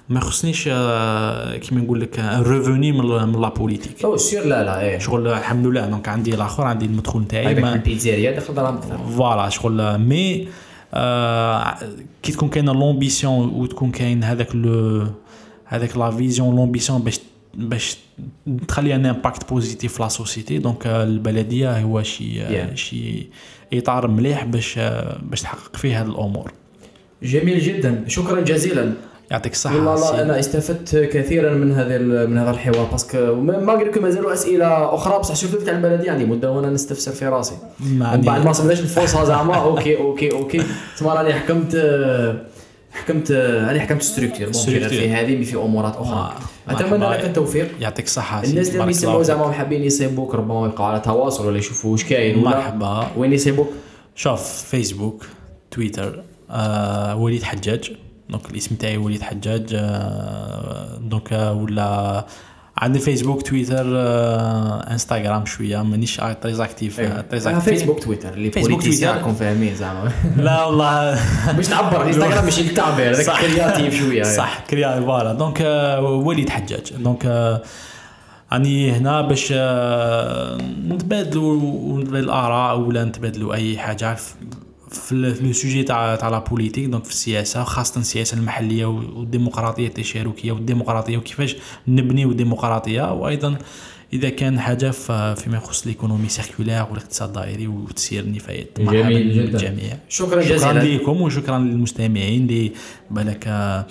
ما يخصنيش كيما نقول لك الريفوني من من لا بوليتيك. او سير لا لا ايه شغل الحمد لله دونك عندي الاخر عندي المدخول نتاعي ما البيتزيريا دخل دراهم اكثر فوالا شغل مي آه كي تكون كاينه لومبيسيون وتكون كاين هذاك لو هذاك لا فيزيون لومبيسيون باش باش تخلي ان امباكت بوزيتيف في لا سوسيتي دونك البلديه هو شي yeah. شي اطار مليح باش باش تحقق فيه هذه الامور. جميل جدا شكرا جزيلا يعطيك الصحه. والله انا استفدت كثيرا من هذا من هذا الحوار باسكو ما قلت لكم مازالوا اسئله اخرى بصح شفتوا تاع البلديه عندي مده وانا نستفسر في راسي من بعد ما صبناش الفرصه زعما اوكي اوكي اوكي تما راني حكمت حكمت راني حكمت ستركتور في هذه في امورات اخرى. اتمنى لك التوفيق. يعطيك الصحه. الناس اللي يسمعوا زعما حابين يصيبوك ربما يبقوا على تواصل ولا يشوفوا واش كاين ولا مرحبا. وين يصيبوك؟ شوف فيسبوك تويتر آه وليد حجاج دونك الاسم تاعي وليد حجاج آه دونك ولا عندي فيسبوك تويتر آه انستغرام شويه مانيش تريز اكتيف تريز اكتيف فيسبوك تويتر اللي بوليتيسيان راكم فاهمين زعما لا والله باش تعبر انستغرام ماشي التعبير هذاك كرياتيف شويه صح كرياتيف فوالا دونك آه وليد حجاج دونك آه اني هنا باش آه نتبادلوا الاراء ولا نتبادلوا اي حاجه في لو سوجي تاع تاع لا بوليتيك دونك في السياسه خاصه السياسه المحليه والديمقراطيه التشاركيه والديمقراطيه وكيفاش نبنيو الديمقراطيه وايضا اذا كان حاجه فيما يخص الايكونومي سيركولير والاقتصاد الدائري وتسيير النفايات. جميل جدا الجميع. شكرا جزيلا شكرا لكم وشكرا للمستمعين اللي بالك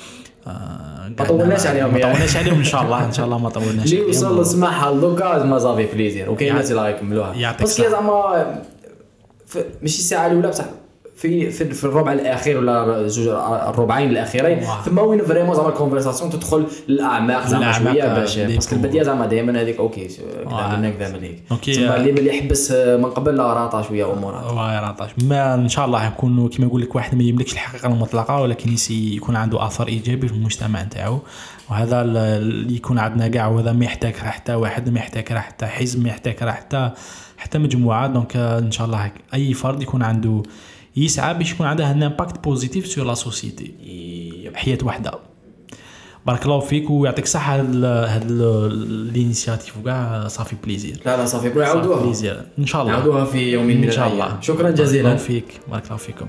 ما طولناش عليهم ما طولناش عليهم ان شاء الله ان شاء الله ما طولناش اللي وصل سمعها لوكاز ما زافي بليزير وكاين الناس اللي يكملوها بس زعما ماشي الساعه الاولى بصح في في, في الربع الاخير ولا زوج الربعين الاخيرين ثم وين فريمون زعما الكونفرساسيون تدخل للاعماق زعما شويه باش باسكو البدايه زعما دائما هذيك اوكي كذا من هكذا من هيك ثم اللي اللي يحبس من قبل لا راطا شويه امورات واه راطاش ما ان شاء الله يكون كما يقول لك واحد ما يملكش الحقيقه المطلقه ولكن يكون عنده اثر ايجابي في المجتمع نتاعو وهذا اللي يكون عندنا كاع وهذا ما يحتاج حتى واحد ما يحتاج حتى حزب ما يحتاج حتى حتى مجموعه دونك ان شاء الله اي فرد يكون عنده يسعى باش يكون عنده ان امباكت بوزيتيف سور لا سوسيتي حياه وحده. بارك الله فيك ويعطيك الصحه. هذا الانيشياتيف كاع صافي بليزير. لا لا صافي نعاودوها بليزير ان شاء الله نعاودوها في يوم من ان شاء الله. شكرا جزيلا. بارك الله فيك. بارك الله فيكم.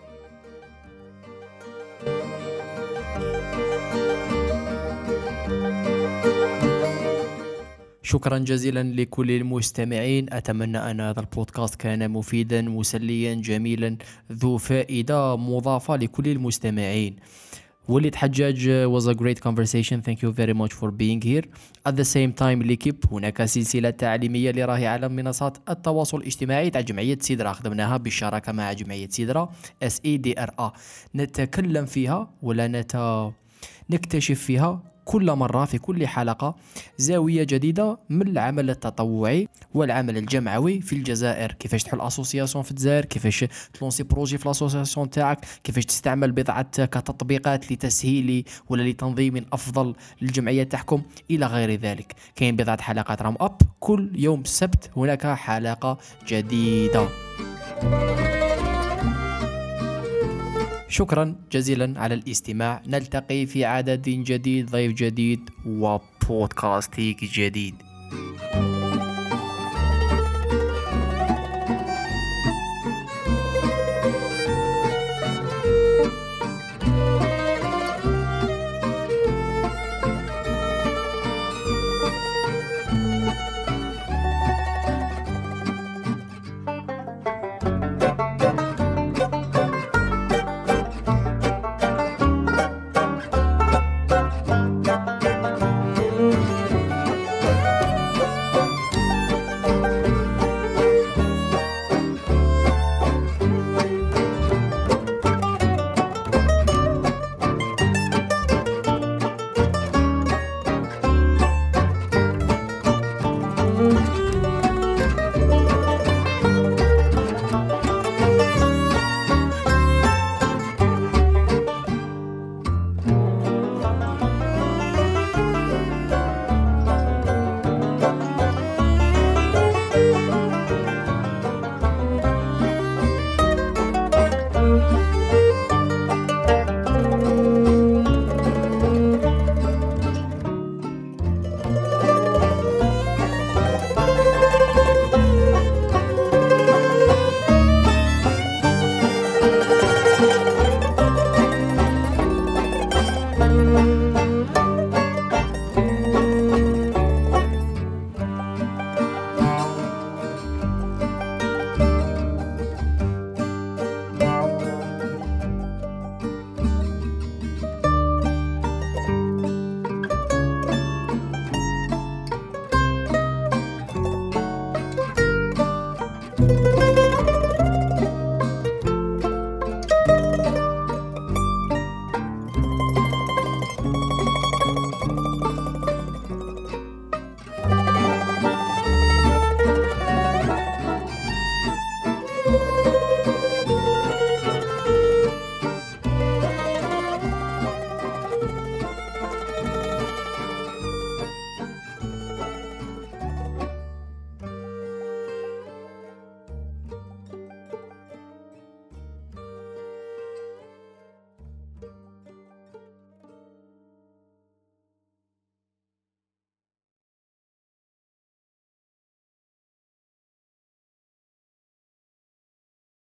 شكرا جزيلا لكل المستمعين. أتمنى أن هذا البودكاست كان مفيدا مسليا جميلا ذو فائدة مضافة لكل المستمعين. وليد حجاج was a great conversation. Thank you very much for being here. At the same time ليكيب هناك سلسلة تعليمية لراهي على منصات التواصل الاجتماعي تاع جمعية سيدرا خدمناها بالشراكة مع جمعية سيدرا إس إي دي آر إيه. نتكلم فيها ولا نت... نكتشف فيها كل مرة في كل حلقة زاوية جديدة من العمل التطوعي والعمل الجمعوي في الجزائر. كيفاش تحل اسوسياسيون في الجزائر، كيفاش تلونسي بروجي في الاسوسياسيون تاعك، كيفاش تستعمل بضعة كتطبيقات لتسهيل ولا لتنظيم افضل للجمعية تاعكم الى غير ذلك. كاين بضعة حلقات رام اب كل يوم السبت هناك حلقة جديدة. شكرا جزيلا على الاستماع. نلتقي في عدد جديد، ضيف جديد وبودكاست جديد.